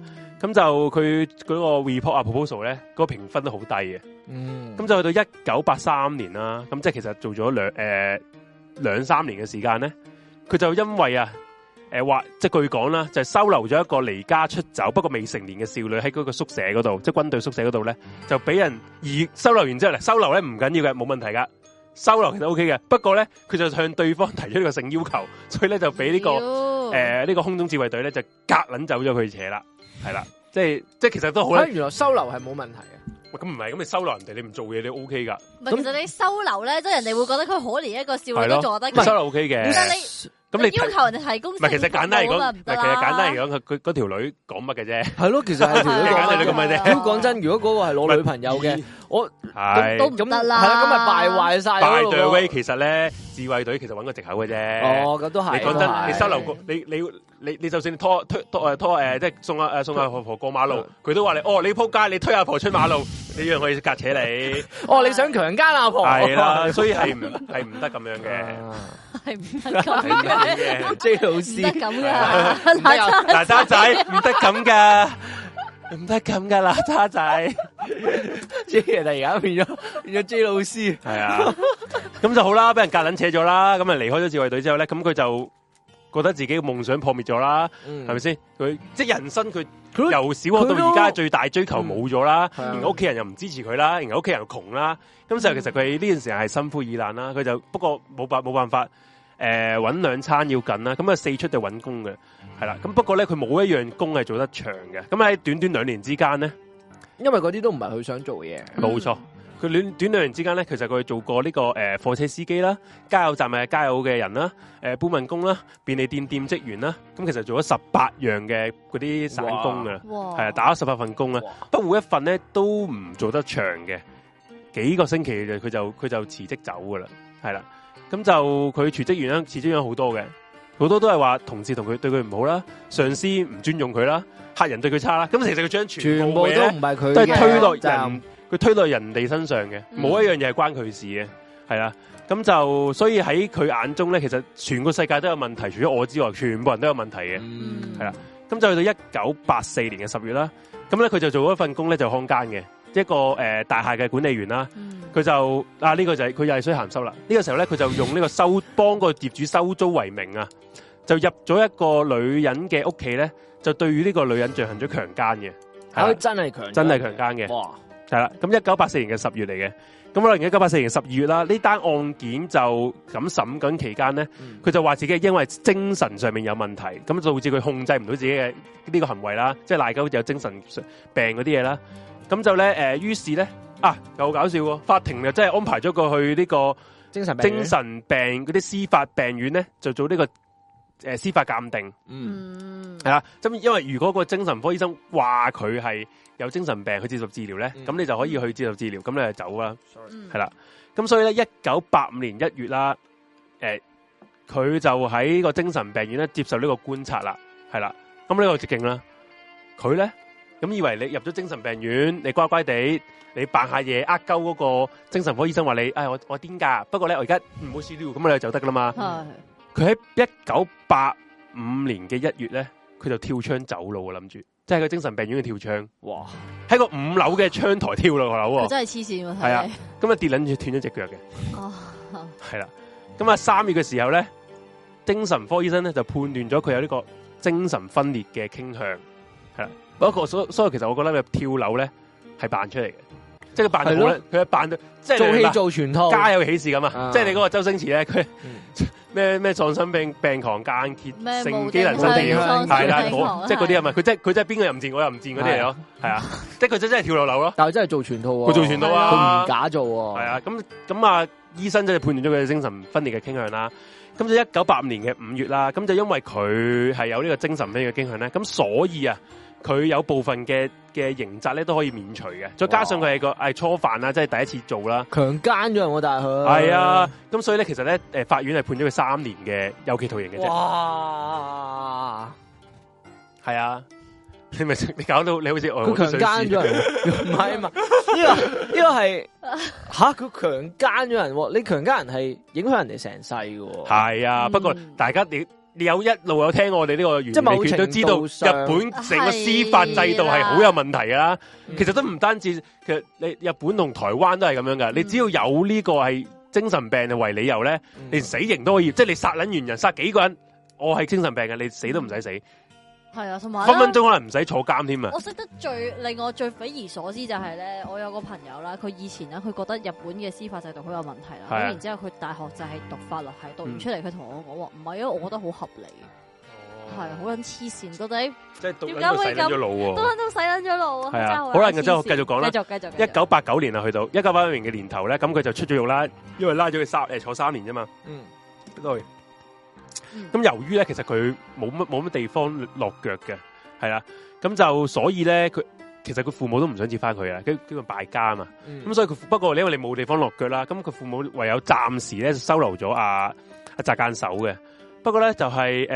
咁就佢嗰個 report 啊 proposal 咧，嗰個評分都好低嘅。咁就去到1983年啦，咁即係其實做咗兩三年嘅時間咧，佢就因為話即係據講啦，就係收留咗一個離家出走不過未成年嘅少女喺嗰個宿舍嗰度，即係軍隊宿舍嗰度咧，就俾人收留完之後咧，收留咧唔緊要嘅，冇問題噶，收留其實 OK 嘅。不過咧，佢就向對方提出呢個性要求，所以咧就俾呢個呢個空中自衛隊咧就夾撚走咗佢扯啦，係啦，即係其實都好咧。 原來收留係冇問題嘅。 咁唔係，咁你收留人哋，你唔做嘢你 OK 噶。 其實你收留咧，即係人哋會覺得佢可憐一個少女都做得。 收留 OK 嘅。 但係咁你要求人哋提供，唔係其實簡單嚟講，其實簡單嚟講，佢嗰條女講乜嘅啫。 係咯，其實係條女講乜咁嘅啫。 講真，如果嗰個係攞女朋友嘅，我都唔得啦。 係啦，咁咪敗壞晒。 By the way，其實咧，自衛隊其實揾個藉口嘅啫。 哦，咁都係。 你講真，你收留個你就算拖即係送阿婆過馬路，佢都話你你撲街，你推阿婆出馬路，你讓佢隔扯你。 你想強姦阿婆？ 係啦，所以係唔得咁樣嘅， 係唔得咁嘅。 J 老師唔得咁噶， 嗱渣仔唔得咁噶，唔得咁噶啦渣仔。 J 人而家變咗 J 老師， 係啊，咁就好啦，俾人隔撚扯咗啦，咁啊離開咗自衛隊之後咧，咁佢就覺得自己嘅夢想破滅咗啦，係咪先？佢即係人生佢由小學到而家最大追求冇咗啦，然後屋企人又唔支持佢啦，然後屋企人又窮啦，咁就其實佢呢段時間係心灰意冷啦。佢就不過冇辦法，搵兩餐要緊啦，咁啊四出就搵工嘅，係啦。咁不過咧，佢冇一樣工係做得長嘅。咁喺短短2年之間咧，因為嗰啲都唔係佢想做嘅嘢，冇錯。佢短2年之間咧，其實佢做過呢個貨車司機啦、加油站嘅加油嘅人啦、搬運工啦、便利店職員啦，咁其實做咗18樣嘅嗰啲散工㗎，係啊，打咗18份工啦。不過每一份咧都唔做得長嘅，幾個星期佢就辭職走噶啦，係啦。咁就佢辭職完啦，辭職咗好多嘅，好多都係話同事對佢唔好啦，上司唔尊重佢啦，客人對佢差啦。咁其實佢將全部都唔係佢，都係推落人。佢推到人哋身上嘅，冇一樣嘢係關佢事嘅，係啦。咁就所以喺佢眼中咧，其實全個世界都有問題，除咗我之外，全部人都有問題嘅，係啦。咁就去到1984年嘅10月啦。咁咧佢就做咗一份工咧，就看更嘅一個大廈嘅管理員啦。佢就呢個就係佢又係衰鹹濕啦。呢個時候咧，佢就用呢個幫個業主收租為名啊，就入咗一個女人嘅屋企咧，就對於呢個女人進行咗強姦嘅。 佢真係強姦嘅。哇！係啦，咁1984年嘅10月嚟嘅，咁可能1984年嘅12月啦，呢單案件就咁審緊期間咧，佢就話自己因為精神上面有問題，咁導致佢控制唔到自己嘅呢個行為啦，即係賴鳩有精神病嗰啲嘢啦，咁就咧於是咧又好搞笑喎，法庭就真係安排咗佢去呢個精神病嗰啲司法病院咧，就做呢個司法鑑定，係啦，咁因為如果個精神科醫生話佢係有精神病去接受治療咧，咁你就可以去接受治療，咁你就走啦，係啦。咁所以咧，1985年1月啦，佢就喺個精神病院咧接受呢個觀察啦，係啦。咁呢個直徑啦，佢咧咁以為你入咗精神病院，你乖乖地，你扮下嘢，鳩嗰個精神科醫生話你，我癲噶，不過咧我而家唔好試了，咁你就得噶啦嘛。佢喺1985年嘅1月咧，佢就跳窗走路啊，諗住。即係個精神病院嘅跳窗，哇！喺個5樓嘅窗台跳落樓喎， 真係黐線喎！ 係啊，咁啊跌撚住斷咗隻腳嘅，哦，係啦。咁啊3月嘅時候咧，精神科醫生咧就判斷咗佢有呢個精神分裂嘅傾向，係啦。不過所以其實我覺得佢跳樓咧係扮出嚟嘅，即係佢扮到咧，佢係扮到即係做戲做全套，家有喜事咁啊！即係你嗰個周星馳咧，佢。咩喪心病狂間歇性機能失調係啦，即係嗰啲係咪？佢真係邊個又唔賤，我又唔賤嗰啲嚟咯，係啊！即係佢真係跳落樓咯，但係真係做全套，佢做全套啊，佢唔假做，係啊！咁啊，醫生真係判斷咗佢精神分裂嘅傾向啦。咁就1985年嘅5月啦，咁就因為佢係有呢個精神分裂嘅傾向咧，咁所以啊。佢有部分嘅刑責咧都可以免除嘅，再加上佢係初犯啦，即係第一次做啦，強姦咗人喎，但係佢係啊，咁所以咧其實咧法院係判咗佢3年嘅有期徒刑嘅啫。哇，係啊，你搞到你好似佢強姦咗人，唔係啊嘛？呢個係佢強姦咗人，你強姦人係影響人哋成世嘅。係啊，不過大家你一路有聽我哋呢個原理拳都知道，日本成個司法制度係好有問題噶啦。其實都唔單止，其實你日本同台灣都係咁樣噶。你只要有呢個係精神病為理由咧，你死刑都可以，即係你殺撚完人，殺幾個人，我係精神病嘅，你死都唔使死。 係啊，同埋分分鐘可能唔使坐監添啊！ 我識得令我最匪夷所思就係咧，我有個朋友啦，佢以前咧佢覺得日本嘅司法制度好有問題啦，咁然之後佢大學就係讀法律系，讀完出嚟佢同我講話唔係啊，我覺得好合理，係好撚黐線，到底即係點解會咁？ 都洗撚咗腦啊！ 係啊，好啦，然之後繼續講啦，繼續。1989年啊，去到1989年嘅年頭咧，咁佢就出咗獄啦，因為拉咗佢坐3年啫嘛。對。咁由於咧，其實佢冇乜地方落腳嘅，係啦，咁就所以咧，其實佢父母都唔想接翻佢啊，叫佢敗家啊嘛。咁所以佢不過因為你冇地方落腳啦，咁佢父母唯有暫時咧收留咗阿澤間守嘅。不過咧就係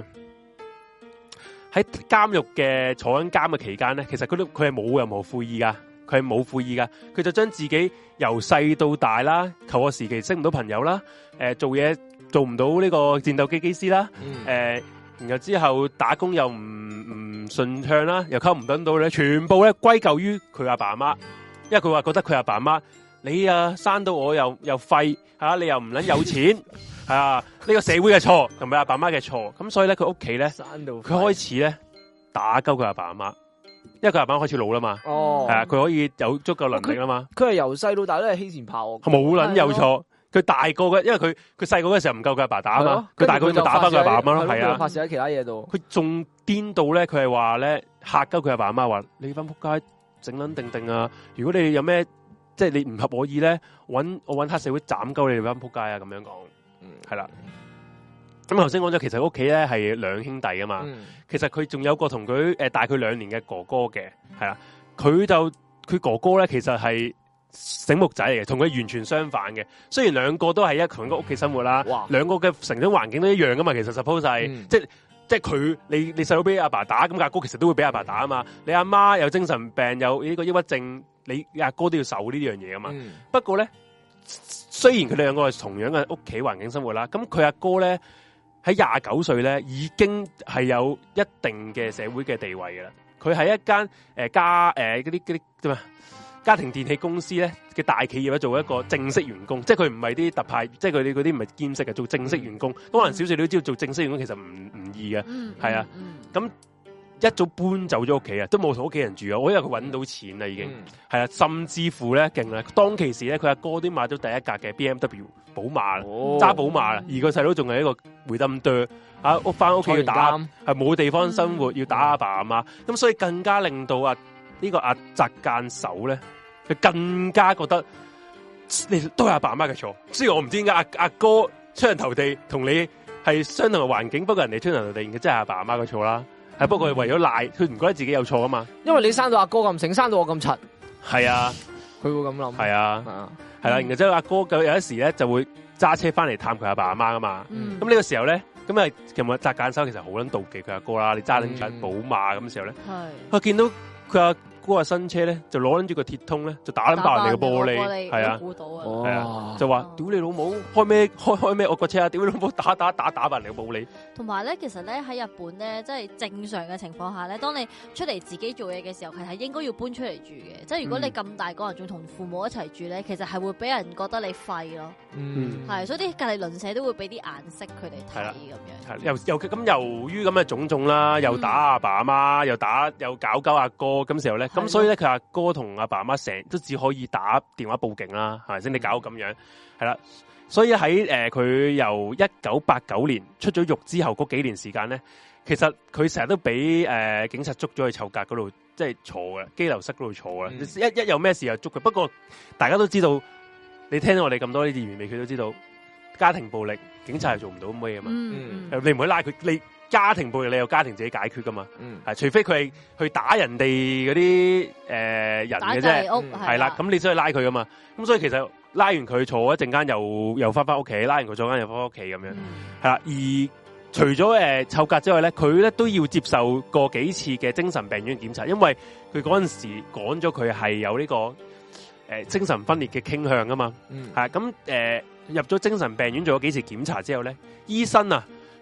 喺監獄嘅坐緊監嘅期間咧，其實佢係冇任何悔意噶，佢就將自己由細到大啦，求學時期識唔到朋友啦，做嘢做唔到呢個戰鬥機師啦，然後之後打工又唔順暢啦，又溝唔到咧，全部咧歸咎於佢阿爸阿媽，因為佢話覺得佢阿爸阿媽，你啊生到我又廢吓，你又唔捻有錢係啊，呢個社會嘅錯同埋阿爸阿媽嘅錯，咁所以咧佢屋企咧，佢開始咧打鳩佢阿爸阿媽，因為佢阿爸開始老啦嘛，係啊，佢可以有足夠能力啦嘛， 佢係由細到大都係欺善怕惡， 冇捻有錯。佢大個嘅，因為佢細個嘅時候唔夠佢阿爸打啊嘛，佢大個就打翻佢阿爸阿媽咯，係啊， 發泄喺其他嘢度。 佢仲顛到咧，佢係話咧嚇鳩佢阿爸阿媽話：你班仆街整撚定啊！如果你有咩即係你唔合我意咧，我揾黑社會斬鳩你哋班仆街啊！咁樣講，係啦。咁頭先講咗，其實屋企咧係兩兄弟啊嘛。其實佢仲有個同佢大佢2年嘅哥哥嘅，係啦。佢哥哥咧其實係醒目仔嚟嘅，同佢完全相反嘅。雖然兩個都係同一個屋企生活啦，兩個嘅成長環境都一樣噶嘛。其實 suppose 係即係佢你細佬俾阿爸打，咁阿哥其實都會俾阿爸打啊嘛。你阿媽有精神病，有呢個抑鬱症，你阿哥都要受呢樣嘢噶嘛。不過咧，雖然佢哋兩個係同樣嘅屋企環境生活啦，咁佢阿哥咧喺29歲咧已經係有一定嘅社會嘅地位噶啦。佢喺一間嗰啲點啊？家庭電器公司咧嘅大企業咧做一個正式員工，即係佢唔係啲特派，即係佢哋嗰啲唔係兼職嘅，做正式員工。可能少少你都知道做正式員工其實唔易嘅，係啊。咁一早搬走咗屋企啊，都冇同屋企人住啊。我因為佢揾到錢啦，已經係啊，甚至乎咧勁啦。當其時咧，佢阿哥都買咗第一架嘅 BMW 寶馬啦，揸寶馬啦，而個細佬仲係一個回燈隊啊，翻屋企要打，係冇地方生活，要打阿爸阿媽。咁所以更加令到呢個阿澤間守咧。佢更加覺得你都係阿爸阿媽嘅錯，雖然我唔知點解阿哥出人頭地，同你係相同嘅環境，不過人哋出人頭地，真係阿爸阿媽嘅錯啦。係不過係為咗賴，佢唔覺得自己有錯啊嘛。因為你生到阿哥咁醒，生到我咁柒，係啊，佢會咁諗。係啊，係啦。然後之後阿哥有一時咧就會揸車翻嚟探佢阿爸阿媽噶嘛。咁呢個時候咧，咁啊其實澤間守其實好撚妒忌佢阿哥啦。你揸緊緊寶馬咁嘅時候咧，佢見到佢阿嗰個新車咧就攞緊住個鐵通咧就打撚爆人哋嘅玻璃，係啊，係啊，就話屌你老母開咩我個車啊！屌你老母打爆人哋嘅玻璃。同埋咧，其實咧喺日本咧，即係正常嘅情況下咧，當你出嚟自己做嘢嘅時候，係應該要搬出嚟住嘅。即係如果你咁大個人仲同父母一齊住咧，其實係會俾人覺得你廢咯。係，所以啲隔離鄰舍都會俾啲顏色佢哋睇咁樣。由於咁嘅種種啦，又打阿爸阿媽，又搞鳩阿哥咁時候咧。咁所以咧，佢阿哥同阿爸阿媽成日都只可以打電話報警啦，係咪先？你搞到咁樣，係啦。所以喺佢由1989年出咗獄之後嗰幾年時間咧，其實佢成日都俾警察捉咗去囚格嗰度，即係坐嘅羈留室嗰度坐嘅。一有咩事就捉佢。不過大家都知道，你聽到我哋咁多呢啲原味，佢都知道家庭暴力，警察係做唔到咁嘅嘢嘛。你唔可以拉佢你。家庭暴力你有家庭自己解決噶嘛？係除非佢係去打人哋嗰啲人嘅啫，係啦，咁你先去拉佢噶嘛。咁所以其實拉完佢坐一陣間又翻屋企，拉完佢坐間又翻屋企咁樣，係啦。而除咗囚格之外咧，佢咧都要接受過幾次嘅精神病院檢查，因為佢嗰陣時講咗佢係有呢個精神分裂嘅傾向啊嘛。係咁入咗精神病院做咗幾次檢查之後咧，醫生啊。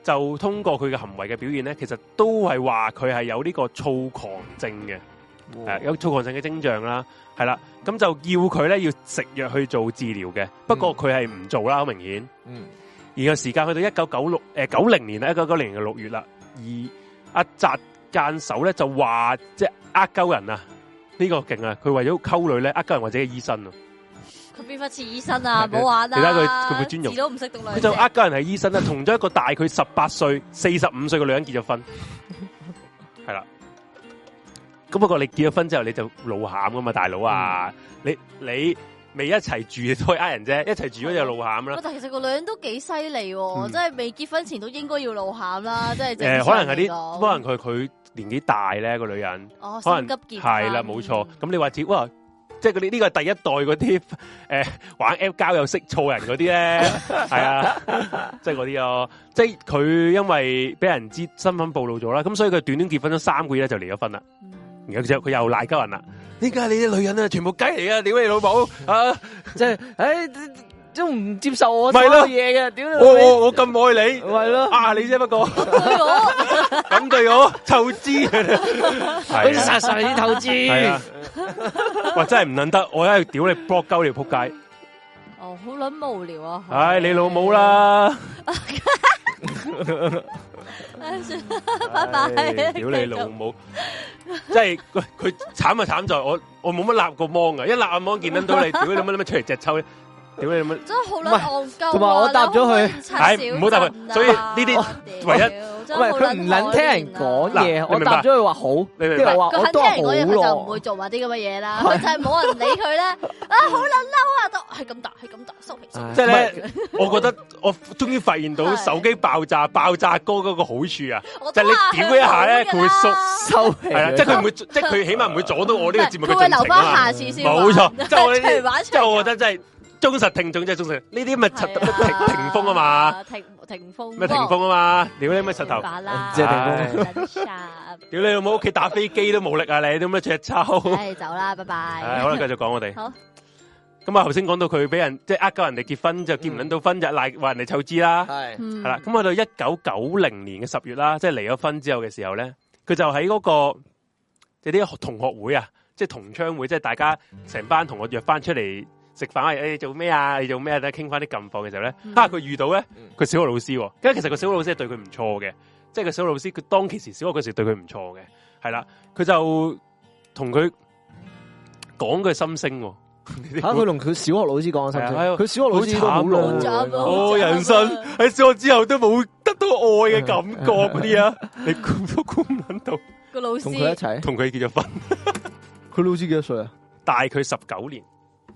就通過佢嘅行為嘅表現咧，其實都係話佢係有呢個躁狂症嘅，有躁狂症嘅徵象啦，係啦，咁就要佢咧要食藥去做治療嘅，不過佢係唔做啦，好明顯。而個時間去到1990年啦，1990年嘅6月啦，而阿澤間守咧就話即係呃鳩人啊，呢個勁啊！佢為咗溝女咧呃鳩人或者係醫生啊。 佢邊忽似醫生啊？唔好玩啦！ 你睇佢會專用， 字都唔識讀兩隻。 佢就呃鳩人係醫生啦，同咗一個大佢18歲、45歲嘅女人結咗婚，係啦。咁不過你結咗婚之後你就露餡噶嘛，大佬啊！你未一齊住都係呃人啫，一齊住咗就露餡啦。 但其實個女人都幾犀利，即係未結婚前都應該要露餡啦，即係可能係啲，可能佢年紀大咧個女人，可能急結係啦，冇錯。咁你話似哇？即係嗰啲呢個係第一代嗰啲玩 app 交友識錯人嗰啲咧，係啊，即係嗰啲咯。即係佢因為俾人知身份暴露咗啦，咁所以佢短短結婚咗3個月咧就離咗婚啦。然後之後佢又賴鳩人啦，點解你啲女人啊全部雞嚟啊？屌你老母啊！即係都唔接受我所有嘢嘅，屌你！ 我咁愛你， 係咯， 你啫不過咁對我透支， 佢殺晒啲透支。係啊， 哇真係唔撚得，我一屌你 block 鳩你仆街。 哦，好撚無聊啊！ 唉，你老母啦！ 拜拜！ 屌你老母！即係佢慘啊慘在我冇乜立過芒啊，一立阿芒見到你，屌你乜出嚟隻抽咧！屌你乜！ 真係好撚戇鳩， 同埋我答咗佢， 唔好答佢。所以呢啲唯一， 唔係佢唔撚聽人講嘢，我答咗佢話好， 你明白？ 佢肯聽人講嘢，佢就唔會做埋啲咁嘅嘢啦。佢就係冇人理佢咧，好撚嬲啊！都係咁答，收皮。 即係咧，我覺得我終於發現到手機爆炸歌嗰個好處啊！就係你屌一下咧，佢會收皮，係啦，即係佢唔會，即係佢起碼唔會阻到我呢個節目嘅進程啊嘛。佢會留翻下次先。冇錯，即係我呢啲，即係我覺得真係。忠實聽眾即係忠實，呢啲咪霆鋒啊嘛， 霆鋒咩霆鋒啊嘛，屌你咩石頭， 即係霆鋒， 屌你老母屋企打飛機都冇力啊你，都咩隻抽， 唉走啦，拜拜， 好啦繼續講我哋， 好， 咁啊頭先講到佢俾人即係呃鳩人哋結婚就結唔撚到婚就賴話人哋湊支啦，係啦，咁去到1990年嘅10月啦，即係離咗婚之後嘅時候咧，佢就喺嗰個即係啲同學會啊，即係同窗會，即係大家成班同學約翻出嚟。食飯你做咩啊？你做咩啊？咧傾翻啲近況嘅時候咧，佢遇到咧佢小學老師，咁其實個小學老師係對佢唔錯嘅，即係個小學老師佢當其時小學嗰時對佢唔錯嘅，係啦，佢就同佢講佢心聲。 佢同佢小學老師講心聲，佢小學老師都好慘，人生喺小學之後都冇得到愛嘅感覺嗰啲啊，你估都估唔到。 個老師同佢一齊， 同佢結咗婚。 佢老師幾多歲啊？ 大佢19年。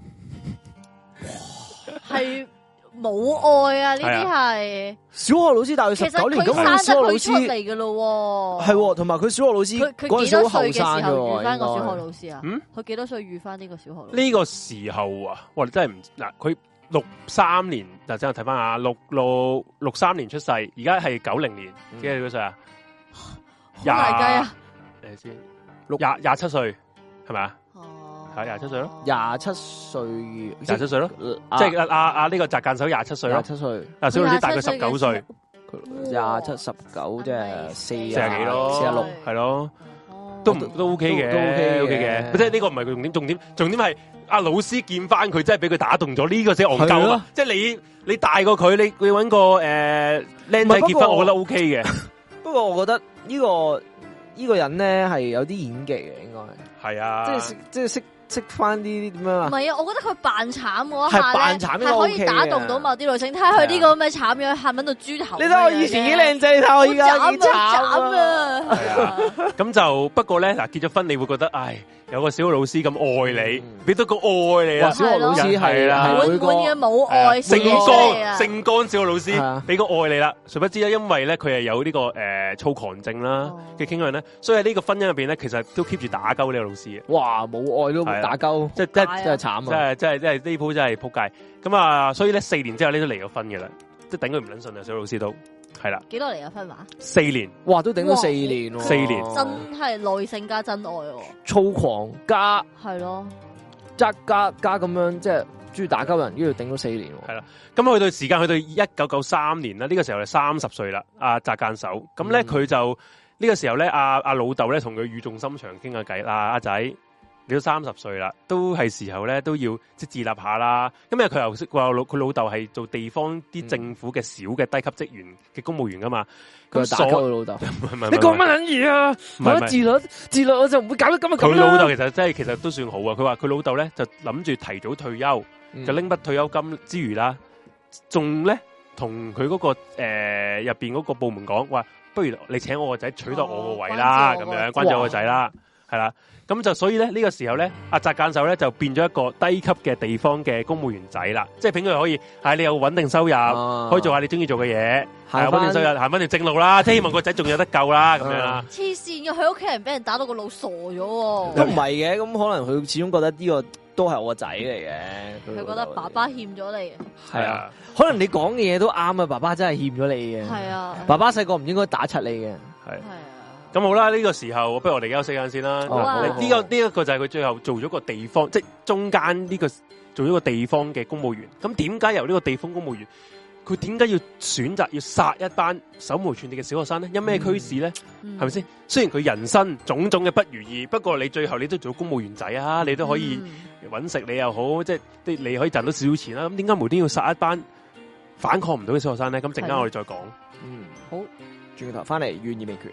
係冇愛啊！呢啲係小學老師大佢19年，咁佢生得佢出嚟嘅咯， 係，同埋佢小學老師佢幾多歲嘅時候遇翻個小學老師啊？佢幾多歲遇翻呢個小學老師？ 呢個時候啊，哇！你真係唔嗱，佢63年，嗱，真係睇翻下63年出世，而家係90年，幾多歲啊？ 好大雞啊！ 你先27歲係咪啊？係27歲咯 ，27歲咯， 即係阿呢個澤間守27歲咯，27歲，小老師大佢19歲 ，27、19即係40 幾咯，46係咯，都 OK 嘅，都 OK 嘅，即係呢個唔係佢重點係阿老師見翻佢，真係俾佢打動咗，呢個先戇鳩啊！即係你大過佢，你搵個僆仔結婚，我覺得 OK 嘅。 不過我覺得呢個人咧係有啲演技嘅，應該係啊， 即係識翻啲點樣啊？ 唔係啊，我覺得佢扮慘嗰下咧， 係可以打動到某啲女性。睇下佢呢個咁嘅慘樣，喊緊到豬頭。 你睇我以前幾靚仔，你睇我而家幾慘啊！ 係啊，咁就不過咧，嗱，結咗婚你會覺得，唉，有個小學老師咁愛你，俾多個愛你啊！ 小學老師係啦， 滿滿嘅母愛， 聖光小學老師俾個愛你啦。誰不知咧，因為咧佢係有呢個躁狂症啦嘅傾向咧，所以喺呢個婚姻入邊咧，其實都 keep 住打鳩呢個老師嘅。 哇，冇愛都打鳩，真係慘啊！ 真係呢鋪真係撲街。咁啊，所以咧4年之後呢都離咗婚嘅啦，即係頂佢唔撚順啊！小老師都係啦。 幾多離咗婚話 ？4年。 哇，都頂咗4年喎。 4年。 真係耐性加真愛喎。 躁狂加係咯， 加咁樣，即係中意打鳩人，跟住頂咗4年。 係啦，咁去到時間去到1993年啦，呢個時候係30歲啦，阿澤間守。咁咧佢就呢個時候咧，阿老豆咧同佢語重心長傾下偈啦，阿仔你都30歲啦，都係時候咧都要即係自立下啦。咁因為佢又識話佢老豆係做地方啲政府嘅小嘅低級職員嘅公務員噶嘛。 佢打鳩佢老豆，你講乜撚嘢啊？唔係自律我就唔會搞得咁啊！ 佢老豆其實都算好啊。佢話佢老豆咧就諗住提早退休，就拎筆退休金之餘啦，仲咧同佢嗰個入邊嗰個部門講話，不如你請我個仔取代我個位啦，咁樣關住我個仔啦，係啦。咁就所以咧呢個時候咧，阿澤間守咧就變咗一個低級嘅地方嘅公務員仔啦，即係俾佢可以係你有穩定收入，可以做下你中意做嘅嘢，係穩定收入，行翻條正路啦，即係希望個仔仲有得救啦，咁樣啦。 黐線嘅，佢屋企人俾人打到個腦傻咗， 都唔係嘅，咁可能佢始終覺得呢個都係我個仔嚟嘅， 佢覺得爸爸欠咗你。 係啊，可能你講嘅嘢都啱啊，爸爸真係欠咗你嘅。 係啊， 爸爸細個唔應該打柒你嘅。 係。咁好啦，呢個時候不如我哋休息間先啦。呢一個就係佢最後做咗個地方，即係中間呢個做咗個地方嘅公務員。咁點解由呢個地方公務員，佢點解要選擇要殺一班手無寸鐵嘅小學生咧？因咩驅使咧？係咪先？雖然佢人生種種嘅不如意，不過你最後你都做公務員仔啊，你都可以搵食，你又好，即係你可以賺到少少錢啦。咁點解無端要殺一班反抗唔到嘅小學生咧？咁陣間我哋再講。 好，轉頭翻嚟，懸疑未決。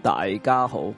大家好，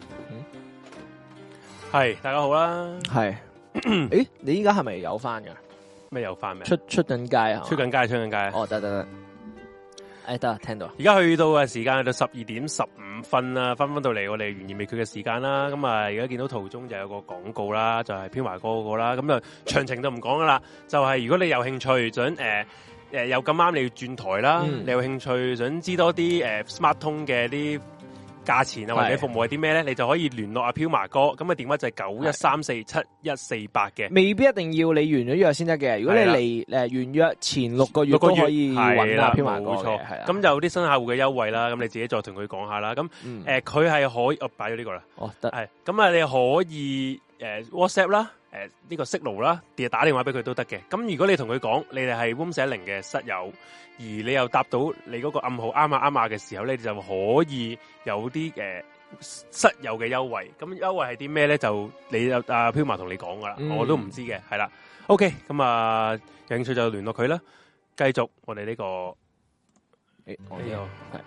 係大家好啦， 係，誒，你依家係咪有翻噶？ 咩有翻咩？ 出緊街啊？出緊街。 哦，得。誒，得聽到。 而家去到嘅時間去到12:15啦，翻到嚟我哋懸疑未決嘅時間啦。咁啊，而家見到途中就有個廣告啦，就係飄華哥嗰個啦。咁就詳情就唔講噶啦。就係如果你有興趣想有咁啱你要轉台啦，你有興趣想知多啲Smart 通嘅啲價錢啊或者服務係啲咩咧，你就可以聯絡阿飄麻哥，咁嘅電話就係91347148嘅。 未必一定要你完咗約先得嘅，如果你嚟完約前6個月都可以揾阿飄麻哥嘅。係啦， 咁有啲新客戶嘅優惠啦，咁你自己再同佢講下啦。咁佢係可以，我擺咗呢個啦。 哦，得。 係，咁啊你可以WhatsApp 啦，呢個 Signal 啦，打電話俾佢都得嘅。咁如果你同佢講你哋係 Room 410嘅室友，而你又答到你嗰個暗號啱嘅時候咧，你就可以有啲室友嘅優惠。咁優惠係啲咩咧？就你有阿飄麻同你講噶啦，我都唔知嘅。係啦 ，OK， 咁啊有興趣就聯絡佢啦。繼續我哋呢個係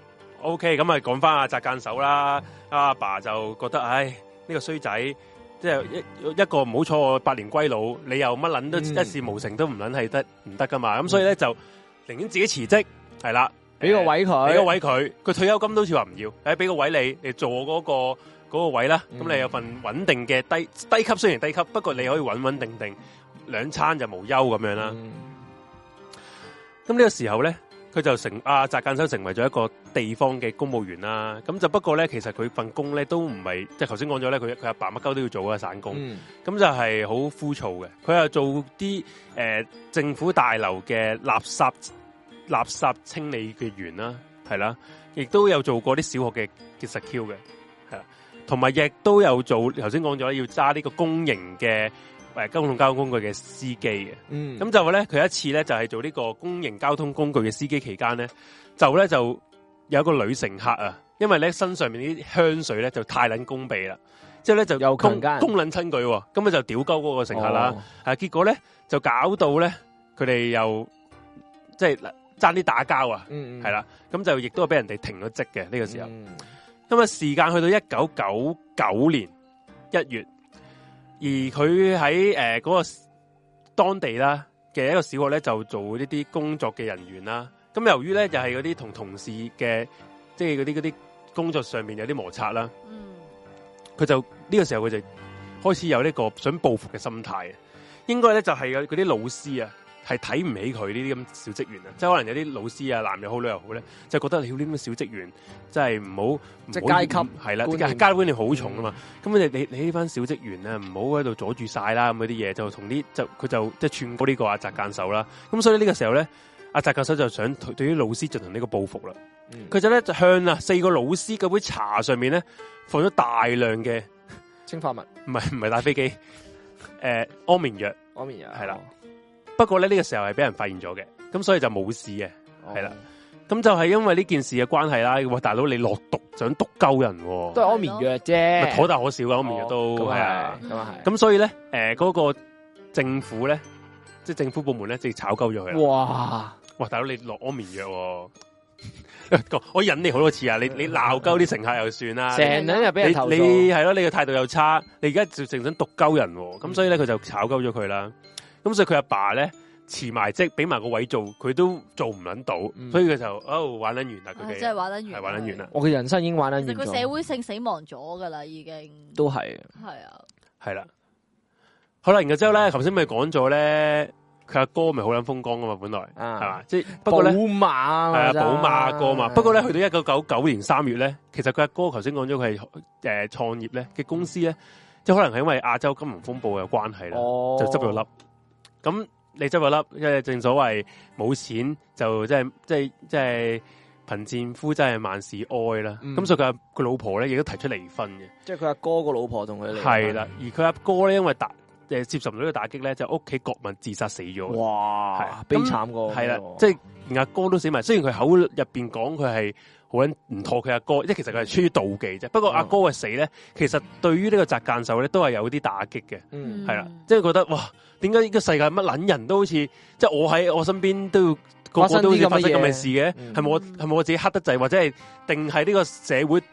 OK， 咁啊講翻阿澤間手啦。阿爸就覺得唉，呢個衰仔。即係一個唔好彩我百年歸老，你又乜撚都一事無成都唔撚係唔得噶嘛，咁所以咧就寧願自己辭職，係啦， 俾個位佢， 佢退休金都好似話唔要，俾個位你做嗰個位啦，咁你有份穩定嘅低級，雖然低級，不過你可以穩定2餐就無憂咁樣啦。咁呢個時候咧。佢就澤間修成為咗一個地方嘅公務員啦，咁就不過咧，其實佢份工咧都唔係，即係頭先講咗咧，佢阿爸乜鳩都要做嘅散工，咁就係好枯燥嘅。佢又做啲政府大樓嘅垃圾清理嘅員啦，係啦，亦都有做過啲小學嘅實 Q 嘅，係啦，同埋亦都有做頭先講咗要揸呢個公營嘅。公共交通工具嘅司機嘅，咁就話咧，佢一次咧就係做呢個公營交通工具嘅司機期間咧，就有一個女乘客啊，因為咧身上面啲香水咧就太撚攻鼻啦，之後咧就又攻撚親佢，咁佢就屌鳩嗰個乘客啦，結果咧就搞到咧佢哋又即係爭啲打交啊，係啦，咁就亦都係俾人哋停咗職嘅呢個時候，咁啊時間去到1999年1月。而佢喺嗰個當地啦嘅一個小學咧，就做呢啲工作嘅人員啦。咁由於咧就係嗰啲同事嘅，即係嗰啲工作上面有啲摩擦啦。佢就呢個時候佢就開始有呢個想報復嘅心態。應該咧就係嗰啲老師啊，係睇唔起佢呢啲咁小職員啊。即係可能有啲老師啊，男又好女又好咧，就覺得你呢啲咁小職員真係唔好，即係階級係啦，階級觀念好重啊嘛。咁你呢班小職員啊，唔好喺度阻住晒啦，咁嗰啲嘢就同啲佢就即係串過呢個阿澤間手啦。咁所以呢個時候咧，阿澤間手就想對於老師進行呢個報復啦。佢就咧就向4個老師嗰杯茶上面咧放咗大量嘅氰化物， 唔係打飛機，安眠藥係啦。不過咧呢個時候係俾人發現咗嘅，咁所以就冇事嘅，係啦。咁就係因為呢件事嘅關係啦。哇，大佬你落毒想毒鳩人， 都係安眠藥啫， 可大可小嘅安眠藥都係啊。咁所以咧，嗰個政府咧，即係政府部門咧，直接炒鳩咗佢。哇，大佬你落安眠藥，我忍你好多次啊！你鬧鳩啲乘客又算啦， 成日又俾人投訴， 你係咯，你嘅態度又差，你而家就淨想毒鳩人，咁所以咧佢就炒鳩咗佢啦。咁所以佢阿爸咧辭埋職，俾埋個位做，佢都做唔捻到，所以佢就玩捻完啦。佢真係玩捻完， 係玩捻完啦。 我嘅人生已經玩捻完。 佢社會性死亡咗噶啦，已經都係。 係啊， 係啦。好啦，然後之後咧，頭先咪講咗咧，佢阿哥咪好捻風光噶嘛，本來係嘛，即係不過咧，寶馬係啊，寶馬哥嘛。不過咧，去到1999年3月咧，其實佢阿哥頭先講咗佢係創業咧嘅公司咧，即係可能係因為亞洲金融風暴嘅關係啦，就執咗笠。咁你執咗笠，因為正所謂冇錢就即係貧賤夫真係萬事哀啦。咁所以佢老婆咧亦都提出離婚嘅。 即係佢阿哥個老婆同佢離婚。 係啦，而佢阿哥咧因為接受唔到呢個打擊咧，就屋企國民自殺死咗。 哇，悲慘個。係啦， 即係連阿哥都死埋。雖然佢口入邊講佢係好撚唔妥佢阿哥，即係其實佢係出於妒忌啫。不過阿哥嘅死咧，其實對於呢個澤間手咧都係有啲打擊嘅。係啦，即係覺得哇，點解呢個世界乜撚人都好似，即係我喺我身邊都要個個都好似發生咁嘅事嘅？係咪我自己黑得滯，或者係定係呢個社會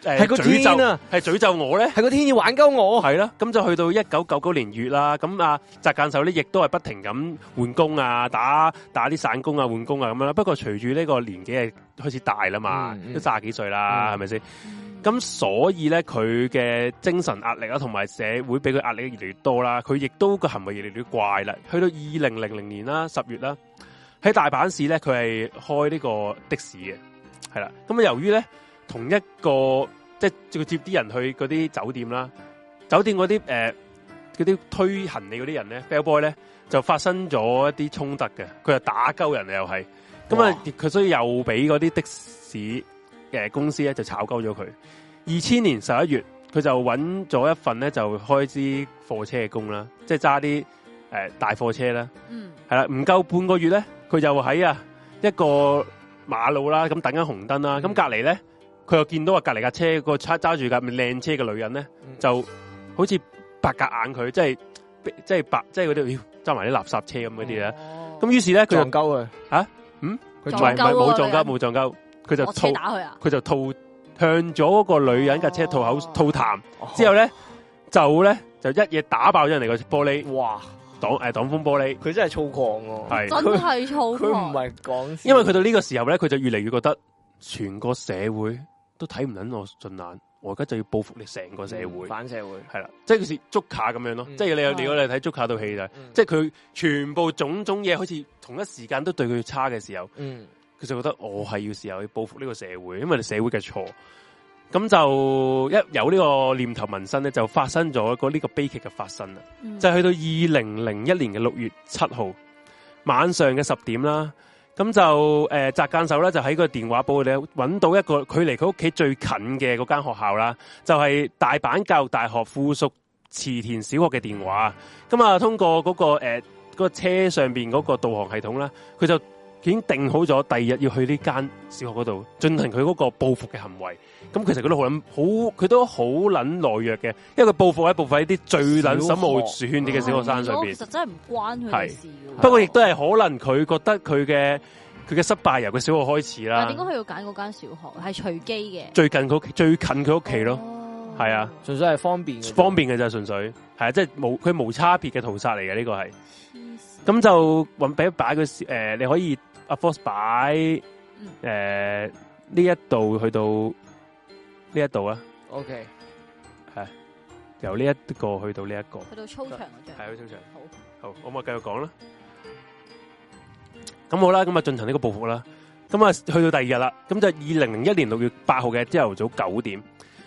係個天啊， 係詛咒我咧， 係個天要玩鳩我， 係啦。咁就去到1999年月啦。咁啊，澤間秀咧亦都係不停咁換工啊，打啲散工啊，換工啊咁樣啦。不過隨住呢個年紀係開始大啦嘛，都30幾歲啦，係咪先？咁所以咧，佢嘅精神壓力啦，同埋社會俾佢壓力越嚟越多啦，佢亦都個行為越嚟越怪啦。去到2000年啦10月啦，喺大阪市咧，佢係開呢個的士嘅，係啦。咁啊，由於咧同一個即係佢接啲人去嗰啲酒店啦，酒店嗰啲嗰啲推行李嗰啲人咧 bell boy 咧就發生咗一啲衝突嘅，佢就打鳩人又係，咁啊佢所以又俾嗰啲的士公司咧就炒鳩咗佢。2000年11月，佢就揾咗一份咧就開支貨車嘅工啦，即係揸啲大貨車啦。係啦，唔夠半個月咧，佢就喺一個馬路啦，咁等緊紅燈啦。咁隔離咧，佢又見到隔離架車個揸住架靚車嘅女人咧，就好似白鴿眼佢，即係嗰啲揸埋啲垃圾車咁嗰啲咧。咁於是咧，佢就撞鳩佢佢冇撞鳩，佢就吐打佢啊！ 佢就吐向咗嗰個女人架車吐痰，之後咧就一嘢打爆咗人哋個玻璃，哇！擋風玻璃， 佢真係粗獷喎， 係真係粗獷， 佢唔係講笑。 因為去到呢個時候咧，佢就越嚟越覺得全個社會都睇唔撚我順眼，我而家就要報復你成個社會， 反社會係啦，即係好似捉卡咁樣咯。即係如果你睇捉卡套戲就，即係佢全部種種嘢，好似同一時間都對佢差嘅時候，佢就覺得我係要時候要報復呢個社會，因為你社會嘅錯。咁就一有呢個念頭萌生咧，就發生咗呢個悲劇嘅發生啦。就係去到2001年嘅6月7號晚上嘅10點啦。咁就澤間秀咧就喺個電話簿咧揾到一個距離佢屋企最近嘅嗰間學校啦，就係大阪教育大學附屬池田小學嘅電話。咁啊，通過嗰個車上邊嗰個導航系統啦，佢就已經定好咗第二日要去呢間小學嗰度進行佢嗰個報復嘅行為。咁其實佢都好撚懦弱嘅，因為佢報復喺啲最撚手無寸鐵嘅小學生上邊。 其實真係唔關佢事。 不過亦都係可能佢覺得佢嘅失敗由佢小學開始啦。 但點解佢要揀嗰間小學？係隨機嘅。 最近佢屋企咯，係啊， 純粹係方便嘅就純粹係啊，即係佢無差別嘅屠殺嚟嘅呢個係。咁就俾擺佢你可以阿 Force 擺呢一度去到呢一度啊。 OK， 係由呢一個去到呢一個， 去到操場嗰張， 係去操場。好，我咪繼續講啦。咁好啦，咁啊進行呢個報復啦。咁啊去到第二日啦，咁就2001年6月8號嘅朝頭早9點，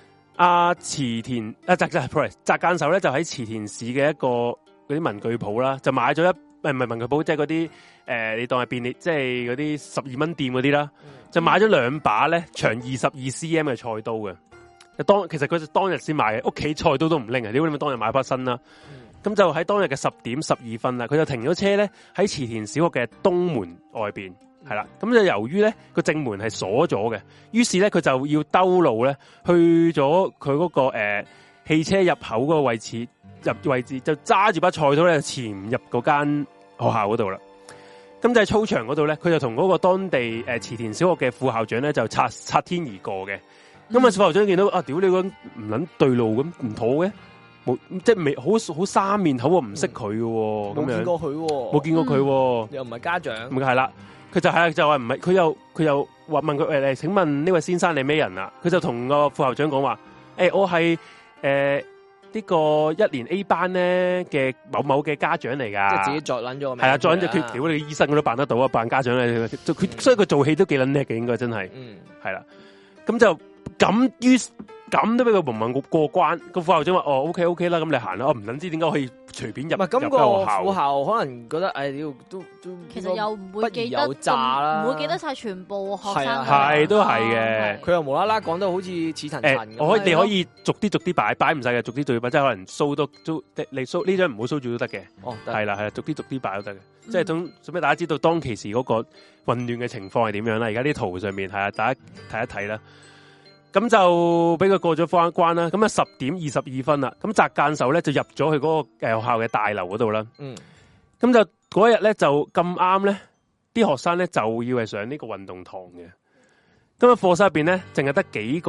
澤間秀咧就喺池田市嘅一個嗰啲文具鋪啦，就買咗唔係文具鋪，即係嗰啲你當係便利，即係嗰啲12蚊店嗰啲啦，就買咗2把咧長22 cm 嘅菜刀嘅。其實佢就當日先買嘅，屋企菜刀都唔拎啊！點解當日買把新啦？咁就喺當日嘅10點12分啦，佢就停咗車咧喺池田小學嘅東門外邊，係啦。咁就由於咧個正門係鎖咗嘅，於是咧佢就要兜路咧去咗佢嗰個汽車入口嗰個位置，就揸住把菜刀咧潛入嗰間學校嗰度啦。咁就喺操場嗰度咧，佢就同嗰個當地池田小學嘅副校長咧就擦天而過嘅。咁副校長見到屌你個唔撚對路咁唔妥嘅。即係未好生面口，唔識佢嘅，冇見過佢， 冇見過佢， 又唔係家長， 咁係啦，佢就話唔係，佢又話問佢請問呢位先生你咩人啊？佢就同個副校長講話，我係呢個1年 A 班咧嘅某某嘅家長嚟噶， 即係自己作捻咗， 係啊，作捻咗佢屌你醫生佢都辦得到啊，扮家長咧，所以佢做戲都幾捻叻嘅，應該真係，係啦，咁就咁都俾佢蒙混過關，個副校長話OK 啦，咁你行啦，我唔捻知點解可以隨便入。唔係咁個副校可能覺得都其實又唔會記得啦， 唔會記得晒全部學生。 係都係嘅， 佢又無啦啦講得好似似層層咁。 你可以逐啲擺唔晒嘅，逐啲擺，即係可能掃都你掃呢張唔好掃住都得嘅。係啦，逐啲擺都得嘅，即係總俾大家知道當其時嗰個混亂嘅情況係點樣啦。而家啲圖上面係啊，大家睇一睇啦。咁就俾佢過咗關啦。咁10點22分啦。咁澤間秀咧就入咗去嗰個學校嘅大樓嗰度啦。咁就嗰日咧就咁啱咧，啲學生咧就要係上呢個運動堂嘅。咁課室入邊咧淨係得幾個咧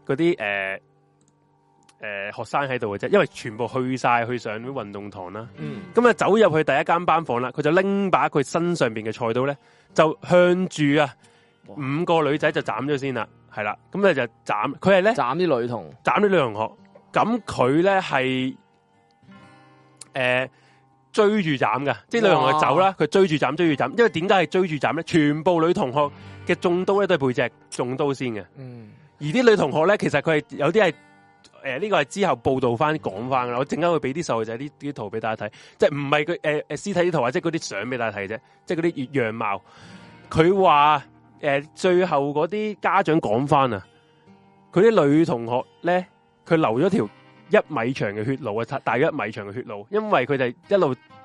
嗰啲學生喺度嘅啫，因為全部去上啲運動堂啦。咁啊走入去第一間班房啦，佢就拎把佢身上邊嘅菜刀咧，就向住5個女仔就斬咗先啦，係啦，咁咧就斬，佢係咧斬啲女同學，咁佢咧係追住斬噶，即係女同學走啦，佢追住斬，因為點解係追住斬咧？全部女同學嘅中刀咧都係背脊中刀先嘅，而啲女同學咧其實佢係有啲係呢個係之後報道翻講翻噶啦，我陣間會俾啲細路仔啲圖俾大家睇，即係唔係佢屍體啲圖或者嗰啲相俾大家睇啫，即係嗰啲樣貌。佢話最後嗰啲家長講翻啊，佢啲女同學咧，佢留咗條1米長嘅血路啊，大約1米長嘅血路，因為佢哋一路